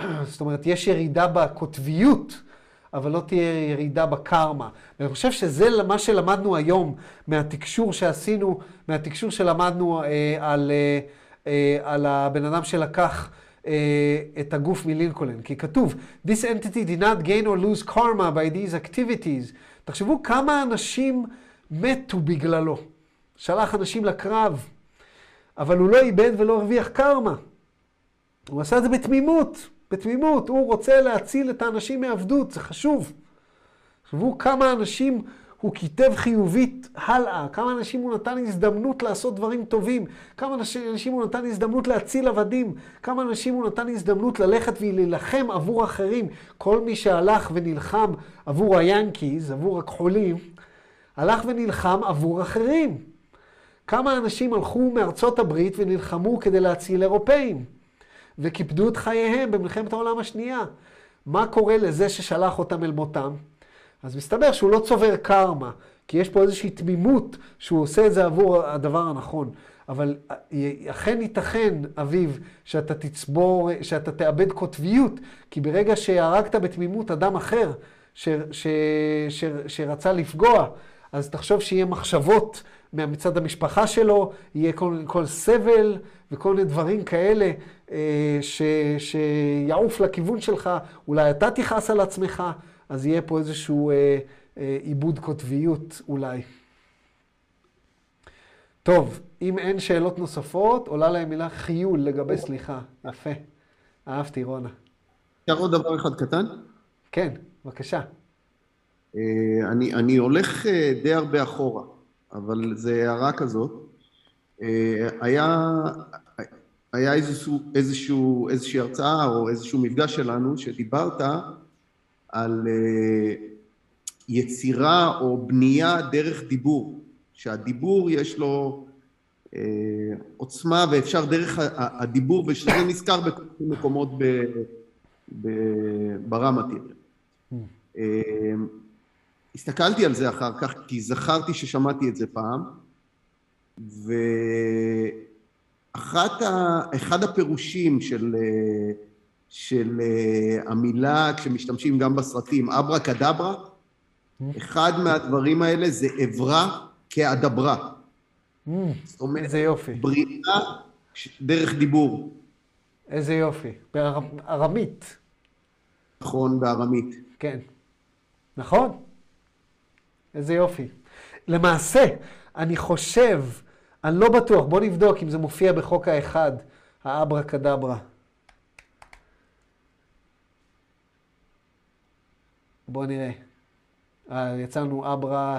זאת אומרת, יש ירידה בקוטביות, אבל לא תהיה ירידה בקרמה. ואני חושב שזה מה שלמדנו היום מהתקשור שעשינו, מהתקשור שלמדנו אה, על, אה, אה, על הבן אדם שלקח אה, את הגוף מלינקולן. כי כתוב, This entity did not gain or lose karma by these activities. תחשבו כמה אנשים מתו בגללו. שלח אנשים לקרב, אבל הוא לא איבד ולא הרוויח קרמה. הוא עשה את זה בתמימות. בתמימות, הוא רוצה להציל את האנשים מעבדות, זה חשוב. תחשבו כמה אנשים הוא כיתב חיובית הלאה, כמה אנשים הוא נתן הזדמנות לעשות דברים טובים, כמה אנשים הוא נתן הזדמנות להציל עבדים, כמה אנשים הוא נתן הזדמנות ללכת ולהילחם עבור אחרים. כל מי שהלך ונלחם עבור היאנקיז, עבור הכחולים, הלך ונלחם עבור אחרים. כמה אנשים הלכו מארצות הברית ונלחמו כדי להציל אירופאים. וכיבדו את חייהם במלחמת העולם השנייה. מה קורה לזה ששלח אותם אל מותם? אז מסתבר שהוא לא צובר קרמה, כי יש פה איזושהי תמימות שהוא עושה את זה עבור הדבר הנכון. אבל אכן ייתכן, אביב, שאתה תצבור, שאתה תאבד קוטביות, כי ברגע שהרגת בתמימות אדם אחר ש, ש, ש, שרצה לפגוע, אז תחשוב שיהיה מחשבות מצד המשפחה שלו, יהיה כל, כל סבל וכל מיני דברים כאלה ש, שיעוף לכיוון שלך, אולי אתה תכעס על עצמך, אז יהיה פה איזשהו אה, אה, עיבוד קוטביות אולי. טוב, אם אין שאלות נוספות, עולה להם מילה חיול לגבי סליחה. יפה. אהבתי, רונה. אפשר עוד דבר אחד קטן? כן, בבקשה. אני, אני הולך די הרבה אחורה, אבל זה הערה כזאת. היה, היה איזשהו, איזשהו, איזושהי הרצאה או איזשהו מפגש שלנו שדיברת על יצירה או בנייה דרך דיבור, שהדיבור יש לו עוצמה ואפשר דרך הדיבור, ושזה נזכר בכל מקומות ברמתי. הסתכלתי על זה אחר כך, כי זכרתי ששמעתי את זה פעם, ואחד הפירושים של, של המילה, כשמשתמשים גם בסרטים, אברה קדברה, אחד מהדברים האלה זה עברה כאדברה. זאת אומרת, איזה יופי. בריאה דרך דיבור. איזה יופי. בארמית. נכון, בארמית. כן. נכון? איזה יופי. למעשה, אני חושב, אני לא בטוח, בוא נבדוק אם זה מופיע בחוק האחד, האברה קדברה. בוא נראה. יצאנו אברה,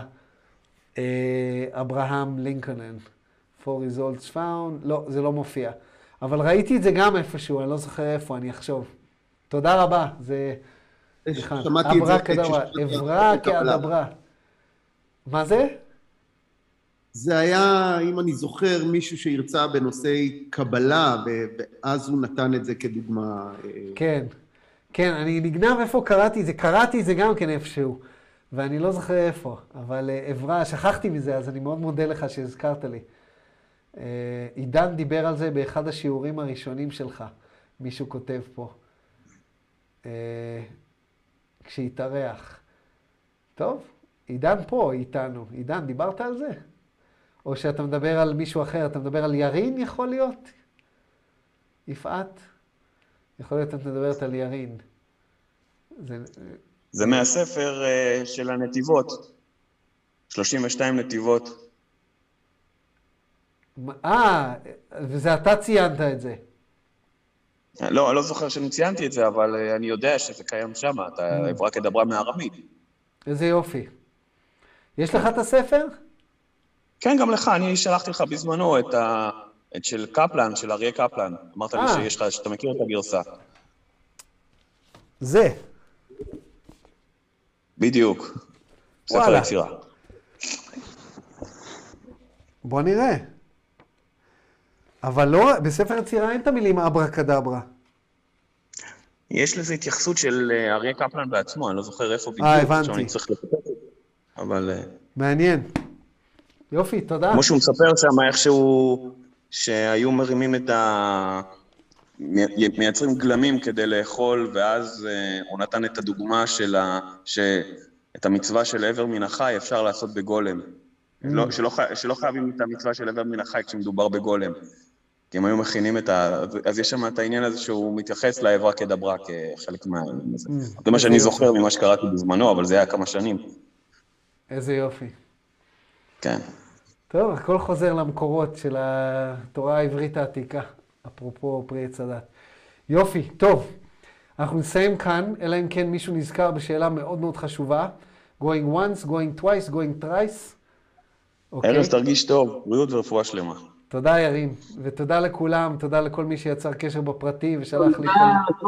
אברהם לינקולן. For results found. לא, זה לא מופיע. אבל ראיתי את זה גם איפשהו, אני לא זוכר איפה, אני אחשוב. תודה רבה, זה... שמעתי את זה. אברה קדברה, עברה כאדברה. מה זה? זה היה, אם אני זוכר, מישהו שירצה בנושאי קבלה, ואז הוא נתן את זה כדוגמה. כן, כן, אני נגנב איפה קראתי את זה, קראתי את זה גם כן איפשהו, ואני לא זוכר איפה, אבל עברה, שכחתי מזה, אז אני מאוד מודה לך שהזכרת לי. עידן דיבר על זה באחד השיעורים הראשונים שלך, מישהו כותב פה, כשהתארח. טוב, עידן פה איתנו. עידן, דיברת על זה? או שאתה מדבר על מישהו אחר, אתה מדבר על ירין יכול להיות? יפעת? יכול להיות את מדברת על ירין. זה, זה מהספר uh, של הנתיבות. שלושים ושתיים נתיבות. אה, וזה אתה ציינת את זה. לא, אני לא זוכר שאני ציינתי את זה, אבל uh, אני יודע שזה קיים שם. אתה עברה כדברה מארמית. איזה יופי. יש לך את הספר? כן, גם לך. אני שלחתי לך בזמנו את, ה... את של קפלן, של אריה קפלן. אמרת לי שיש לך, שאתה מכיר את הגרסה. זה. בדיוק. ספר יצירה. בוא נראה. אבל לא, בספר יצירה אין את המילים אברה קדברה. יש לזה התייחסות של אריה קפלן בעצמו, אני לא זוכר איפה בדיוק. אה, הבנתי. שאני צריך לפתח את זה. אבל... מעניין. יופי, תודה. כמו שהוא מספר שם, איכשהו שהיו מרימים את ה... מייצרים גלמים כדי לאכול, ואז הוא נתן את הדוגמה של ה... שאת המצווה של עבר מן החי אפשר לעשות בגולם. לא, שלא, שלא חייבים את המצווה של עבר מן החי כשמדובר בגולם. כי הם היו מכינים את ה... אז יש שם את העניין הזה שהוא מתייחס לעברה כדברה כחלק מהעניין הזה. זה מה שאני זוכר ממה שקראתי בזמנו, אבל זה היה כמה שנים. איזה יופי. כן. טוב, הכל חוזר למקורות של התורה העברית העתיקה, אפרופו פרי עץ הדת. יופי, טוב. אנחנו נסיים כאן, אלא אם כן מישהו נזכר בשאלה מאוד מאוד חשובה. going once, going twice, going thrice. ארז, תרגיש טוב, בריאות ורפואה שלמה. תודה ירין, ותודה לכולם, תודה לכל מי שיצר קשר בפרטי ושלח לי כל...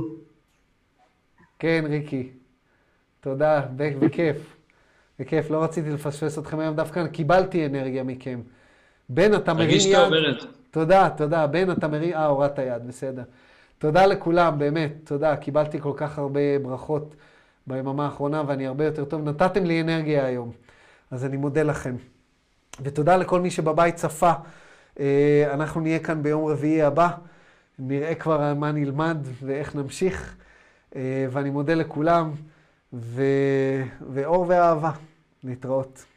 כן, ריקי. תודה, בכיף. בכיף, לא רציתי לפספס אתכם היום דווקא, קיבלתי אנרגיה מכם. בן, אתה מרים יד. תרגיש טוב, ארז. תודה, תודה. בן, אתה מרים... אה, הורדת יד, בסדר. תודה לכולם, באמת, תודה. קיבלתי כל כך הרבה ברכות ביממה האחרונה, ואני הרבה יותר טוב. נתתם לי אנרגיה היום, אז אני מודה לכם. ותודה לכל מי שבבית צפה. אנחנו נהיה כאן ביום רביעי הבא. נראה כבר מה נלמד ואיך נמשיך. ואני מודה לכולם, ו... ואור ואהבה. להתראות.